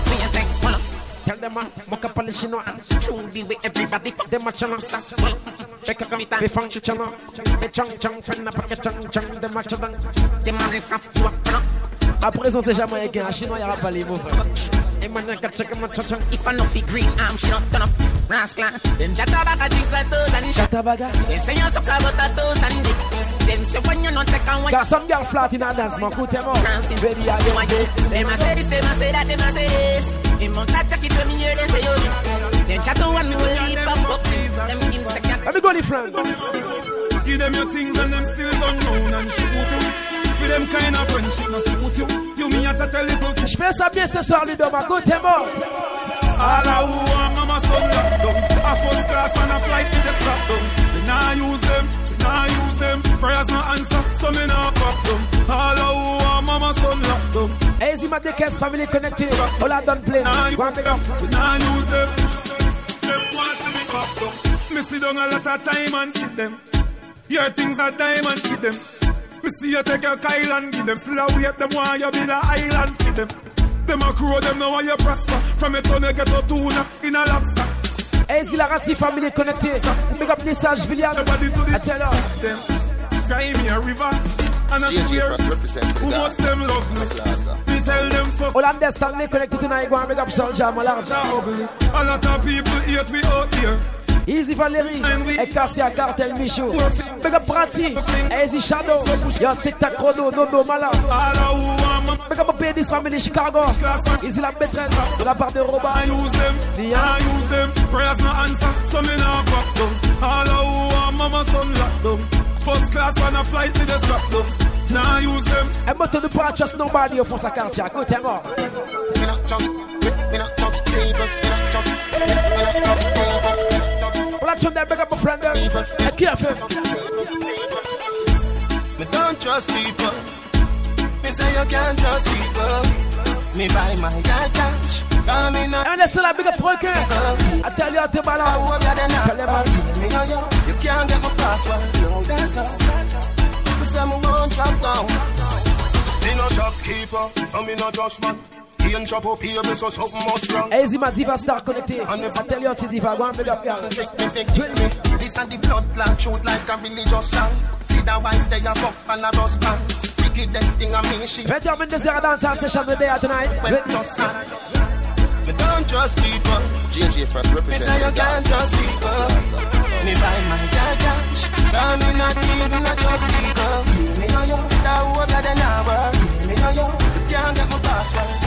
[SPEAKER 5] Tell them I'm a chinois.
[SPEAKER 8] True the way everybody fuck
[SPEAKER 5] them a channel. Make a come be funky channel. Be chang chang friend up a chang chang them a chang.
[SPEAKER 8] Them a ref you up.
[SPEAKER 5] À présent c'est jamaïcain. Un chinois y'aura pas les mots. Et maintenant qu'à checker ma chang chang.
[SPEAKER 8] If I know fi green I'm shut down. Rascal. Them jatabaga things like those and shit.
[SPEAKER 5] Jatabaga.
[SPEAKER 8] Them say you're so clever that those and dick. Them say when you're not take and when.
[SPEAKER 5] Got some girl flat in a dance man. Cool them up. Baby I do it.
[SPEAKER 8] Them a say this, them a say that, them a say this. Them on that jacket when me hear them say yo. Them chat to one me will leave up. Them insecure.
[SPEAKER 5] Let me go the friend.
[SPEAKER 15] Give them your things and them still don't know and shoot you. With them kind of friendship no suit you. You me a chat a little.
[SPEAKER 5] Je fais ça bien ce soir, Ludo, ma côte est mort.
[SPEAKER 15] All I want, mama son locked down. A first class man a flight with the strap down. We nah use them, we nah use them. Prayers no answer, so me nah pop them. All I want, mama son locked down.
[SPEAKER 5] Easy my caisse family connected. All I done play.
[SPEAKER 15] We nah use them. Them want to be pop down. Me sit down a lot of time and see them. Your things are time and see them. Me see you take your Kyle and give them. Still a wait them while you be the island for them. Them a crow them now while you prosper. From a ton you get a tuna in a lobster.
[SPEAKER 5] Easy la Rati family connected. Big up Nissage Villian. I tell you.
[SPEAKER 15] Sky me a river. And I swear who much them love me. We tell them fuck.
[SPEAKER 5] All understand they connected tonight. Go and big up Soldier Malard.
[SPEAKER 15] A lot of people hate we out here.
[SPEAKER 5] Easy Valérie, et Cassia Cartel Michou. Big up Prati, Easy Shadow, yo Tic Tac Chrono, Nono Mala. Big up Pédis Family Chicago, Easy la maîtresse, de la part de Robin.
[SPEAKER 15] I use them, prayers no answer, so me now back down. All who mama son locked down. First class on a flight with a strap down. Now use them.
[SPEAKER 5] And but to the part trust nobody of us a culture. Go tell me.
[SPEAKER 6] Me not trust people.
[SPEAKER 5] Well, I told them big up my friend them. And careful.
[SPEAKER 6] Me don't trust people. Me say you can't trust people. Me buy my cash.
[SPEAKER 5] And let's say big up Franklin. I tell you how to balance. Tell them
[SPEAKER 6] you can't get my password. Say me won't drop down. Me no shopkeeper, and me no trust man. He ain't shop up here, so something must wrong.
[SPEAKER 5] Easy my diva star connected. I tell you how to diva, go and big up here.
[SPEAKER 6] This and the blood clot shoot like a religious song. See that wife they a fuck and a husband. Wickedest thing I mean she.
[SPEAKER 5] 20 minutes there dance session today tonight.
[SPEAKER 6] Well just sad. Me don't trust people.
[SPEAKER 4] JJ first represent.
[SPEAKER 6] Me say you can't trust people. Me buy my cash. Cause me not even a trust people. Me know you, that hope that they never. Me know you can't get my password.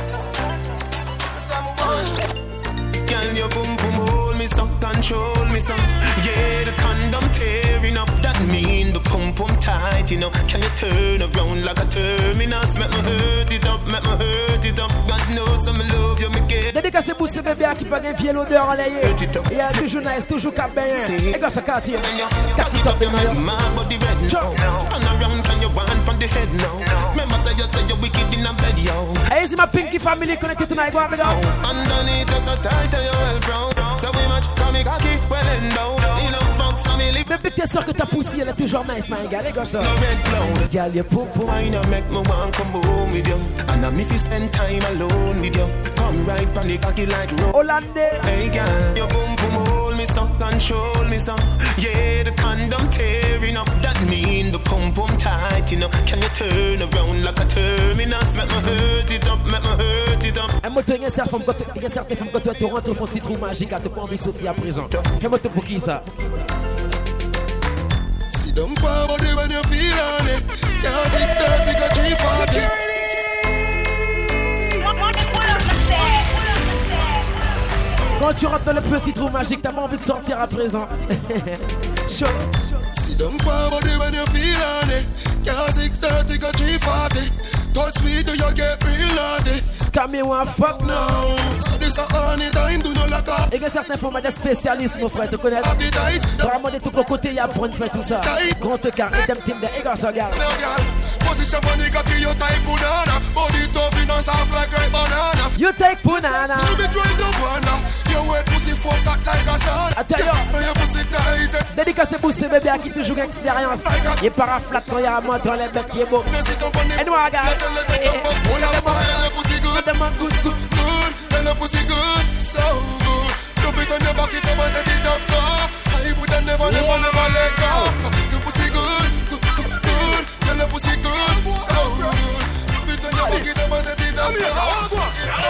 [SPEAKER 6] Can you boom boom hold me some, control me some? Yeah, the condom tearing up, that mean the pump pump tight, you know. Can you turn around like a terminus? Make me hurt it up, make me hurt it up. God knows I'm in love, you me get.
[SPEAKER 5] Dédicacé pour ce bébé qui pas gain l'odeur enlayée. Il y a toujours nice, toujours cap bien. Et quand ça quartier, cap it up in my
[SPEAKER 6] body red now. And around can you want from the head now? Remember say you're wicked in a bed, yo.
[SPEAKER 5] Hey, c'est ma Pinky family connected tonight, go avec
[SPEAKER 6] underneath us a tight and you're well brown. So we match, come me cocky, well and down. You know, fuck some me.
[SPEAKER 5] Bébé, t'es sûr que ta poussée, elle est toujours nice, my gars, les gars, ça. Gal, y'a pou pou.
[SPEAKER 6] Why not make me want come home with you? And I'm if you spend time alone with you. Come right on the cocky like road.
[SPEAKER 5] Hollande.
[SPEAKER 6] Hey, girl, your boom boom hold me some, control me some. Yeah, the condom tearing up, that mean the pump pump tight, you know. Can you turn around like a terminus? Make me hurt it up, make me hurt it up.
[SPEAKER 5] Un moto, il y a certaines femmes quand tu rentres au fond de petit trou magique, tu pas envie de sortir à présent. Un moto pour qui ça?
[SPEAKER 6] See them power body when you feel on it. Can't see 30 got G40.
[SPEAKER 5] Quand tu rentres dans le petit trou magique, t'as pas envie de sortir à présent. Chaud.
[SPEAKER 6] See them power body when you feel on it. Can't see 30 got G40. Touch me till you get real naughty.
[SPEAKER 5] Come here, one fuck
[SPEAKER 6] now. So this a honey time, do not lock up.
[SPEAKER 5] Et il y a certains formats de spécialistes, mon frère, tu connais? Vraiment de tous les côtés, il y a pour faire tout ça. Grand car, et team de Egan Sogar.
[SPEAKER 6] Position money, got you type banana. Body tough, you know, soft like great banana.
[SPEAKER 5] You take banana.
[SPEAKER 6] You be trying to banana. Your wet pussy fuck that like a son.
[SPEAKER 5] I tell you.
[SPEAKER 6] Your pussy tight.
[SPEAKER 5] Dédicacé pour ce bébé qui toujours expérience. Il est paraflat quand il y a un mot dans les bêtes qui est beau. Et nous, regarde.
[SPEAKER 6] Them a good, good, good. Then the pussy good, so good. Look it on your back, it up and set it up, so I would never let go. The pussy good, good, good, good. Then the pussy good, so good. Look it on your back, it up and set it up, so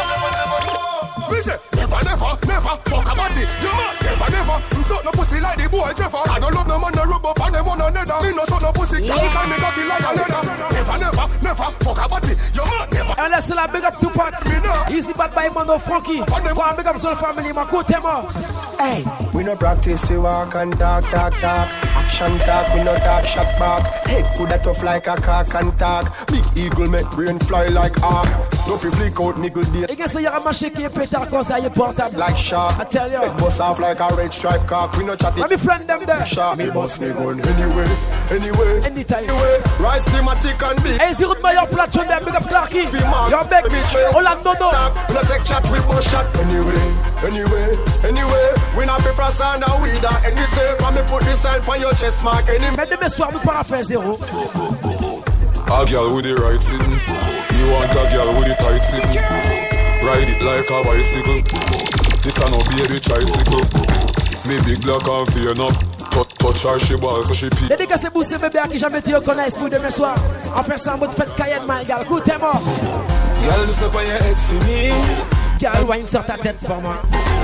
[SPEAKER 6] never fuck a body. You mad, never. You suck no pussy like the boy Jeffer. I don't love no man, no rub up on them one another. Me no suck no pussy, can't me cocky like a leather. Never fuck a body. You mad, never.
[SPEAKER 5] And let's la big up Tupac. Easy bad by Mondo Frankie. One big up Soul Family, my good tema.
[SPEAKER 9] Hey, we no practice, we walk and talk. Action talk, we no talk shot back. Head put that tough like a cock and talk. Big eagle make brain fly like arc. No fi flick out niggle day.
[SPEAKER 5] Et qu'est-ce qu'il y a marché qui est pétard comme ça, il est portable.
[SPEAKER 9] Like shark,
[SPEAKER 5] I tell you.
[SPEAKER 9] It bust off like a red stripe cock. We no chat it.
[SPEAKER 5] Let me friend them there.
[SPEAKER 9] Shark, me bust me gun anyway.
[SPEAKER 5] Anytime.
[SPEAKER 9] Rise thematic and big.
[SPEAKER 5] Hey, zero my platform them, big up Clarky. Your back, Orlando.
[SPEAKER 9] No take chat, we bust shot anyway. We not be press and a weed that any say. When me put this sign on your chest mark.
[SPEAKER 5] Mais demain soir, nous para faire zéro.
[SPEAKER 21] A girl with the right sitting. Me want a girl with the tight sitting. Ride it like a bicycle. This a no baby tricycle. Me big black and fear enough. Touch her, she ball, so she pee.
[SPEAKER 5] Dédicacé pour ce bébé qui jamais te reconnaisse pour demain soir. En fait ça en mode fête Cayenne, my girl. Écoutez-moi.
[SPEAKER 3] Girl, look up on your head for me.
[SPEAKER 5] Girl, wine sur ta tête pour moi.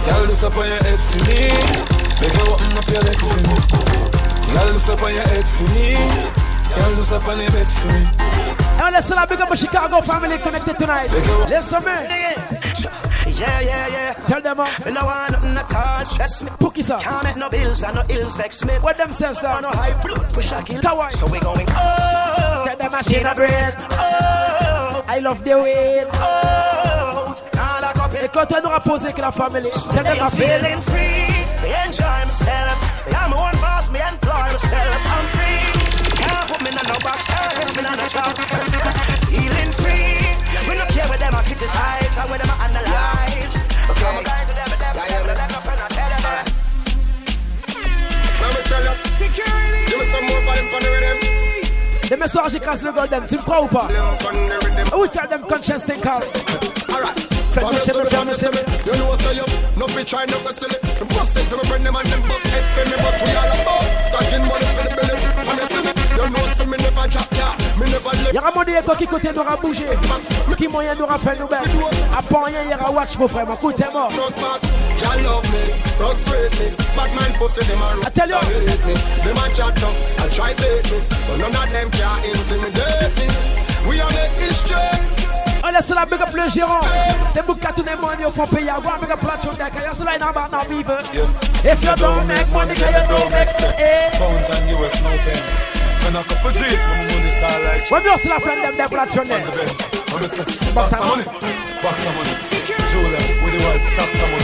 [SPEAKER 10] Girl, this up on your head for me. Make you open up your leg for me. Girl, this up on your head for me. Girl, this up on your bed for me.
[SPEAKER 5] And let's all big up a Chicago family connected tonight. Listen me.
[SPEAKER 8] Yeah.
[SPEAKER 5] Tell them up.
[SPEAKER 8] Me no want nothing at all stress me.
[SPEAKER 5] Pookies up.
[SPEAKER 8] Can't make no bills and no ills vex me.
[SPEAKER 5] What them says down?
[SPEAKER 8] No high blood pressure kill.
[SPEAKER 5] Kawaii.
[SPEAKER 8] So we going oh.
[SPEAKER 5] Get the machine a break.
[SPEAKER 8] Oh.
[SPEAKER 5] I love the way.
[SPEAKER 8] Oh.
[SPEAKER 5] Et quand on aura posé avec la famille, tell them I'm
[SPEAKER 8] feeling free. Me enjoy myself. I'm my own boss. Me employ myself. I'm free. Can't put me in no box. Can't put me in no trap. Feeling free. We don't care what them are criticize or what them are analyze. Okay. I'm going to them, no friend, I tell them.
[SPEAKER 9] Let me tell you. Security. Give me some more volume for the rhythm.
[SPEAKER 5] Demain soir j'écrase le golden, tu me crois ou pas? We tell them conscience thing call.
[SPEAKER 9] Alright. You know say you no fit try no silly. Bust it to my friend them and them bust head for me, but we all about stacking money for the belly. And you see me, you know say me never drop ya, me never let.
[SPEAKER 5] Y'aura mon dieu qui côté n'aura bougé, qui moyen n'aura fait nous belle. À pas rien y'aura watch mon frère, écoute t'es mort.
[SPEAKER 9] Y'all love me, don't sweet me, bad man pussy them a
[SPEAKER 5] tell you,
[SPEAKER 9] hate me, them a chat tough, I try bait me, but none of them can intimidate me. We are making history.
[SPEAKER 5] On laisse la big up le gérant. C'est beaucoup à tous les money au fond payer. Avoir big up la chonde. Quand y'a cela in about now beaver. If you don't make money, can you don't make sense?
[SPEAKER 10] Pounds and US no pence. Spend a couple G's, my money call like.
[SPEAKER 5] When you still friend them for la chonde.
[SPEAKER 10] Box of money. Box of money. Julia with the white stocks of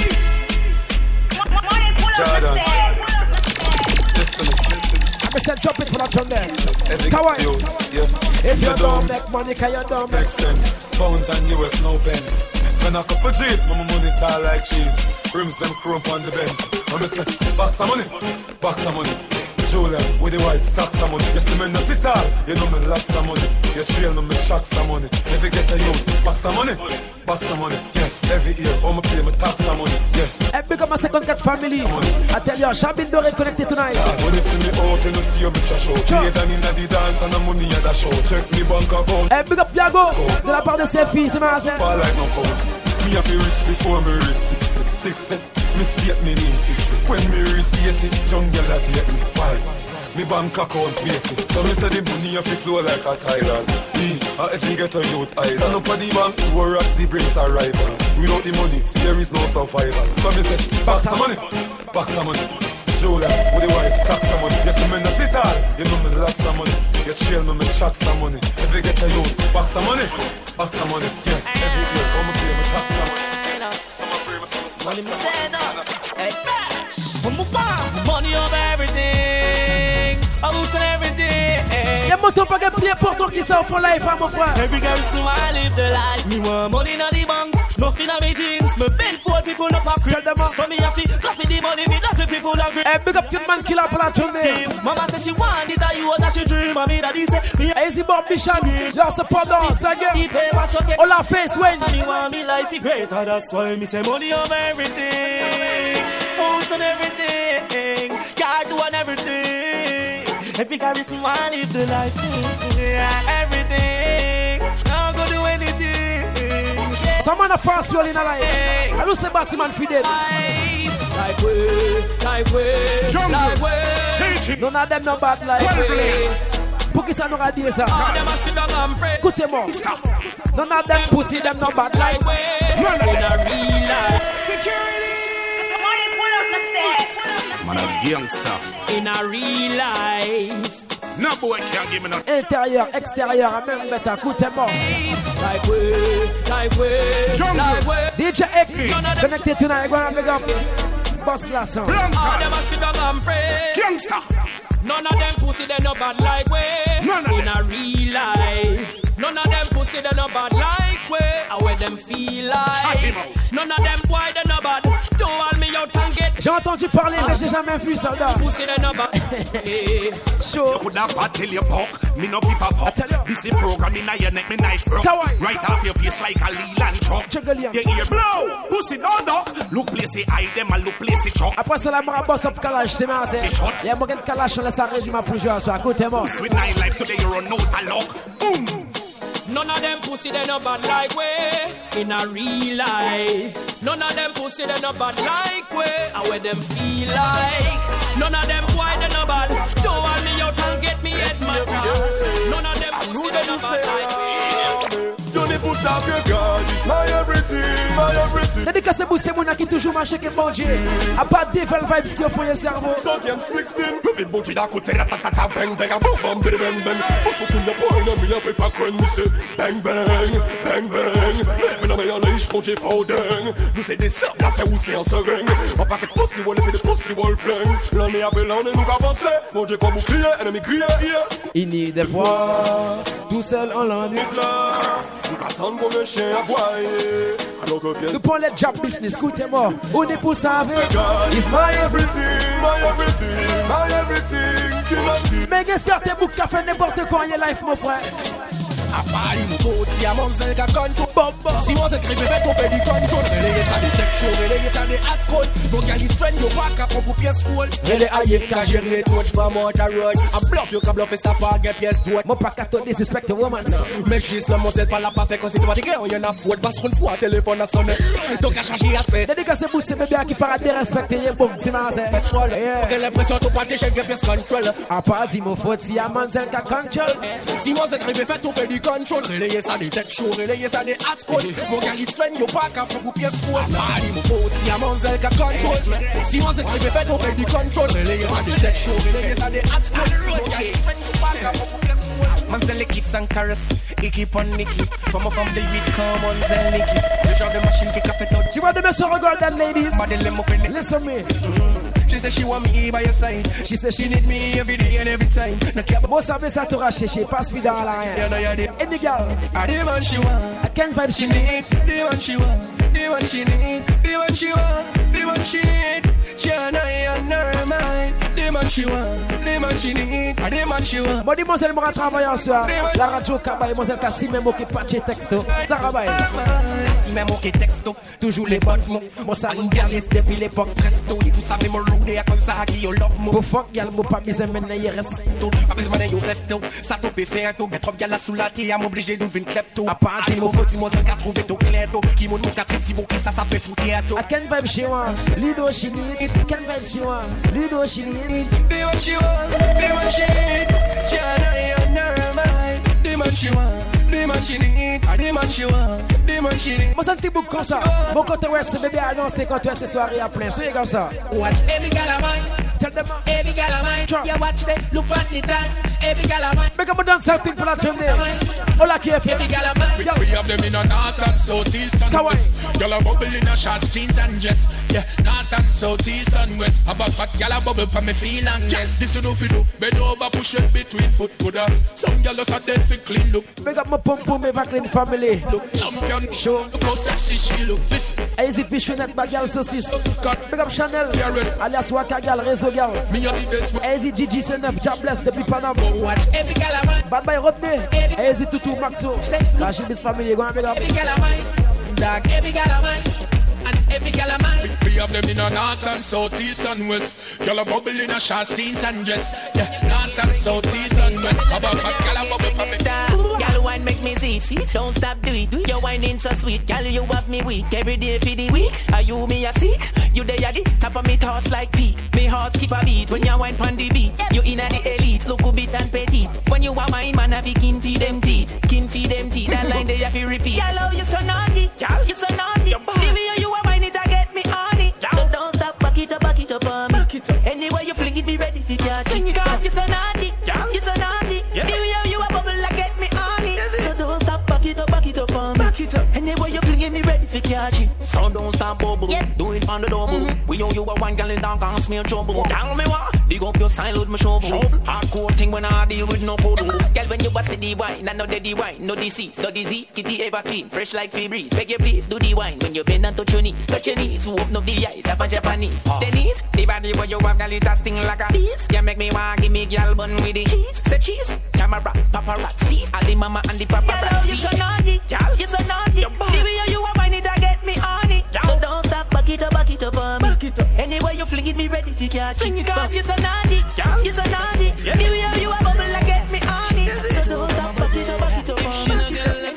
[SPEAKER 10] money. Jordan.
[SPEAKER 5] I said drop it for la chonde. Kawaii. If you don't make money, can you don't make
[SPEAKER 10] sense? Pounds and US no pence. Spend a couple G's, my money tall like cheese. Rims them chrome on the Benz. I'm say, box of money, box of money. Julia with the white stocks of money. You see me not it all, you know me lots of money. You trail me tracks of money. If you get a youth, box of money, box of money. Yeah, every year, I'm pay my tax of money. Yes.
[SPEAKER 5] And big up my second cat family. I tell you, Shabin Dore connected tonight.
[SPEAKER 10] When you see me out, you know see you bitch a show. Play than in the dance and the money at the show. Check me bank account.
[SPEAKER 5] And big up Yago, de la part de ses filles, c'est ma chère.
[SPEAKER 10] Pas like no phones. Me have to reach before me reach 60. Mistake me mean 50. When me reach 80, jungle that take me. Why? Me bank account waiting. So me say the money have to flow like a tidal. Me, if you get a youth idol. Stand up at the bank, war at the brings arrival. Without the money, there is no survival. So me say, box of money, box of money. Julia, with the white stocks of money. You see me not it all, you know me lots of money. You trail me tracks of money. If you get a youth, box of money, box of money. Yeah, every year, I'm gonna pay my tax of money.
[SPEAKER 17] Money over everything. I'm losing everything.
[SPEAKER 5] Y'a mon temps pas gagné pour toi qui s'en font life, mon frère.
[SPEAKER 17] Every girl so I live the life. Me want money in the bank, nothing on me jeans. Me bend for people no pocket. So me have to coffee the money, me that's what people agree.
[SPEAKER 5] Hey, big up your man killer for that tourney.
[SPEAKER 17] Mama said she want it, and you was that she dream. And me daddy say,
[SPEAKER 5] easy Bob Bishop, your support us again. All our face when.
[SPEAKER 17] Me want me life be greater, that's why me say money over everything. House and everything, car do and everything. Every guy is want live the life, yeah, everything. Now go do anything. Yeah.
[SPEAKER 5] Someone a fast roll in a life. I don't say Batman Fidel. Like way. None of them no bad like way. Bookies are no ideas. Écoutez-moi. None of them pussy them no bad like way.
[SPEAKER 17] In a real life.
[SPEAKER 8] Security.
[SPEAKER 22] Man a gangster.
[SPEAKER 17] In a real life.
[SPEAKER 22] No boy can't give me no.
[SPEAKER 5] Intérieur, extérieur, même bête, écoutez-moi.
[SPEAKER 17] Like way.
[SPEAKER 5] DJ X, connected tonight, go and big up. Boss class on.
[SPEAKER 17] All them a sit down and pray.
[SPEAKER 22] Gangster.
[SPEAKER 17] None of them pussy they no bad like way. In a real life. None of them pussy they no bad like way. How where them feel like. None of them boy they no bad. Don't want me out and get.
[SPEAKER 5] J'ai entendu parler mais j'ai jamais vu ça là.
[SPEAKER 17] Pussy they no bad.
[SPEAKER 22] Show. You could have bad till you buck. Me no give a fuck. This is program in your neck, me knife broke. Right off your face like a Leland truck. Your ear blow. Pussy no duck. Look place it hide them and look place it chuck.
[SPEAKER 5] Après ça la m'a boss up Kalash, c'est ma c'est. Il y a moyen de Kalash on laisse arrêter ma pour jouer à ça. Écoutez-moi.
[SPEAKER 22] Sweet night life today you run out of luck. Boom.
[SPEAKER 11] None of them pussy they no bad like way in a real life. None of them pussy they no bad like way and where them feel like. None of them boy they no bad. Don't want me out and get me head mad. None of them pussy they no bad like way.
[SPEAKER 15] Johnny pousse à vieux gars, it's my everything, my everything.
[SPEAKER 5] Dédicacé Boussé Mouna qui toujours marche avec bon Dieu. A pas de devil vibes qui offrent le cerveau.
[SPEAKER 15] 5e, 16, le bon Dieu d'un côté, la tatata, bang, bang, bang, bang, bang, bang. Pour ce qu'on y a pas un ami, après pas qu'on nous c'est bang, bang, bang, bang. Mais non, mais y'en a, je prends j'ai pas dingue. Nous c'est des sœurs, là c'est où c'est un seringue. On paquet de possible, et de possible flingue. L'année après l'année, nous avançons. Mon Dieu, comme bouclier, ennemi crié,
[SPEAKER 5] il n'y des fois, tout seul en l'ennui. Nous prenons le job business, écoutez-moi. On est pour ça avec.
[SPEAKER 15] It's my everything, my everything, my everything.
[SPEAKER 5] Mais il y a certains boucs qui ont fait n'importe quoi en life, mon frère.
[SPEAKER 18] A Paris, nous faut si à Monzel qu'a contrôle. Si on s'écrit, fait on fait du contrôle. Relayez ça des tech show, relayez ça des hard code. Mon gars, il strain, yo pas qu'à pour pièce school. Relayez aïe, qu'a géré, touch pas moi, ta road. A bluff, yo qu'a bluffé ça par get pièce droite.
[SPEAKER 5] Mon pas qu'à te disrespecter, woman.
[SPEAKER 18] Mais juste le Monzel pas la pas fait quand c'est automatique. On y en a faute, parce qu'on fois, téléphone a sonné. Donc à changer aspect.
[SPEAKER 5] Dédicacé Boussé bébé qui paraît dérespecter, y'a bon, c'est ma zè.
[SPEAKER 18] J'ai l'impression que pas j'ai get pièce control.
[SPEAKER 5] A pas dit mon faute, si à Monzel qu'a control.
[SPEAKER 18] Si Monzel arrive, fait on fait du control. Relayez ça des tech show, relayez ça des hard code. Mon gars, il strain, yo pas qu'à pour pièce school. Paris, mon faute, si à Monzel qu'a control. Si Monzel arrive, fait on fait du control. Relayez ça des tech show, relayez ça des hard code. Mon gars, il strain, yo pas qu'à pour pièce school.
[SPEAKER 12] Monzel kiss and caress, he keep on Nicky. From the weed, come Monzel Nicky. Le genre de machine qui a fait tout.
[SPEAKER 5] Tu vois de me sur regard that ladies. Listen me.
[SPEAKER 12] She said she want me by your side. She said she need me every day and every time.
[SPEAKER 5] Moi ça veut ça te racher, passe vite dans la haine. Any girl,
[SPEAKER 12] the one she want,
[SPEAKER 5] I can't vibe she
[SPEAKER 12] need. The one she want, the one she need. The one she want, the one she need. She and I on her mind. The man she want, the man she need. The man she want.
[SPEAKER 5] Bon dis-moi elle m'aura travaillé en soir. La radio Kabaye, moi elle Kassi même qui patche texto. Ça rabaye.
[SPEAKER 12] Kassi même qui texto. Toujours les bonnes mots.
[SPEAKER 5] Moi ça
[SPEAKER 12] mondialiste depuis l'époque presto. Et tout ça fait me rouler comme ça qui yo love mo.
[SPEAKER 5] Pour fuck gal mo pas mise maintenant y reste.
[SPEAKER 12] Pas besoin de yo resto. Ça te peut faire tout. Mais trop gal la sous la tête à m'obliger d'ouvrir une klepto. À part si mo faut si moi ça qu'a trouvé tout clair tout. Qui mon qu'a trip si bon qui ça fait foutre tout.
[SPEAKER 5] I can't vibe she want. Lido she need. Can't vibe she want. Lido she need.
[SPEAKER 12] The one she want, the one she need. She and I on her mind. The man she want, the man she need. The man she want, the man she need.
[SPEAKER 5] Moi ça te boucle comme ça. Mon côté ouest bébé annoncé quand tu as ces soirées à plein. Soyez comme ça.
[SPEAKER 12] Watch every gal of mine.
[SPEAKER 5] Tell them
[SPEAKER 12] every gal of mine. You watch them, look at the time. Every gal of mine.
[SPEAKER 5] Make up a dance something for that journey. Hola KF.
[SPEAKER 12] Every gal of mine.
[SPEAKER 22] We have them in a north and south, east and west. Y'all a bubble in a short jeans and dress. Yeah, north and south, east and west. Have a fat gal a bubble for me feel and yes. This you know fi do. Bend over, push it between foot to that. Some gal just a dead fi clean look.
[SPEAKER 5] Make up my pum pum ever clean family.
[SPEAKER 22] Look champion,
[SPEAKER 5] show.
[SPEAKER 22] Look how sexy she look. Listen.
[SPEAKER 5] Easy Pichonette, bagal saucisse. Make up Chanel, alias Waka gal, réseau gal. Easy Gigi C9, Jabless depuis Panama.
[SPEAKER 12] Watch every gal of mine.
[SPEAKER 5] Bad Boy Rodney, Easy Tutu Maxo. La Chibis family, go and make up.
[SPEAKER 12] Every gal of mine. Dog, every gal of mine. And every gal of mine.
[SPEAKER 22] We have them in a north and south, east and west. Y'all a bubble in a short jeans and dress. Yeah, north and south, east and west. Have a fat gal a bubble for me.
[SPEAKER 8] Gal wine make me see. Don't stop do it. Your whining so sweet. Gal you have me weak. Every day for the week. Are you me a seek? You there at the top of me thoughts like peak. Me heart skip a beat when you wine pon the beat. You inna the elite. Look a bit and petite. When you are mine man have kin feed them teeth. Kin feed them teeth. That line they have to repeat. Gal love you so naughty. Gal you so naughty. The way you are mine it a get me on it. So don't stop back it up on me. Anyway you fling it be ready for catch it. Cause you so naughty. You so naughty. The way you are bubble like get me on it. So don't stop back it up on me. Anyway you fling it me ready for catch it. So don't stop bubble. Do it on the double. We owe you a one gal in down can't smell trouble. Tell me what? Dig up your sign with my shovel. Hardcore thing when I deal with no puddle. Girl when you bust the wine, I know the wine, no disease, no disease. Kitty ever clean, fresh like Febreze. Beg you please, do the wine when you bend and touch your knees, open up the eyes, have a Japanese. The knees, the body where you have, girl it a sting like a bees. You make me want give me girl bun with the cheese. Say cheese, camera, paparazzi, all the mama and the paparazzi. You so naughty, girl, you so naughty. The way you are mine it a get me on it. So don't stop, back it up on me. Anyway you fling it me ready for catch it. Cause you so naughty, you so naughty. The way you are bubble like get me on it. So don't stop, back it up on me.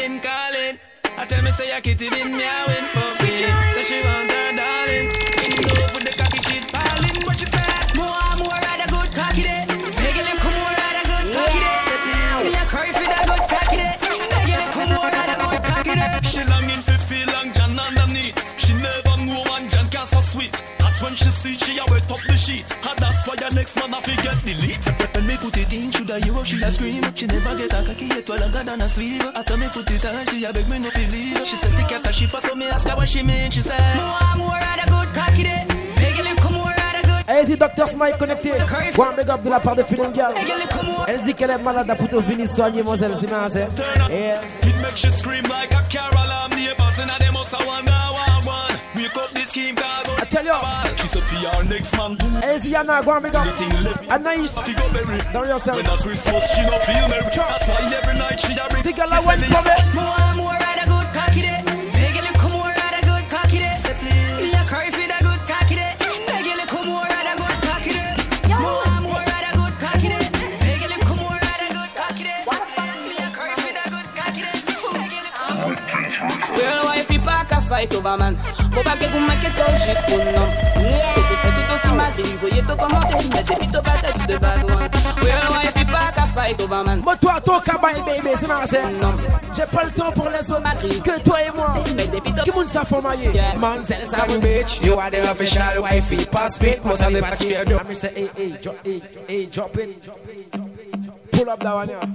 [SPEAKER 12] been calling. I tell me say I kitty been meowing for me. Say she want her darling. In love with the cocky she's piling. What she said? More rather good cocky day. Make it look more rather good cocky day. Me a cry for that good cocky day. Make it look more rather good cocky day. She longing for feel long John underneath. She never know one John can so sweet. That's when she see she a wet up the sheet. And that's why your next man I forget delete. When me put it in, should I hear she a scream? She never get a cocky yet longer than a sleeve. After me put it on, she a beg me no feel leave. She said the cat a she for so me ask her what she mean. She said more rather good cocky day. Make it look more rather good.
[SPEAKER 5] Allez-y, Dr. Smile connecté. One big up de la part de Feeling Girl. Elle dit qu'elle est malade pour te venir soigner, mademoiselle. C'est marrant, c'est. Yeah.
[SPEAKER 12] It makes you scream like a carol. I'm the boss and they must have one. Wake up this scheme cause
[SPEAKER 5] I tell you.
[SPEAKER 12] She said to your next man do.
[SPEAKER 5] Allez-y, Yana, go and big up. Anaïs. Dans yourself.
[SPEAKER 12] When at Christmas she no feel merry. That's why every night she a bring.
[SPEAKER 5] The girl a wine for me.
[SPEAKER 12] More rather good cocky day. Make it look more rather good cocky day. Me a cry for the good cocky day. Make it look more rather good cocky day. More rather good cocky day. Make it look more rather good cocky day. Me a cry for the good cocky day. Make it look. Well, why people can fight over man? Faut pas que vous manquez tout juste pour nous. Faut faire tout aussi malgré. Voyez tout commenter. Mais j'ai vite au patate de bad one. Well, why people can fight over man?
[SPEAKER 5] Moi, toi, ton cabane, baby, c'est marrant. J'ai pas le temps pour les autres. Que toi et moi. Qui moun ça faut mailler?
[SPEAKER 18] Manzel, Sam bitch, you are the official wifey. Pass it, must have the patch here.
[SPEAKER 5] I say, hey, drop it. Pull up that one, yeah.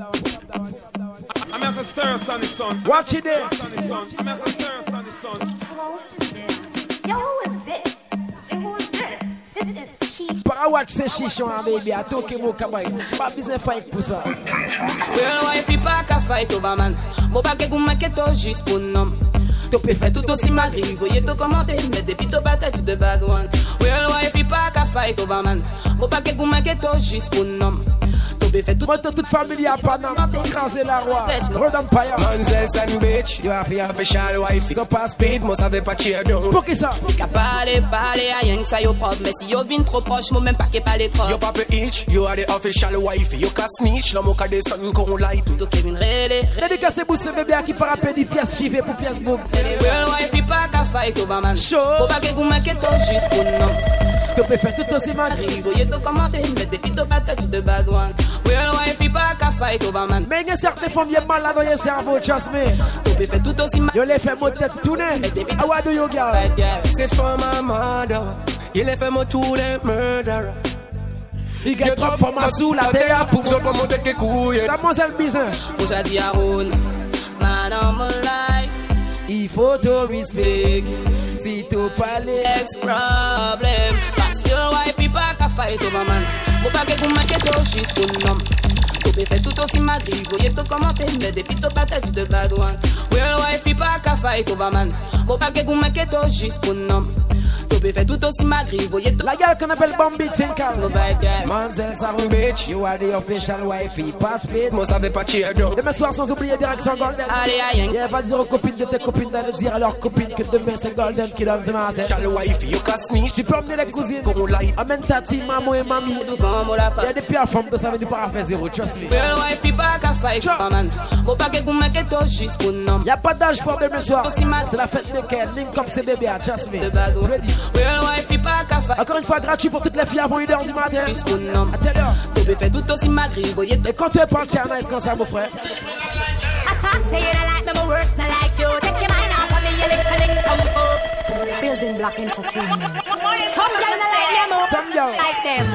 [SPEAKER 16] I'm as a stir, sonny son.
[SPEAKER 5] Watch it there.
[SPEAKER 16] I'm as a stir, sonny son.
[SPEAKER 2] Yo, who is this? And who is this? This is Chiche.
[SPEAKER 5] Para watch ce chichon, baby. A tout que mon cabane. Pas besoin de fight pour ça.
[SPEAKER 12] Well, why people can fight over man? Faut pas que vous manquez tout juste pour nous. Tu peux faire tout aussi malgré. Voyez tout commenter. Mais depuis tout patate de bad one. Well, why people can fight over man? Faut pas que vous manquez tout juste pour nous.
[SPEAKER 5] Moi, toute famille à Panama, écraser la roi. Road Empire.
[SPEAKER 18] Manzel, Sam bitch, you are the official wifey.
[SPEAKER 5] So pass
[SPEAKER 18] speed, must have the patch here.
[SPEAKER 5] Pour qui ça?
[SPEAKER 12] Qu'à parler, à rien que ça yo propre. Mais si yo vin trop proche, moi même pas qu'à parler trop.
[SPEAKER 18] Yo papa itch, you are the official wifey. You can snitch, la moka de son qu'on light.
[SPEAKER 12] Tout Kevin Rele.
[SPEAKER 5] Dédicacé pour ce bébé qui part à peine pièces chivées pour pièces boum.
[SPEAKER 12] Well, wifey pas qu'à fight over man.
[SPEAKER 5] Show.
[SPEAKER 12] Faut pas que vous manquez tout juste pour nous.
[SPEAKER 5] Tu peux faire tout aussi mal.
[SPEAKER 12] Voyez tout commenter, mais depuis tout patate de bad one. Well, wifey pas qu'à fight over man.
[SPEAKER 5] Mais il y a certaines femmes qui sont malades dans le cerveau, trust me.
[SPEAKER 12] Tu peux faire tout aussi mal.
[SPEAKER 5] Yo les fait mon tête tourner. How do you girl?
[SPEAKER 18] C'est for my mother. Il les fait mon tour de murderer.
[SPEAKER 5] Il get trop pour ma sous la terre pour
[SPEAKER 18] moi. Pour monter que couille.
[SPEAKER 5] Mademoiselle Bizin.
[SPEAKER 12] Aujourd'hui à Rhône. Man of my life.
[SPEAKER 5] Il faut te respect. Si tu parles.
[SPEAKER 12] Yes, problem. Parce que wifey pas qu'à fight over man. Faut pas que vous manquez tout juste pour nous. Tu peux faire tout aussi malgré. Voyez tout commenter. Mais depuis tout patate de bad one. Well, wifey pas qu'à fight over man. Faut pas que vous manquez tout juste pour nous. Tu peux faire tout aussi malgré. Voyez tout.
[SPEAKER 5] La gueule qu'on appelle Bambi Tinkal.
[SPEAKER 12] Manzel,
[SPEAKER 5] Sam bitch, you are the official wifey. Pass speed.
[SPEAKER 18] Must have the patch here.
[SPEAKER 5] Demain soir, sans oublier direction Golden.
[SPEAKER 12] Allez, aïe.
[SPEAKER 5] Il va dire aux copines de tes copines d'aller dire à leurs copines que demain c'est Golden qui donne demain.
[SPEAKER 18] Official wifey, you can snitch.
[SPEAKER 5] Tu peux emmener les cousines. Amène tati, maman et mamie. Il y a des pires femmes que ça veut dire pas faire zéro, trust me.
[SPEAKER 12] Well, wifey pas qu'à fight over man. Faut pas que vous manquez tout juste pour nous.
[SPEAKER 5] Y'a pas d'âge pour demain soir. C'est la fête de Ken. Link comme ces bébés, trust me.
[SPEAKER 12] Well, wifey pas qu'à fight.
[SPEAKER 5] Encore une fois, gratuit pour toutes les filles avant 1h du matin.
[SPEAKER 12] Juste pour nous.
[SPEAKER 5] Tu
[SPEAKER 12] peux faire tout aussi malgré. Voyez tout.
[SPEAKER 5] Et quand tu es pas tiens, nice comme ça, mon frère.
[SPEAKER 13] Building Block Entertainment.
[SPEAKER 5] Some girl
[SPEAKER 13] like them.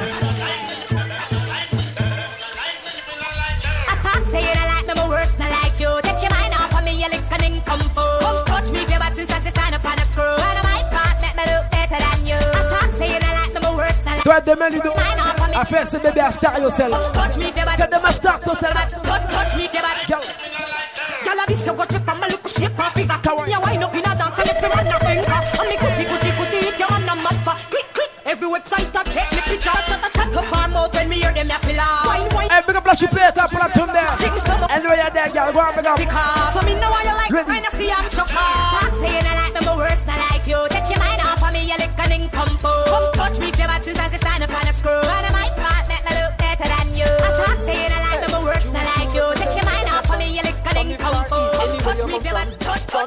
[SPEAKER 13] I talk say you don't like me, my worst not like you. Take your mind off of me, you lick and come for. Come touch me if your buttons as you stand up on a screw. And I might not make me look better than you. I talk say you don't like me, my worst not like you.
[SPEAKER 5] Toi demain Ludo, à faire ce bébé à star yourself.
[SPEAKER 13] Touch me if your
[SPEAKER 5] buttons. Demain start yourself.
[SPEAKER 13] Touch me if your buttons. Girl, this you got you from a look shape of figure. You wind up in a dance and let me run a finger. And me goody hit you on the map. Click. Every website that take me picture. Cut up our mouth when me hear them you feel wine.
[SPEAKER 5] Hey, big up la chupeta pour la tombe there. And where you there, girl? Go on, big up.
[SPEAKER 13] So me know why you like when I see I'm chucked. Talk say you don't like me, my worst not like you. Take your mind off of me, you lick and come for. Come touch me if your buttons as you stand up on a screw. And I might not make me look better than you. I talk say you don't like me, my worst not like you. Take your mind off of me, you lick and come for. Come touch me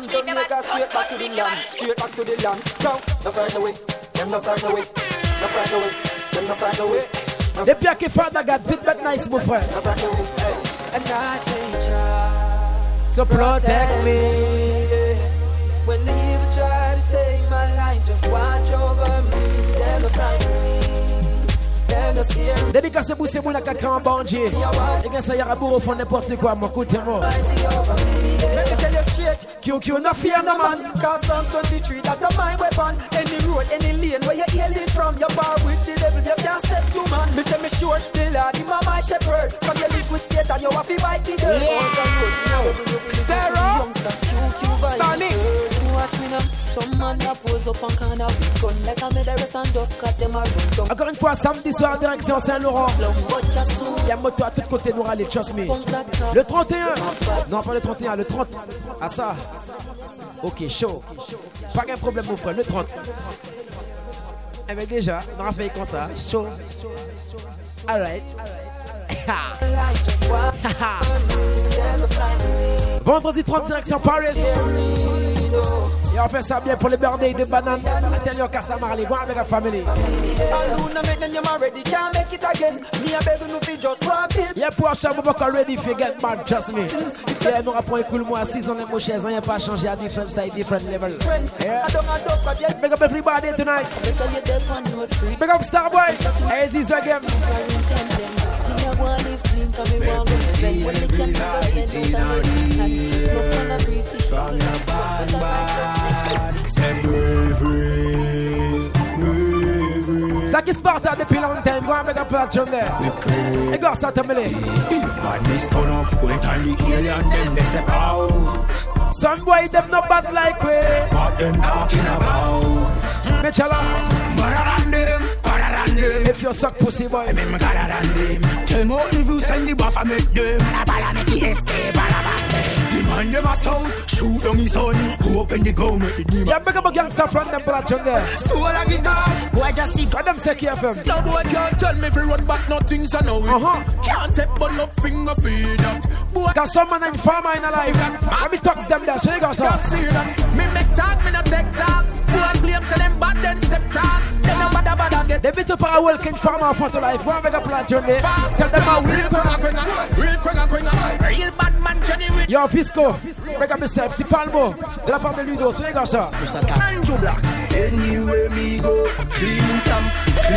[SPEAKER 1] from Jamaica straight back to the land, straight back to the land. Go, no further away, them no further away, no further away, them no further away.
[SPEAKER 5] Depuis à Father God, vite bête nice, mon frère.
[SPEAKER 1] And I say, child,
[SPEAKER 5] so protect me.
[SPEAKER 1] When the evil try to take my life, just watch over me. Them no frighten me, them no scare me.
[SPEAKER 5] Dédicace pour ces mounas qui créent un bandit. Les gars, ça y a bourre au fond n'importe quoi, mon coup de moi.
[SPEAKER 1] Let me tell you straight, QQ no fear no man. Cause Psalm 23, that's a my weapon. Any road, any lane, where you hail it from. You're bar with the devil, you can't step to man. Me say me sure, the Lord, him a my shepherd. From you live with Satan, you have to fight the dirt.
[SPEAKER 5] Stereo,
[SPEAKER 1] Sonic. Watch me now, some man a pose up and can have gun like a murderous and duck, cause them a run.
[SPEAKER 5] Encore une fois, samedi soir, direction Saint-Laurent. Il y a moto à tous côtés, nous râler, trust me. Le 31, non pas le 31, le 30. Ah ça, ok, chaud. Pas de problème, mon frère, le 30. Eh bien déjà, on a fait comme ça, chaud. Alright. Vendredi 30, direction Paris. Et on fait ça bien pour les birthdays de bananes. Atelier Kassamarley, go avec la famille. Yeah, pour ça, on va pas ready for get back, just me. Yeah, nous rappelons cool moi, 6 ans de chaises, on n'a pas changé à different side, different level. Yeah. Big up everybody tonight. Big up Starboy. Hey, this again. Ça qui se part depuis longtemps, go and make a platform there. Hey, go start to me. Some boy them not bad like we. What them talking about? If you suck pussy boy, tell me if you send the buff, I make them. The man them a sound, shoot on his son, open the gun, make the demon. Yeah, make up a gangster from them platform there. So I get that, boy just see. What them say KFM?
[SPEAKER 14] No boy can't tell me if you run back, nothing so know it. Can't take but no finger feed that. Boy,
[SPEAKER 5] cause some man ain't farmer in a life. Let me talk to them there, so you go, sir.
[SPEAKER 14] Me make talk, me not take talk. Boy blame say them bad, then step cross. Then no bada get.
[SPEAKER 5] They beat up a welcome farmer for the life. Go and make a platform there. Tell them how real
[SPEAKER 14] bad man Johnny with.
[SPEAKER 5] Yo, Fisco, make up yourself, si Palmo, de la part de Ludo, so you go, sir.
[SPEAKER 14] Andrew Blacks.
[SPEAKER 23] Anywhere me go, clean stamp.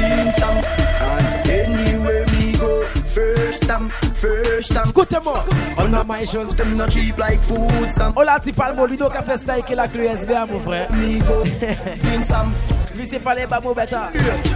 [SPEAKER 23] And anywhere me go, first stamp.
[SPEAKER 5] Écoutez-moi, on a my shows.
[SPEAKER 23] Them not cheap like food stamp.
[SPEAKER 5] Hola, ti Palmo, Ludo qui a fait ça avec la clé SBA, mon frère.
[SPEAKER 23] Me go, clean stamp.
[SPEAKER 5] Lui, c'est pas les babos bêta.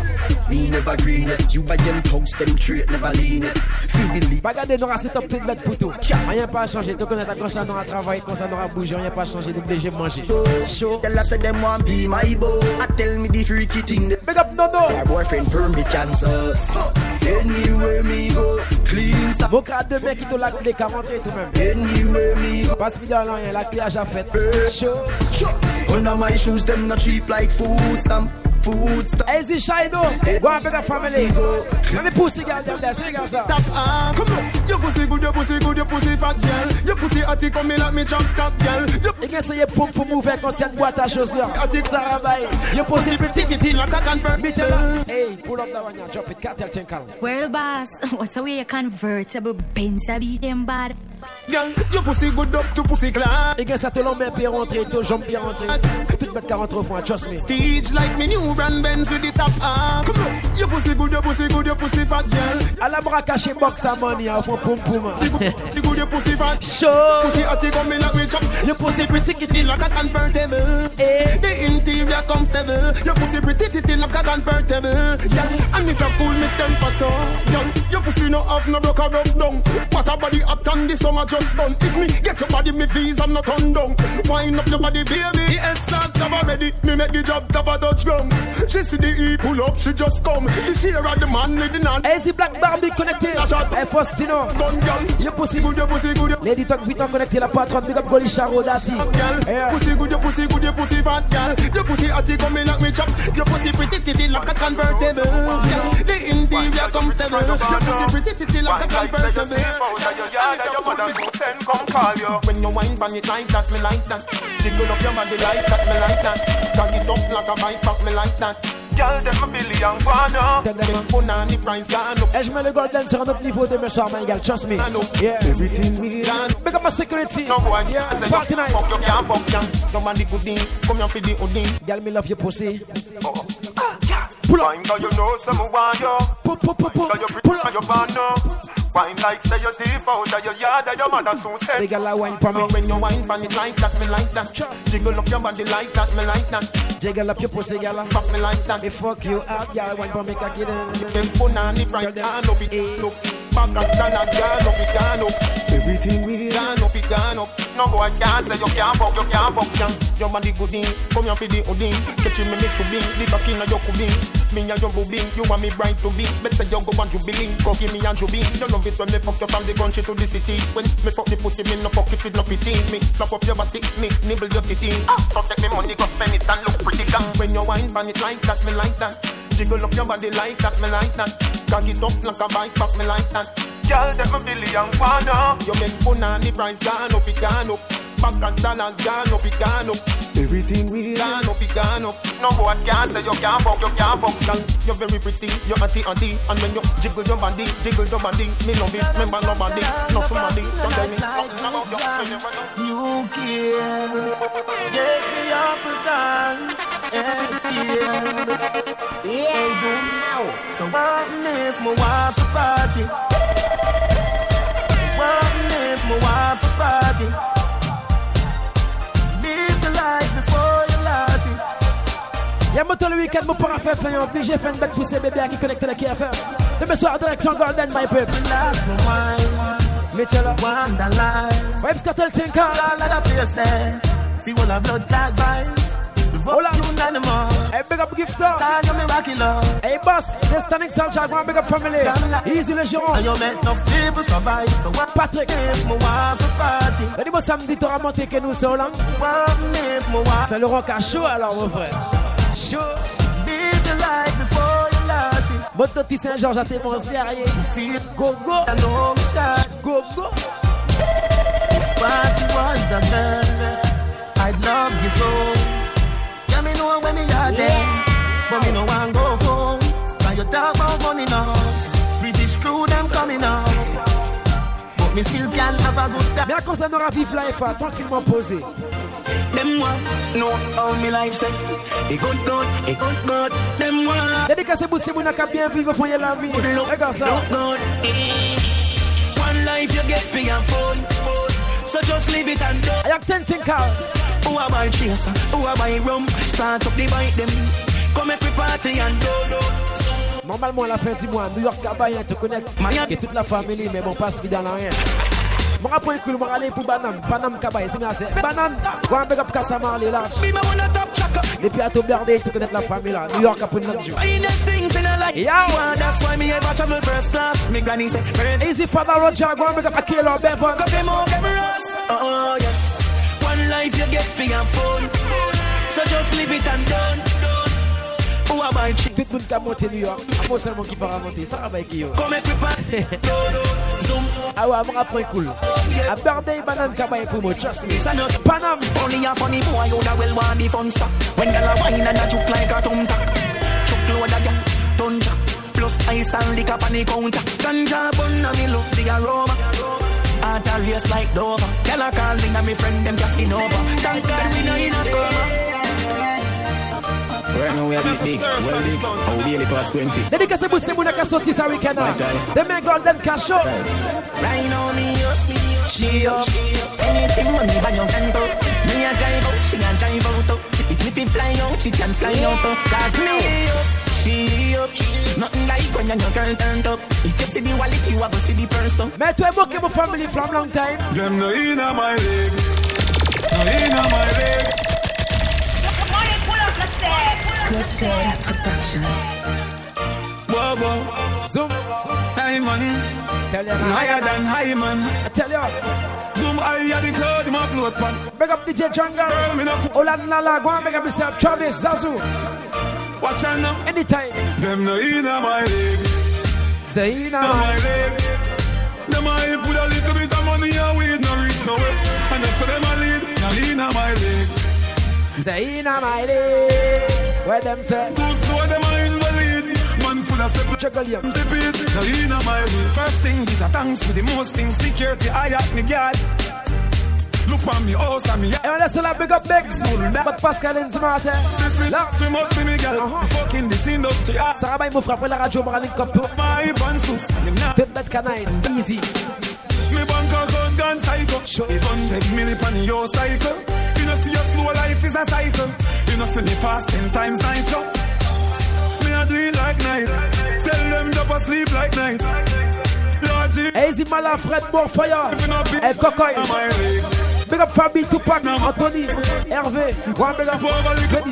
[SPEAKER 23] Me never green it. You buy them thugs, them treat, never lean it. Feel believe.
[SPEAKER 5] Regardez, nous c'est top petite bête pour tout. Rien pas changé. Tu connais ta quand ça n'aura travaillé, quand ça n'aura bougé, rien pas changé. Donc déjà manger.
[SPEAKER 23] Chaud. Tell us them want be my beau. I tell me the freaky thing.
[SPEAKER 5] Big up Nono.
[SPEAKER 23] My boyfriend permit cancer. Anywhere me go, clean stuff.
[SPEAKER 5] Mon crâne de mec qui te l'a clé 40 et tout même.
[SPEAKER 23] Anywhere me go.
[SPEAKER 5] Passe bien là, la clé à fait.
[SPEAKER 23] Chaud. Under my shoes, them not cheap like food stamp.
[SPEAKER 5] Easy Shido, go and make a family. Let me pussy girl them there, so you guys are.
[SPEAKER 15] Come on, your pussy good, your pussy good, your pussy fat girl. Your pussy attic come in like me jump top girl.
[SPEAKER 5] You can say you pump for move like on boîte à chaussures. Attic Sarabay, your pussy pretty titty like a convert. Hey, pull up that one, you drop it, cartel tinkle.
[SPEAKER 24] Well, boss, what's a way a convertible Benz a beat them bad?
[SPEAKER 15] Girl, your pussy good up to pussy class.
[SPEAKER 5] Et que ça te l'emmène bien rentrer, te jambes bien rentrer. Toute bête 40 fois, trust me.
[SPEAKER 15] Stage like me new brand Benz with the top off. Come on, your pussy good, your pussy good, your pussy fat girl.
[SPEAKER 5] À la bras caché box à money, au fond poum poum.
[SPEAKER 15] You good, your pussy fat.
[SPEAKER 5] Show.
[SPEAKER 15] Pussy attic come in like we chop. Your pussy pretty kitty like a convertible. The interior comfortable. Your pussy pretty titty like a convertible. Yeah, and it a cool me temper so. Your pussy no have no broke or rub down. What a body up and this summer just done. If me get your body, me visa not turn down. Wind up your body, baby. The S-Class cover ready. Me make the job top a Dutch gum. She see the E pull up, she just come. The share of the man leading on.
[SPEAKER 5] Easy Black Barbie connecté. Hey Faustino. Your pussy good, your pussy good. Lady Talk vite en connecté la patronne. Big up Goli Charo Dati.
[SPEAKER 15] Pussy good, your pussy good, your pussy fat girl. Your pussy atty coming like me chop. Your pussy pretty titty like a convertible. The interior comfortable. Your pussy pretty titty like a convertible.
[SPEAKER 25] Come call you.
[SPEAKER 15] When you wine bang it like that, me like that. Jiggle up your body like that, me like that. Cock it up like a bike pack, me like that. Girl, them a billion guano. Make punani price gone up.
[SPEAKER 5] Et je mets le golden sur un autre niveau de mes soirs, my girl, trust me. Yeah.
[SPEAKER 15] Everything we done.
[SPEAKER 5] Make up my security.
[SPEAKER 15] No boy,
[SPEAKER 5] yeah.
[SPEAKER 15] Party night. Fuck you can't fuck ya. Nobody good in. Come here for the hoodie.
[SPEAKER 5] Girl, me love your pussy.
[SPEAKER 15] Pull up. Find out you know some want you. Pull up. Pull up. You born now. Wine like say you deep out of your yard and your mother soon said.
[SPEAKER 5] Big girl, wine for me.
[SPEAKER 15] When you wine for it like that, me like that. Jiggle up your body like that, me like that.
[SPEAKER 5] Jiggle up your pussy, girl.
[SPEAKER 15] Fuck me like that.
[SPEAKER 5] If fuck you up, girl, wine for me, cocky then.
[SPEAKER 15] Them punani price gone up, it look. Back and stand and gone up, it gone up. Everything we gone up, it gone up. No boy can't say you can't fuck, yeah. Your body good in, come here for the hoodie. Catch me make to be, the cocky na your kubing. Me and your booby, you want me bright to be. Bet say you go and jubilee, go give me and jubilee. You love it when me fuck you from the country to the city. When me fuck the pussy, me no fuck it with no pity. Me slap up your body, me nibble your titty. So take me money, go spend it and look pretty gang. When you wine pan it like that, me like that. Jiggle up your body like that, me like that. Cock it up like a bike pack, me like that. Girl, them a billion guano. You make punani price gone up, it gone up. Back and dollars gone up, it gone up. Everything we gone up, it gone up. No boy can't say you can't fuck, girl. You're very pretty, you're auntie. And when you jiggle your body, me love it, remember nobody, no somebody. Don't tell me nothing about you.
[SPEAKER 23] You care, get me up for time, and still. Yeah, so what if my wife a party? What if my wife a party? Live the life before you lost it.
[SPEAKER 5] Y'a moto le week-end, mon para faire fin, obligé faire une bête poussée bébé qui connecte la KFM. Demain soir, direction Golden, my peuple. Mitchell, Vibes Cartel Tinker.
[SPEAKER 23] See all the blood tag vibes.
[SPEAKER 5] Hola. Hey, big up Gifter. Hey, boss. The standing sound check. One big up family. Easy le gérant. Patrick. Le dimanche samedi, t'auras monté que nous sommes là. C'est le rock à chaud alors, mon frère. Chaud. Moto Saint-Georges à tes bons sérieux. Go, go. Go, go.
[SPEAKER 23] I'd love you so. Yeah, me know when me are there, but me no want go home. Now you talk about money now, British crew them coming out, but me still can have a good time.
[SPEAKER 5] Mais à cause on aura vivre life, tranquillement posé.
[SPEAKER 23] Them one, no, all me life say, it good, them one.
[SPEAKER 5] Dédicacé pour ces mouna qui bien vivre, faut y la vie. Regarde ça.
[SPEAKER 23] One life you get for your phone, so just leave it and do.
[SPEAKER 5] I have 10 think out.
[SPEAKER 23] Who are my chaser? Who are my rum? Start up the bite them. Come make we party and do.
[SPEAKER 5] Normalement, à la fin du mois, New York, Cabaye, te connaître. Et toute la famille, mais bon, passe vie dans la rien. Mon rapport est cool, mon aller pour Banane. Panam Cabaye, c'est bien assez. Banane, go un big up Kassamar, les larges. Depuis à Toberdé, tu connais la famille là. New York, après notre jour.
[SPEAKER 23] That's why me ever travel first class. Me granny say,
[SPEAKER 5] Easy Father Roger, go un big up Akelo, Bevan.
[SPEAKER 23] Oh, yes. One life you get for your phone, so just leave it and done. Who am I?
[SPEAKER 5] Tout le monde qui a monté New York, moi seulement qui part à monter, ça va avec qui? Ah ouais, mon rapport est cool. A birthday banane Cabaye pour moi, trust me. Panam.
[SPEAKER 23] Only a funny boy, you know well want the fun stuff. When girl a wine and a juke like a tum tak, chuck load a gal, tunja. Plus ice and liquor on the counter. Ganja bun and me love the aroma. Heart a race like Dover. Tell her calling and me friend them Casanova. Thank God we know in a coma.
[SPEAKER 4] Right now we have this big, well big, how daily past 20.
[SPEAKER 5] Dédicacé pour ces mouna qui sorti ça week-end. Demain Golden Cash Show.
[SPEAKER 23] Right now me up, she up. Anything money by your hand up. Me a drive out, she a drive out up. If it fly out, she can fly out up. Cause me up, she up. Nothing like when your girl turned up. If you see the wallet, you have to see the purse up.
[SPEAKER 5] Mais tu es moqué mon family from long time.
[SPEAKER 21] Them no inna my leg, no inna my leg.
[SPEAKER 23] Good production.
[SPEAKER 21] Whoa, whoa.
[SPEAKER 5] Zoom.
[SPEAKER 21] Hey man.
[SPEAKER 5] Tell you
[SPEAKER 21] higher than high man.
[SPEAKER 5] I tell you.
[SPEAKER 21] Zoom higher the cloud in my float pan.
[SPEAKER 5] Big up DJ Jungle. Olanala, go and big up yourself. Travis, Zazu.
[SPEAKER 21] Watch out now.
[SPEAKER 5] Anytime.
[SPEAKER 21] Them no inna my leg.
[SPEAKER 5] Zaina.
[SPEAKER 21] My leg. Them I put a little bit of money and weed no reach nowhere. And that's for them I lead. Now lead
[SPEAKER 15] inna my leg.
[SPEAKER 5] Say inna my leg. Where them say?
[SPEAKER 15] Too slow, them are invalid. Man full of step.
[SPEAKER 5] Check out
[SPEAKER 15] the beat. So inna my leg. First thing, bitch, I thanks for the most things. Security, I at me, girl. Look on me, house and me.
[SPEAKER 5] Hey, let's all big up Bex. But Pascal and Zima say.
[SPEAKER 15] Là, tu must be me, girl. Fucking this industry.
[SPEAKER 5] Sarah Bay m'a frappé la radio, m'a link up tout.
[SPEAKER 15] My bansus.
[SPEAKER 5] Tout bête canise, easy.
[SPEAKER 15] Me bank account gone psycho. If 100 million on your cycle. You know see your slow life is a cycle. You know see me fast 10 times night show. Me a do it like night. Tell them drop asleep like night.
[SPEAKER 5] Easy Mala, Fred Morfire. Hey, Cocoy. Big up Fabi, Tupac, Anthony, Hervé. One big up.
[SPEAKER 15] And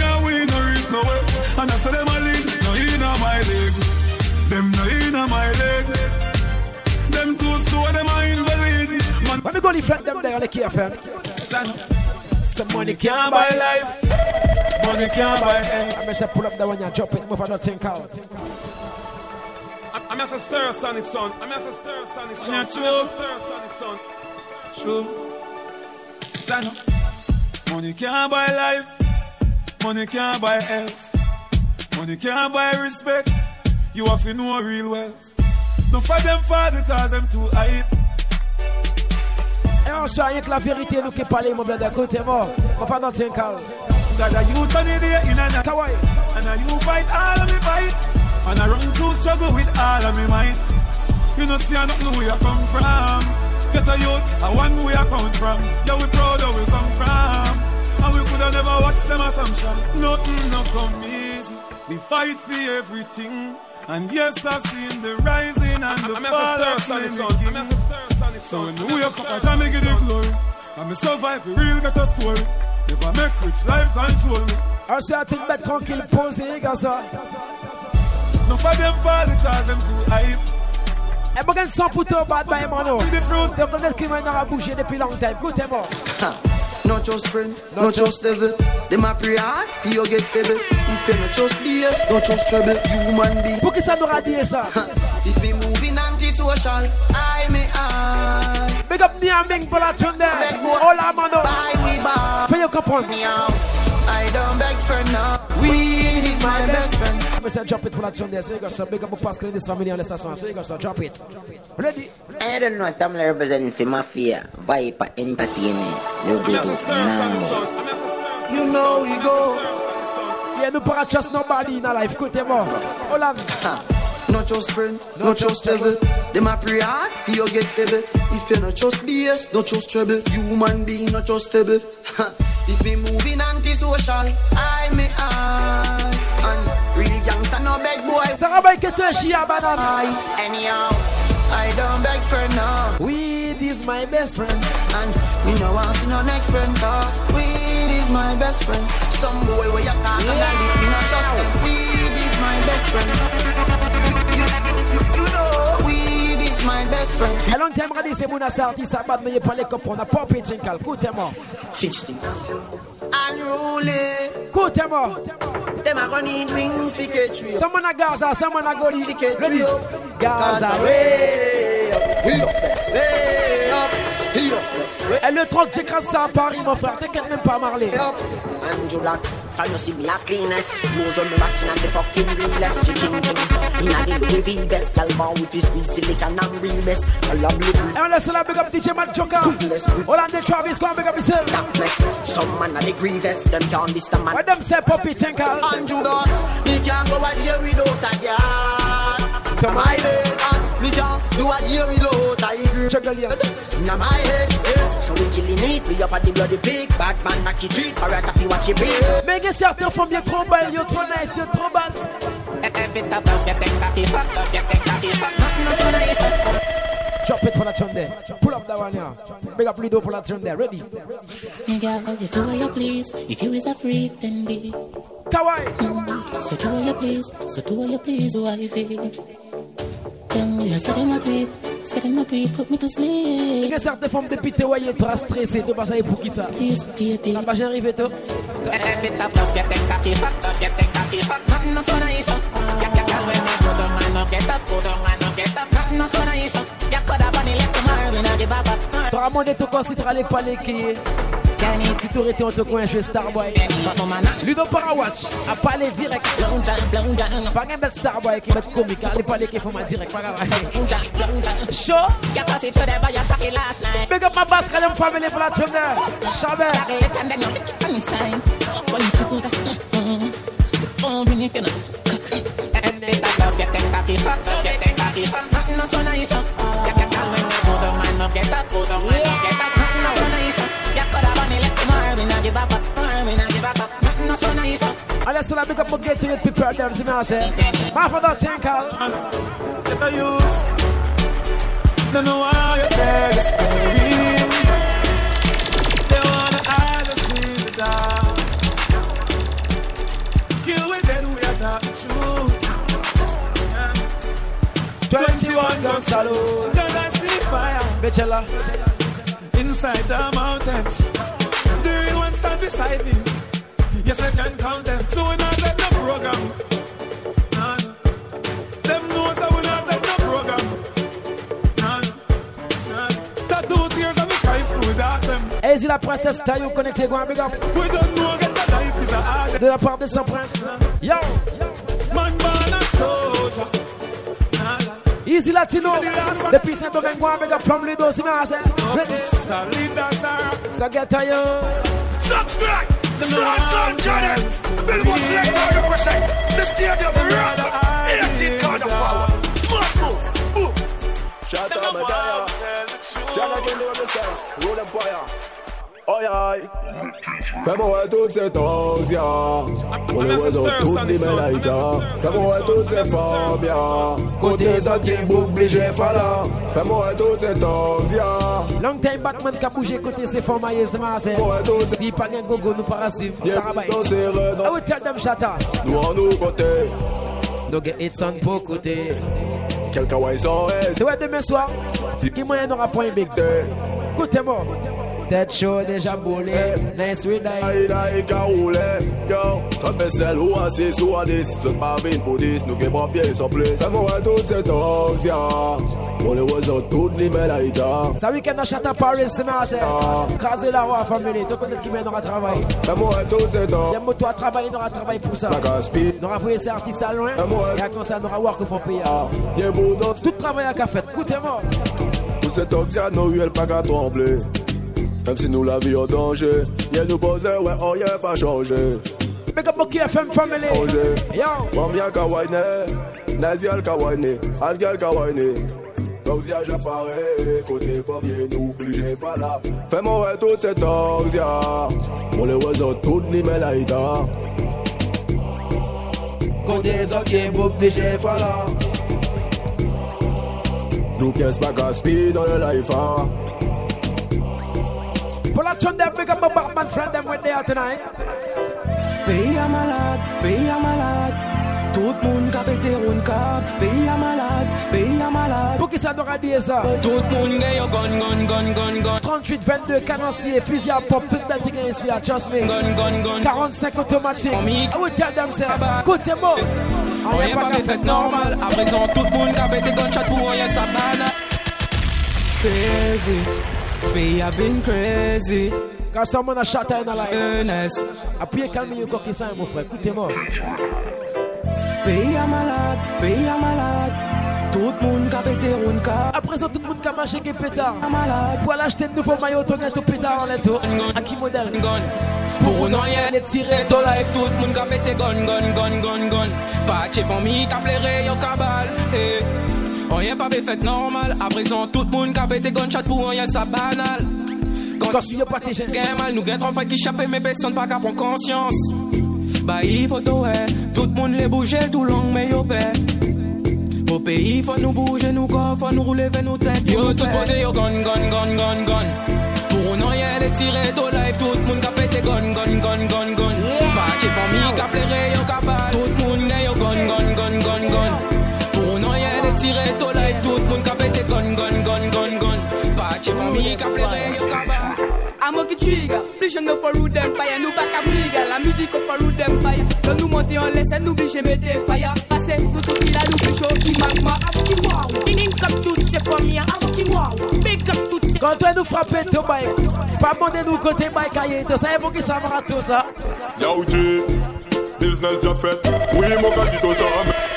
[SPEAKER 15] I say them a lead. No inna my leg. Them no inna my leg. Them too slow, them a invalid.
[SPEAKER 5] When we go to friend them there on the KFM. Some money can't buy life.
[SPEAKER 15] Money can't buy health.
[SPEAKER 5] I'm going to pull up the one you drop it, move on, think out.
[SPEAKER 16] I'm just a stir sonic son. I'm just a stir sonic son.
[SPEAKER 15] Yeah, true.
[SPEAKER 16] Stir sonic son.
[SPEAKER 15] True. Jano. Money can't buy life. Money can't buy health. Money can't buy respect. You have to know real wealth. No for them fall because them too hype.
[SPEAKER 5] Et on sait rien que la vérité nous qui parle, mon bled, écoutez moi. On va dans think out.
[SPEAKER 15] That a youth on the day in a night.
[SPEAKER 5] Kawaii.
[SPEAKER 15] And a you fight all of me fight. And I run through struggle with all of me might. You know see I don't know where I come from. Get a youth, I want where I come from. Yeah, we proud of where we come from. And we could have never watched them assumption. Nothing no come easy. We fight for everything. And yes, I've seen the rising and the fall of many kings. So when we wake up, I try to get the glory. And me survive, we real get a story. If I make rich, life control me.
[SPEAKER 5] I say I think back tranquille, posé, gars ça.
[SPEAKER 15] No for them fall because them too hype.
[SPEAKER 5] Et bon, quand sans putain bad by mano. Donc on est qui m'a n'a bougé depuis longtemps. Écoutez-moi.
[SPEAKER 6] Not just friend, not just devil. Them a pray hard, for you get devil. If you not just BS, not just trouble. Human being.
[SPEAKER 5] Pour qui ça nous a dit ça?
[SPEAKER 6] If we moving anti-social, I may I.
[SPEAKER 5] Big up Niaming pour la tune there. Hola mano. Fais you comprendre.
[SPEAKER 6] I don't beg for now. Weed is my best friend.
[SPEAKER 5] I said drop it for that tune there. So you got some big up Pascal in this family on the station. So you got some drop it. Ready?
[SPEAKER 7] I don't know what I'm representing for Mafia. Viper Entertainment.
[SPEAKER 6] You know we go.
[SPEAKER 5] Yeah, no para trust nobody in our life. Écoutez-moi. Hola.
[SPEAKER 6] Not just friend, not just devil. Them a pray hard, for you get devil. If you not just BS, not just trouble. Human being, not just stable. If me moving anti-social, I may I. And real gangsta no beg boy.
[SPEAKER 5] Sarah Bay que te chia banane.
[SPEAKER 6] Anyhow, I don't beg for now.
[SPEAKER 5] Weed is my best friend.
[SPEAKER 6] And me no want see no next friend. Weed is my best friend. Some boy where you talk and I live, me not trust them. Weed is my best friend. You know, weed is my best friend.
[SPEAKER 5] A long time ready, c'est mon assorti, ça bat, mais il pas les copains, on a pas pété un cal. Écoutez-moi.
[SPEAKER 6] Fix things. Unruly.
[SPEAKER 5] Écoutez-moi.
[SPEAKER 6] Them a gonna need wings for K3.
[SPEAKER 5] Someone a Gaza, someone a Goli.
[SPEAKER 6] Ready?
[SPEAKER 5] Gaza,
[SPEAKER 6] way up, way up, way up.
[SPEAKER 5] Et le 30, j'écrase ça à Paris, mon frère. T'inquiète même pas, Marley.
[SPEAKER 7] Andrew Black, can you see me a cleanest? Nose on me rockin' and the fucking realest. Chicken. Inna the Louis best. Calma with his squeeze silicon and real best.
[SPEAKER 5] And let's big up DJ Matt Joker. Hollande Travis, come big up yourself.
[SPEAKER 7] Some man a the grievous. Them can't this the man.
[SPEAKER 5] What them say, Poppy Tinkle?
[SPEAKER 6] Andrew Black, me can't go out here without a girl. To my bed, me can't do a year without a girl. Now my head,
[SPEAKER 7] so we killing it. We up at the bloody pig. Bad man knock it treat. Alright, if you watch it big.
[SPEAKER 5] Mais que certains font bien trop bal, yo trop nice, yo trop bal. Drop it for la tune there. Pull up that one here. Big up Lido for la tune there. Ready?
[SPEAKER 19] Nigga, you do what you please. If you is a freak, then be
[SPEAKER 5] Kawaii.
[SPEAKER 19] So do what you please. So do what you please, wifey. Tell me, I said them a beat. Said them a beat, put me to sleep.
[SPEAKER 5] Il y a certaines femmes depuis te voyer trop stressé. Tu vas savoir pour qui ça? La page arrive et tout. T'auras demandé tout quand tu t'auras les palais qui Si tu étais en te coin chez Starboy, Ludo Parawatch a parlé direct. Pas un bête Starboy qui met comique, allez parler qui font ma direct. Show. Big up my bass, Kalam family for la tournée. Chabert. Allez, c'est la big up pour get to it, prepare them, c'est bien, c'est. Half of that thing, Carl.
[SPEAKER 15] Get a youth. Don't know why you're there, the story. They wanna hide us in the dark. Kill with them, we are talking true.
[SPEAKER 5] 21 gun salute.
[SPEAKER 15] Cause I see fire.
[SPEAKER 5] Bechella.
[SPEAKER 15] Inside the mountains. The real ones stand beside me. Yes, I can count them. So we not let the program. Nah. Them knows that we not let the program. Nah. That 2 years of me cry through that them.
[SPEAKER 5] Easy la princesse Taillou connecté, go and big up.
[SPEAKER 15] We don't know get the life is a hard.
[SPEAKER 5] De la part de son prince. Yo.
[SPEAKER 15] Man born a soldier.
[SPEAKER 5] Easy Latino. Depuis Saint-Domingue, go and big up from Ludo, c'est bien, c'est. So get to you.
[SPEAKER 15] Subscribe. Start on channel. Billboard select 100%. The stadium rock. 18 kind of power. Boom.
[SPEAKER 3] Shout out my dad. Shout out to yourself. Roll them fire. Oh yeah. Fais-moi toutes ces tongues, ya. On les voit dans toutes les médailles, fais-moi toutes ces formes, ya. Côté sentier, obligé, fala. Fais-moi toutes ces tongues, ya.
[SPEAKER 5] Long time Batman qui a bougé côté ses formes, c'est massé. Si pas un gogo, nous pas suivre. Ça va bien. I will tell them shut up.
[SPEAKER 3] Nous en nous côté.
[SPEAKER 5] Donc it's on pour côté.
[SPEAKER 3] Quelqu'un va y s'en reste.
[SPEAKER 5] Tu vois demain soir, qui moyen n'aura point big. Écoutez-moi. That show déjà boulé, nice with that.
[SPEAKER 3] Aïe, caroulé, yo. Comme celle où assis sous un 10, je pas vine pour 10, nous qui pas pieds sans plus. Fais-moi toutes ces tongues, ya. On les voit dans toutes les médailles, ya.
[SPEAKER 5] Ça week-end à Château Paris, c'est massé. Craser la roi, famille, tu connais qui mène à travail.
[SPEAKER 3] Fais-moi toutes ces tongues.
[SPEAKER 5] Y'a moto à travailler, n'aura travail pour ça. N'aura voyé ces artistes à loin. Et comme ça, n'aura work pour payer. Tout travail à café, écoutez-moi.
[SPEAKER 3] Toutes ces tongues, ya, nos huiles pas qu'à trembler. Même si nous la vie en danger, y'a nous poser, ouais, on y a pas changé.
[SPEAKER 5] Big up Moki FM family. Yo.
[SPEAKER 3] Wamia kawaine, Nazial kawaine, Algal kawaine. Kauzia j'apparais, côté famille, nous obligé pas là. Fais-moi ouais toutes ces tongues, ya. On les voit dans toutes les mélaïda. Côté zokier, obligé pas là. Nous pièces pas gaspillées dans le life, hein.
[SPEAKER 5] Pour la tune them, big up my Batman friend them when they are tonight.
[SPEAKER 8] Pays à malade, tout le monde a pété un cap. Pays à malade.
[SPEAKER 5] Pour qui ça doit dire ça?
[SPEAKER 8] Tout le monde a gun.
[SPEAKER 5] 38, 22, 46, fusil à pop, tout le monde ici, just me.
[SPEAKER 8] Gun.
[SPEAKER 5] 45 automatique. I will tell them, c'est écoutez-moi.
[SPEAKER 8] On y'a pas fait normal. À présent, tout le monde a pété gunshot pour rien sa banane. Crazy. We have been crazy.
[SPEAKER 5] Quand someone a shot in a life. Après, calmez vous coquille ça, mon frère. Écoutez-moi.
[SPEAKER 8] Pays à malade. Tout le monde a pété un cap.
[SPEAKER 5] Après ça, tout le monde a marché qui pétard. Pour aller acheter de nouveaux maillots, tu as tout pétard en lettre. À qui modèle?
[SPEAKER 8] Pour nous, rien de tirer ton life. Tout le monde a pété gun. Pas de chez famille, qui a plairé, y'a cabal. On y'a pas fait normal. À présent, tout le monde a pété gunshot pour rien, ça banal. Quand
[SPEAKER 5] tu y'a pas tes jeunes,
[SPEAKER 8] mal, nous gagnons fait qui chappe, mais personne pas qu'à prendre conscience. Bah, il faut tout, tout le monde les bouger tout long, mais yo, au pays, faut nous bouger, nous corps, faut nous rouler vers nos têtes. Yo, tout posé, yo, gun. Pour nous, y'a les tirer ton life, tout le monde a pété gun. Pas de famille, qui a plairé, yo, cabal. Tout le monde a yo, gun. Pour nous, y'a les tirer ton life, tout le monde a pété gun. Pas de famille, qui a plairé, yo, cabal.
[SPEAKER 9] Amo qui trigger, plus je ne faut root empire, nous pas qu'à briga, la musique au for root empire. Quand nous monter en laisse, nous obligés mettre fire. Passez, nous tout qui la nous plus chaud, qui magma, amo qui wow. Link up toutes ces familles, amo qui wow. Big up toutes ces
[SPEAKER 5] Quand toi nous frapper ton bike, pas demander nous côté bike aïe, tu sais pour qui ça va tout ça?
[SPEAKER 21] Yo G, business job fait. Oui, mon gars dit tout ça.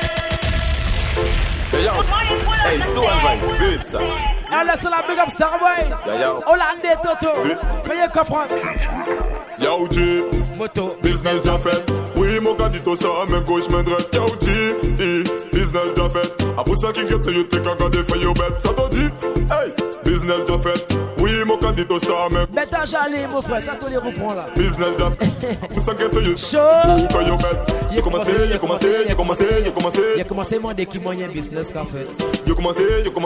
[SPEAKER 10] Hey yo, hey, Stone Vibes, good ça.
[SPEAKER 5] Allez, c'est la big up Starboy. Hollandais Toto. Veuillez comprendre.
[SPEAKER 21] Yo G,
[SPEAKER 5] moto,
[SPEAKER 21] business job fait. Oui, mon gars dit tout ça, main gauche, main droite. Yo G, business job fait. A pour ça qui get you take a garde for your bed. Ça te dit, hey, business job fait. Oui, mon gars dit tout ça, main.
[SPEAKER 5] Bête à jalé, mon frère, ça te les reprend là.
[SPEAKER 21] Business job. Pour ça get you
[SPEAKER 5] show
[SPEAKER 21] for your bed. J'ai commencé.
[SPEAKER 5] J'ai commencé mon dès qu'il moyen business qu'a fait.
[SPEAKER 21] J'ai commencé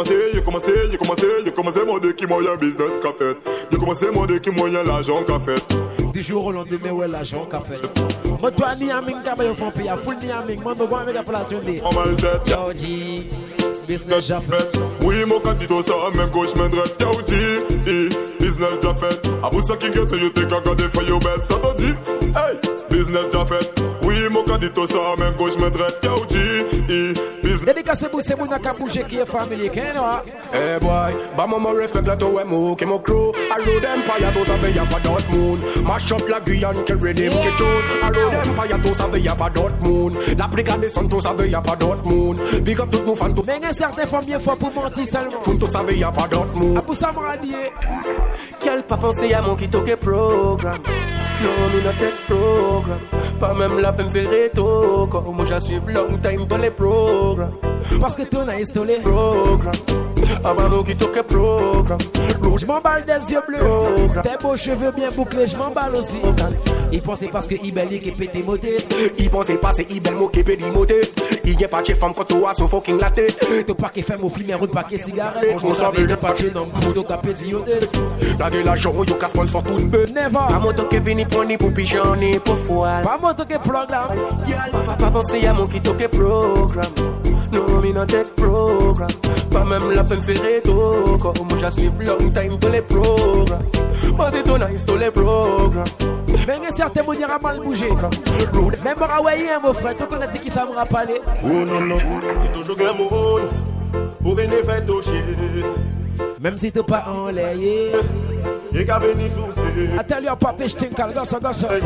[SPEAKER 21] mon dès qu'il moyen business qu'a fait. J'ai commencé mon dès qu'il moyen l'argent qu'a fait.
[SPEAKER 5] Du jour au lendemain, ouais, l'argent qu'a fait. Moi, toi, ni aming, t'as pas eu fond paya, full ni aming, moi, me vois avec la plate de.
[SPEAKER 21] On va le tête.
[SPEAKER 5] Yo, G, business j'ai fait.
[SPEAKER 21] Oui, mon candidat, ça, main gauche, main droite. Yo, G, business j'ai fait. A pour ça qui get you take a garde for your bed. Ça te dit, hey, business j'ai fait. Oui, mon candidat, ça, main gauche, main droite. Yo, G, business.
[SPEAKER 5] Dédicacé pour ces mounas qui a bougé qui est familier, qu'est-ce que
[SPEAKER 18] hey boy, bah moi respect la toi mo qui mo crew. Allo d'Empire tous avec y'a pas Dortmund. Mash up la Guyane qui ready me get out. Allo d'Empire tous avec y'a pas Dortmund. La brigade des sons tous avec y'a pas Dortmund. Big up tout mon fan tout.
[SPEAKER 5] Mais un certain fois mieux fois pour mentir seulement.
[SPEAKER 18] Tous avec y'a pas Dortmund.
[SPEAKER 5] Abou Samaradier.
[SPEAKER 23] Quel pas penser à mon qui toque programme. Non, mais not tech programme. Pas même la peine faire réto. Comme moi j'assume long time dans les programmes.
[SPEAKER 5] Parce que ton a installé
[SPEAKER 23] programme. Ah bah mon qui toque programme.
[SPEAKER 5] Je m'emballe des yeux bleus. Tes beaux cheveux bien bouclés, je m'emballe aussi. Il pensait parce que Ibeli qui pété moté.
[SPEAKER 18] Il pensait pas c'est Ibel mo qui pété moté. Il y a pas de femme quand tu as son fucking latte.
[SPEAKER 5] T'as pas qui fait mon film et roule pas qui cigarette. On savait de pas de non pour t'as pété yoté.
[SPEAKER 18] La gueule la jour yo casse sur tout le peu.
[SPEAKER 5] Never.
[SPEAKER 23] Pas moto qui vini pour ni pour pigeon ni pour foie.
[SPEAKER 5] Pas moto qui programme.
[SPEAKER 23] Pas penser à mon qui toque programme. Non, mais not tech programme. Pas même la peine faire réto. Comme moi j'assume long time dans les programmes. Moi c'est ton nice dans les programmes.
[SPEAKER 5] Mais il y a certains mots qui ont mal bougé. Même Rawaï, mon frère, tu connais qui ça me rappelle.
[SPEAKER 10] Oh non, non, il toujours un monde pour venir faire toucher.
[SPEAKER 5] Même si tu n'es pas enlayé.
[SPEAKER 10] Il qu'à venir soucier.
[SPEAKER 5] Attends-lui, papa, je t'ai gosse.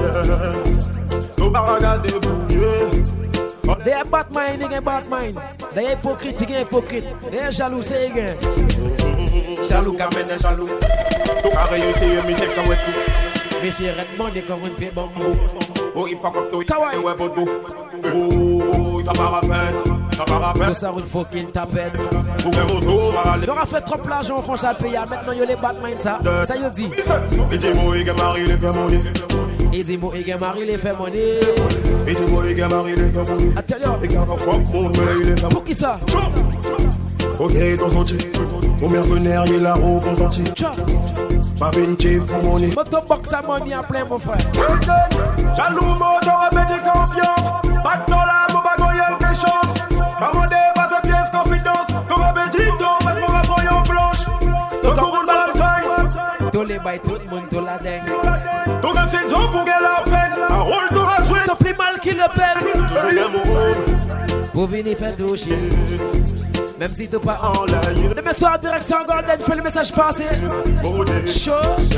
[SPEAKER 10] Tu vas regarder bouger.
[SPEAKER 5] They are Batman, they are Batman. They are hypocrite, they are hypocrite. They are jaloux, c'est gars.
[SPEAKER 10] Jaloux, kamene jaloux. Tu as réussi, mais c'est comme ça.
[SPEAKER 5] Mais c'est redement des corps, on fait bon.
[SPEAKER 10] Oh, il faut que tu aies ouais pour tout. Oh, il va pas rafet. Ça va rafet.
[SPEAKER 5] Ça roule fucking tapette.
[SPEAKER 10] Pour que vous trouvez.
[SPEAKER 5] Il aura fait trop l'argent, on fonce à payer. Maintenant, il y a les Batman, ça. Ça y est dit.
[SPEAKER 10] Et dis-moi, il y a Marie, les fait monnaie.
[SPEAKER 5] Et dis-moi, il y a Marie, les fait monnaie.
[SPEAKER 10] Et dis-moi, il y a Marie, les fait monnaie.
[SPEAKER 5] Attends,
[SPEAKER 10] et garde quoi, mon mais il est fait.
[SPEAKER 5] Pour qui ça?
[SPEAKER 10] Ok, ton senti. Mon mercenaire, il est là, au consenti. Pas vinci, pour mon nez.
[SPEAKER 5] Motobox à money en plein, mon frère.
[SPEAKER 10] Jaloux, moto, répétez confiance. Pas de dollar, mon bagoyel, des chances. Pas mon dé, pas de pièce, confidence. Comme un petit don, parce qu'on va prendre en blanche. Donc, on roule dans le time.
[SPEAKER 5] Tous les bails, tout le monde, tout la dingue.
[SPEAKER 10] Donc, un saison pour gagner la peine. Un rôle de la jouer.
[SPEAKER 5] T'as plus mal qu'il le peine.
[SPEAKER 10] Toujours mon rôle.
[SPEAKER 5] Pour venir faire toucher. Même si t'es pas en live. Demain soir, direction Golden, fais le message passer. Chaud.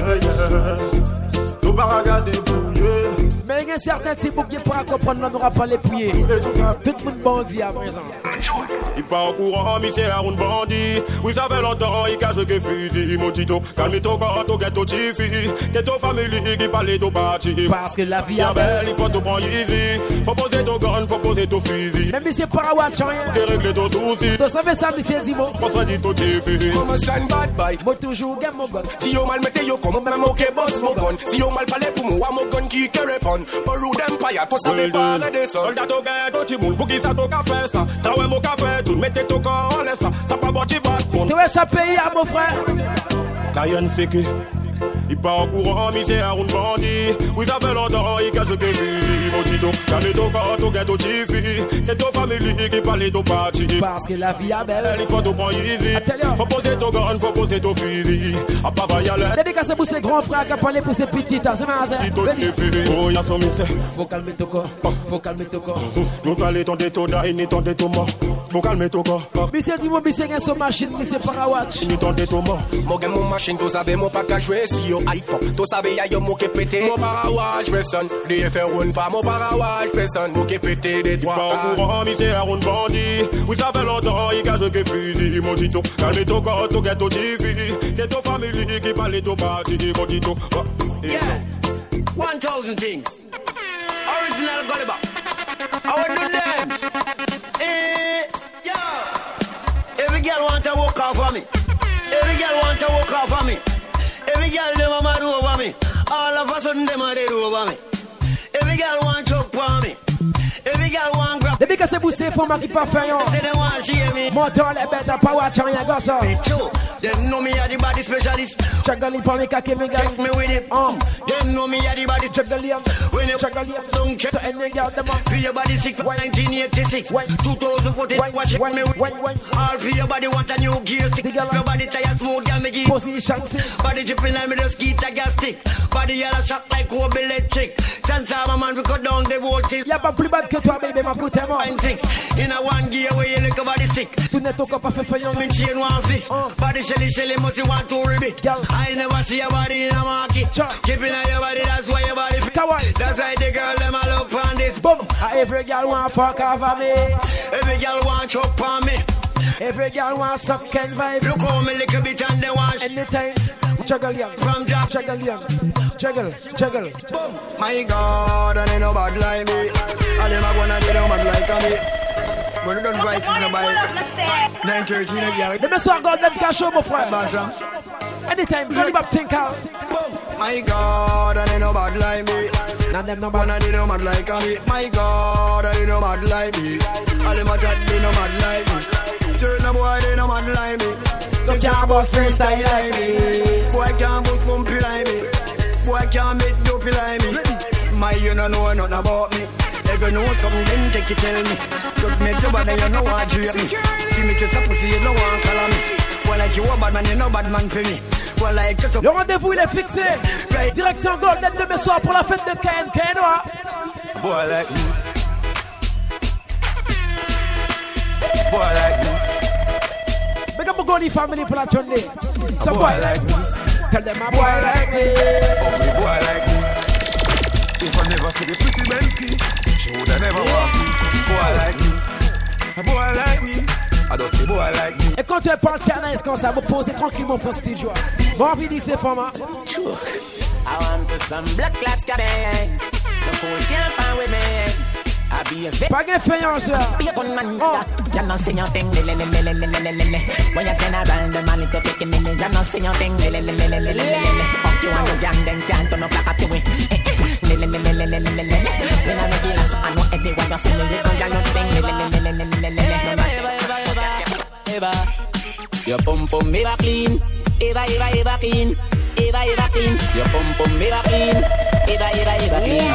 [SPEAKER 10] Tout va regarder bouger.
[SPEAKER 5] Mais il y a certains types qui pourra comprendre, on n'aura pas les pieds. Tout le monde bandit à présent.
[SPEAKER 10] Il part en courant, mais c'est un bandit. Oui, ça fait longtemps, il cache que fusil. Mon tito, calme-toi, gâteau, gâteau, chifi. Gâteau famille qui parle de parti.
[SPEAKER 5] Parce que la vie est belle,
[SPEAKER 10] il faut tout prendre easy. Faut poser ton gun, faut poser ton fusil.
[SPEAKER 5] Même si c'est pas à watch, rien.
[SPEAKER 10] Faut régler ton souci.
[SPEAKER 5] Tu savais ça, monsieur Dimo?
[SPEAKER 10] On se dit tout chifi.
[SPEAKER 18] Comme un sign bad boy.
[SPEAKER 5] Moi toujours gagne mon gun.
[SPEAKER 18] Si yo mal mette yo comme même mon boss mon gun. Si yo mal parle pour moi, mon gun qui répond. Pour Rude Empire, tu savais pas de ça.
[SPEAKER 10] Soldat au gars, tout le monde, pour qui ça t'au café ça. Travaille mon café, tout mettez ton corps en laisse ça. Ça pas bon, tu vas.
[SPEAKER 5] Tu vois ça payer à mon frère?
[SPEAKER 10] Kayan fait que. Il part en courant, mais c'est un round bandit. Oui, ça fait longtemps, il cache que fusil. Mon petit tout, jamais tout quand tout get au chiffy. C'est ton famille qui parle tout parti.
[SPEAKER 5] Parce que la vie est belle.
[SPEAKER 10] Il faut tout prendre easy. Proposer ton grand, proposer ton fusil. À pas vailler.
[SPEAKER 5] Dédicace pour ses grands frères qui parlent pour ses petites. C'est ma sœur.
[SPEAKER 10] Oh, y'a son missé.
[SPEAKER 5] Faut calmer ton corps. Faut calmer ton corps.
[SPEAKER 10] Nous parlons ton détour d'aïe, ni ton détour mort. Faut calmer ton corps.
[SPEAKER 5] Monsieur dit mon monsieur gagne son machine, monsieur Parawatch.
[SPEAKER 10] Ni ton détour mort.
[SPEAKER 18] Mon gagne mon machine, tu savais mon pas qu'à jouer si yo iPhone. Tu savais y'a yo mon qui pété. Mon Parawatch personne. Lui fait roule pas mon Parawatch personne. Mon qui pété des doigts.
[SPEAKER 10] Pas au courant, monsieur a roule bandit. Oui ça fait longtemps, il cache que fusil. Mon tito, calme ton corps, tu get au chiffy. C'est ton famille qui parle tout parti. Mon tito.
[SPEAKER 11] Yeah, 1000 things. Original Gulliver. I would do them. Yeah. Every girl want to walk off of me. Every girl want to walk off of me. Every girl them a mad over me. All of a sudden them a dead over me. Every girl want to choke for me. Every girl want grab.
[SPEAKER 5] Depuis que c'est poussé, faut marquer pas fait. Moteur les bêtes à pas watch rien gosse.
[SPEAKER 11] They know me as the body specialist.
[SPEAKER 5] Chagali pour me kake me
[SPEAKER 11] Take me with it. They know me as the body
[SPEAKER 5] chagali.
[SPEAKER 11] When you
[SPEAKER 5] chagali
[SPEAKER 11] don't check.
[SPEAKER 5] So any girl them up.
[SPEAKER 11] Feel your body sick. 1986. 2014. Watch it me with. All for your body want a new gear stick. Your body tired smooth, girl me give.
[SPEAKER 5] Position sick.
[SPEAKER 11] Body dripping and me just keep a gas stick. Body yellow shock like Kobe electric. Chance of a man we cut down the voltage.
[SPEAKER 5] Y'a pas plus bad que toi baby ma coûte moi.
[SPEAKER 11] 6 in a one gear where you look a body sick.
[SPEAKER 5] Tu n'es encore pas fait faillant.
[SPEAKER 11] Me chain one fix. Body shelly must you want to ribbit. I never see your body in a market. Keeping on your body, that's why your body fit. That's why the girl them a look on this.
[SPEAKER 5] Boom. Every girl want fuck off of me.
[SPEAKER 11] Every girl want chop on me.
[SPEAKER 5] Every girl want suck and vibe.
[SPEAKER 11] Look how me little bit and they want.
[SPEAKER 5] Anytime. Juggle young.
[SPEAKER 11] From Jack.
[SPEAKER 5] Juggle young. Juggle.
[SPEAKER 11] Boom. My God, and ain't no bad like me. And them a gonna do no bad like me. But you don't price it nobody. 9:13 a girl.
[SPEAKER 5] Demain soir, God, them can show mon frère. Anytime, Johnny Bob think out.
[SPEAKER 11] My God, and ain't no bad like me.
[SPEAKER 5] None them no bad.
[SPEAKER 11] None of them no mad like me. My God, and ain't no mad like me. All them a chat, they no mad like me. Turn a boy, they no mad like me.
[SPEAKER 5] So can't bust freestyle like me.
[SPEAKER 11] Boy can't bust bumpy like me. Boy can't make dopey like me. My, you don't know nothing about me. If you know something, then take it, tell me. Just make your body, you know what to me. See me just a pussy, you know what color me. Well, like you a bad man, you know bad man for me. Well, like just a...
[SPEAKER 5] Le rendez-vous, il est fixé. Direction Golden demain soir pour la fête de KNK, Noah.
[SPEAKER 11] Boy like me. Boy like me.
[SPEAKER 5] Make up a Goldie family for la journée. So boy like me. Tell them a boy like me.
[SPEAKER 15] Oh, boy like me. If I never see the pretty Bensky, she woulda never walk me. Boy like me, a boy like me, a dirty boy like me.
[SPEAKER 5] Et quand tu parles Tianaïs comme ça, vous posez tranquillement pour ce studio. Bon, envie de ces femmes.
[SPEAKER 8] I want some black glass cabin. The fool can't find with me. I be a
[SPEAKER 5] pas de faïence.
[SPEAKER 8] Be a fun man. You know see your thing. When you turn around the man, it's taking me. You know see your thing. Fuck you and your gang, then can't turn up like a two-way. When I make it last, I know everyone you see me. You know your thing. Your pum pum ever clean. Ever clean. Ever clean. Your pum pum ever clean. Ever clean.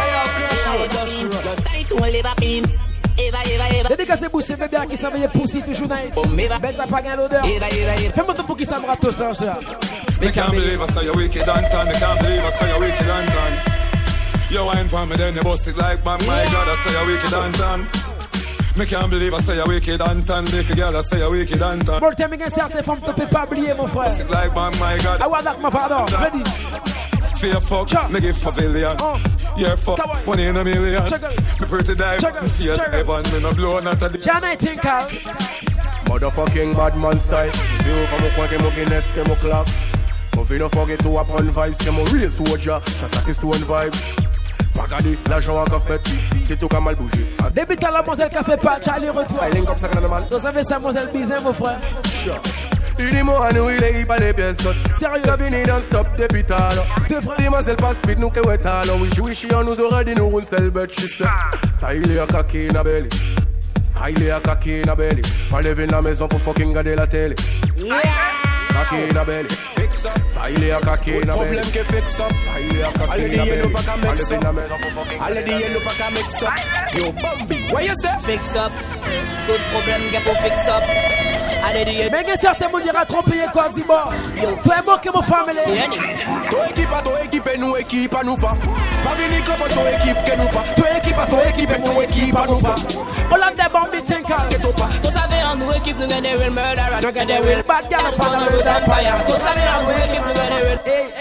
[SPEAKER 5] Dédicacez vous c'est bébé qui s'en vient pousser toujours nice. Bête à pas gagner l'odeur. Fais-moi tout pour qui ça me rate tout ça.
[SPEAKER 15] Me can't believe I saw you wicked and tan. Me can't believe I saw you wicked and tan. You wine for me then you bust it like man. My God, I saw you wicked and tan. Me can't believe I say you wicked and tan. Make a girl I say you wicked and tan.
[SPEAKER 5] Pour le terminer certaines femmes tu peux pas oublier mon frère.
[SPEAKER 15] Bust it like man, my God.
[SPEAKER 5] I want that my father. Ready.
[SPEAKER 15] Fear fuck, me give pavilion. Yeah, fuck, 1 in a million. Me pretty die, me feel heaven. Me no blow not a day.
[SPEAKER 5] Can I think out?
[SPEAKER 18] Motherfucking bad man style. You from a coin, mo Guinness, mo clock. Mo fi no forget to up on vibes. Mo real soldier, j'attaque stone vibes. Pagadi, l'argent à café, c'est tout comme mal bougé.
[SPEAKER 5] Début à la mademoiselle qui a fait pas, Charlie retour.
[SPEAKER 18] Comme ça,
[SPEAKER 5] vous savez ça, mademoiselle Bizin, mon frère.
[SPEAKER 18] Il est mort à nous, il est pas les pièces d'autres. Sérieux, la vini dans stop des pitales. Deux frères, les masses, elles passent vite, nous que ouais, alors. Wish, on nous aurait dit, nous, on se le shit. Ça, il est à kaki, na belly. Ça, il est à kaki, na belly. Pas lever la maison pour fucking garder la télé. Kaki, na belly. Allez à caquer, problème qui fixe up. Allez dis nous pas qu'à mix up. Allez dis nous pas qu'à mix up. Yo Bambi, what you say?
[SPEAKER 2] Fix up. Good problème qui pour fix up.
[SPEAKER 5] Mais que certains me dira tromper quoi dis moi. Yo, toi et moi que mon famille.
[SPEAKER 18] Toi équipe nous équipe à nous pas. Pas venir comme toi équipe que nous pas. Toi équipe nous équipe à nous pas.
[SPEAKER 5] Hollande Bambi Tinkal.
[SPEAKER 2] Vous savez en nous équipe nous gagne real murder. Nous gagne real bad girl on the road empire. Vous savez en nous équipe nous gagne real.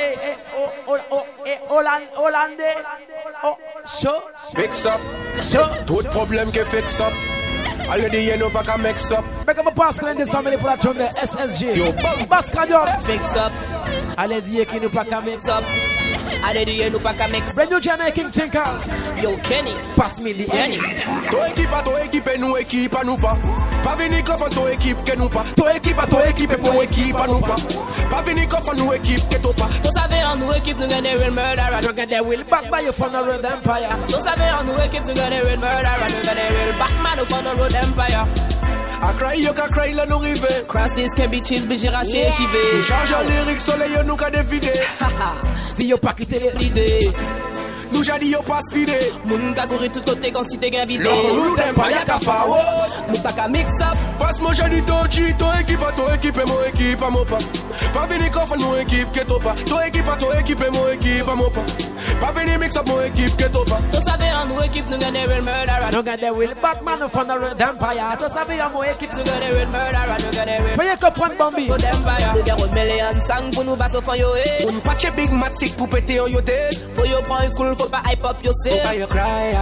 [SPEAKER 5] Hollande. Oh, show.
[SPEAKER 18] Fix up.
[SPEAKER 5] Show.
[SPEAKER 18] Tout problème qui fixe up. Allez dis nous pas qu'à mix up.
[SPEAKER 5] Mais comme passe que des familles pour la chambre SSG.
[SPEAKER 18] Yo
[SPEAKER 5] Bascadio.
[SPEAKER 2] Fix up.
[SPEAKER 5] Allez dire qu'il nous pas qu'à mix
[SPEAKER 2] up. Allez dire nous pas qu'à mix.
[SPEAKER 5] Brand new Jamaican Tinkal.
[SPEAKER 2] Yo Kenny.
[SPEAKER 5] Pass me the Kenny.
[SPEAKER 18] Toi équipe nous équipe à nous pas. Pas venir comme toi équipe que nous pas. Toi équipe nous équipe à nous pas. Pas venir comme nous équipe que toi pas.
[SPEAKER 2] Vous savez en nous équipe nous gagne real murder.
[SPEAKER 5] Nous gagne real back by you from the road empire.
[SPEAKER 2] Vous savez en nous équipe nous gagne real murder. Nous gagne real back man from the road empire.
[SPEAKER 18] I cry, you can cry, là nous rive.
[SPEAKER 2] Crosses can be cheese, mais j'ai raché, j'y vais.
[SPEAKER 18] Charge en lyrique, soleil, nous qu'a dévidé.
[SPEAKER 5] Si yo pas quitté
[SPEAKER 2] l'idée.
[SPEAKER 18] Nous j'ai dit yo pas speedé.
[SPEAKER 2] Moun ka courir tout côté quand si t'es gain vidé.
[SPEAKER 18] L'on n'aime pas y'a qu'à faire.
[SPEAKER 2] Nous pas qu'à mix up.
[SPEAKER 18] Passe moi j'ai dit Tochi, toi équipe et mon équipe à mon pas. Pas venir qu'on mon équipe que toi pas. Toi équipe et mon équipe à mon pas. Pas venir mix up mon équipe que toi pas.
[SPEAKER 2] Vous savez en nous équipe nous gagne real murder.
[SPEAKER 5] Nous gagne real Batman from the road empire. Vous savez en mon équipe
[SPEAKER 2] nous gagne real murder. Nous gagne real.
[SPEAKER 5] Veuillez comprendre Bambi.
[SPEAKER 2] Nous gagne million sang pour nous passer au fond yo.
[SPEAKER 18] On patch big matic pour péter au yoté.
[SPEAKER 2] Faut yo prendre cool faut pas hype up yourself.
[SPEAKER 18] Faut pas you cry,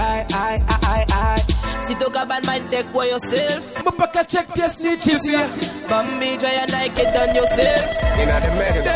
[SPEAKER 18] I.
[SPEAKER 2] Si tu as bad mind, take for yourself.
[SPEAKER 5] But back check this snitches here.
[SPEAKER 2] Bambi, try and like it done yourself.
[SPEAKER 18] Inna the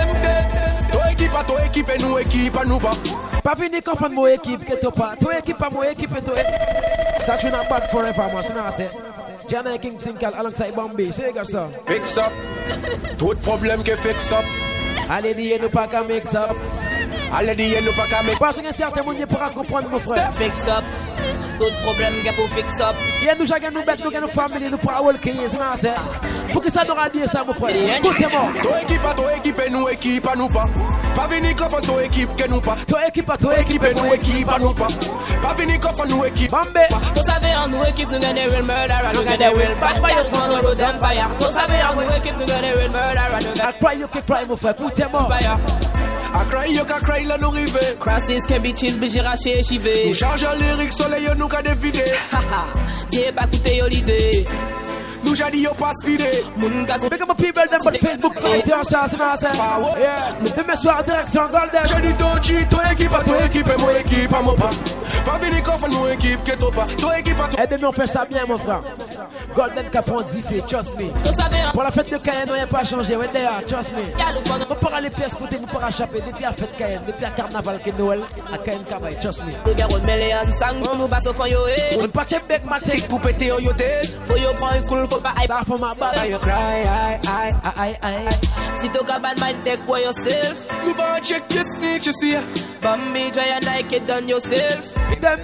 [SPEAKER 18] mega. Toi équipe et nous équipe à nous pas.
[SPEAKER 5] Pas venir confondre mon équipe que toi pas. Toi équipe à mon équipe et toi. Ça tu n'as pas de forever moi. C'est moi c'est. Jamaican King Tinkal alongside Bambi. C'est gars ça.
[SPEAKER 18] Fix up. Tout problème que fix up.
[SPEAKER 5] Allez dire nous pas qu'à mix up.
[SPEAKER 18] Allez dire nous pas qu'à mix up.
[SPEAKER 5] Parce que certains monde pourra comprendre mon frère.
[SPEAKER 2] Fix up. Tout problème qu'il faut fix up.
[SPEAKER 5] Il y a nous chacun nous bête nous gagne nos familles nous pourra walker c'est moi c'est. Pour que ça nous radie ça mon frère. Écoutez-moi.
[SPEAKER 18] Toi équipe et nous équipe à nous pas. Pas venir comme toi équipe que nous pas.
[SPEAKER 5] Toi équipe
[SPEAKER 18] et nous équipe à nous pas. Pas venir comme nous équipe.
[SPEAKER 5] Bambi.
[SPEAKER 2] Vous savez en nous équipe nous gagne real murder. Nous gagne real bad by your phone road empire. Vous savez en nous équipe nous gagne real murder.
[SPEAKER 5] I cry you can cry mon frère. Écoutez-moi.
[SPEAKER 18] I cry you can cry là nous rive.
[SPEAKER 2] Crosses can be cheese mais j'ai raché j'y vais.
[SPEAKER 18] Nous charge en lyrique soleil nous qu'a dévidé.
[SPEAKER 2] Tiens pas coûter yo l'idée.
[SPEAKER 18] Nous j'ai dit yo pas speedé.
[SPEAKER 5] Big up my people them on Facebook connecté ensemble c'est moi c'est. Yeah. Demain soir direction Golden.
[SPEAKER 18] J'ai dit Tochi, toi équipe et mon équipe à mon pas. Pas venir qu'on nous équipe que toi pas. Toi équipe à toi.
[SPEAKER 5] Aidez-moi on fait ça bien mon frère. Golden Capron diffé, trust me. Pour la fête de Cayenne, on n'a pas changé. Ouais d'ailleurs, trust me. On pourra les pièces côté, vous pourra chapper depuis la fête Cayenne, depuis la carnaval que Noël à Cayenne Cabaye, trust me.
[SPEAKER 2] Nous gagnons million sang nous basse au fond yo.
[SPEAKER 5] On pas check bec matic
[SPEAKER 18] pour péter au yoté.
[SPEAKER 2] Faut yo prendre cool faut pas hype.
[SPEAKER 5] Ça faut ma balle.
[SPEAKER 18] You cry, I.
[SPEAKER 2] Si tu as bad mind, take for yourself.
[SPEAKER 18] Nous pas check your snitch ici.
[SPEAKER 2] Bambi, try and like it done yourself.
[SPEAKER 5] Them.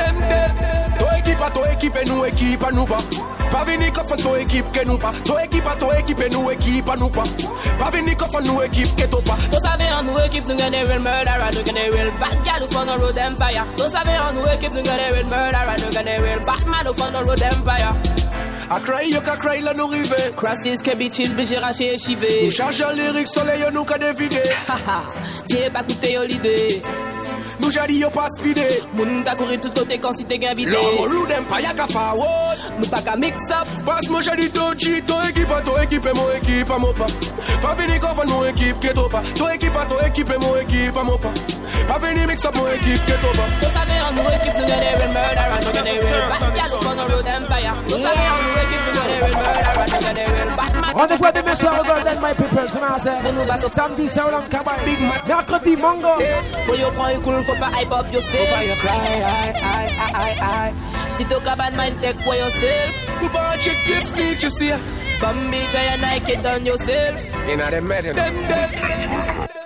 [SPEAKER 18] Toi équipe et nous équipe à nous pas. Pas venir comme toi équipe que nous pas. Toi équipe et nous équipe à nous pas. Pas venir comme nous équipe que toi pas.
[SPEAKER 2] Vous savez en nous équipe nous gagne real murder. Nous gagne real bad girl from the road empire. Vous savez en nous équipe nous gagne real murder. Nous gagne real bad man from the road empire.
[SPEAKER 18] I cry you can cry là nous rive.
[SPEAKER 2] Crosses can be cheese mais j'ai raché j'y vais.
[SPEAKER 18] Nous charge en lyrique soleil nous qu'a dévidé.
[SPEAKER 2] Tiens pas coûter yo l'idée.
[SPEAKER 18] Nous j'ai dit yo pas speedé.
[SPEAKER 2] Moun ka courir tout côté quand si t'es gain vidé.
[SPEAKER 18] L'on n'aime pas y'a qu'à faire.
[SPEAKER 2] Nous pas qu'à mix up.
[SPEAKER 18] Passe moi j'ai dit Tochi, toi équipe et mon équipe à mon pas. Pas venir qu'on mon équipe que toi pas. Toi équipe et mon équipe à mon pas. Pas venir mix up mon équipe que toi pas.
[SPEAKER 2] Vous savez en nous équipe nous gagne real murder. Nous gagne real bad girl from the road empire. Vous savez en nous équipe nous gagne real murder. Nous gagne real bad man.
[SPEAKER 5] Rendez-vous demain soir au Golden My People, c'est ma sœur. Samedi c'est au Cabaye. Big Mat. Mercredi Mango.
[SPEAKER 2] Faut yo prendre cool faut pas hype up yourself.
[SPEAKER 18] Faut pas you cry, I.
[SPEAKER 2] Si tu as bad mind, take for yourself.
[SPEAKER 18] Nous pas check your snitch ici.
[SPEAKER 2] Bambi, try and like it done yourself.
[SPEAKER 18] Inna the mega.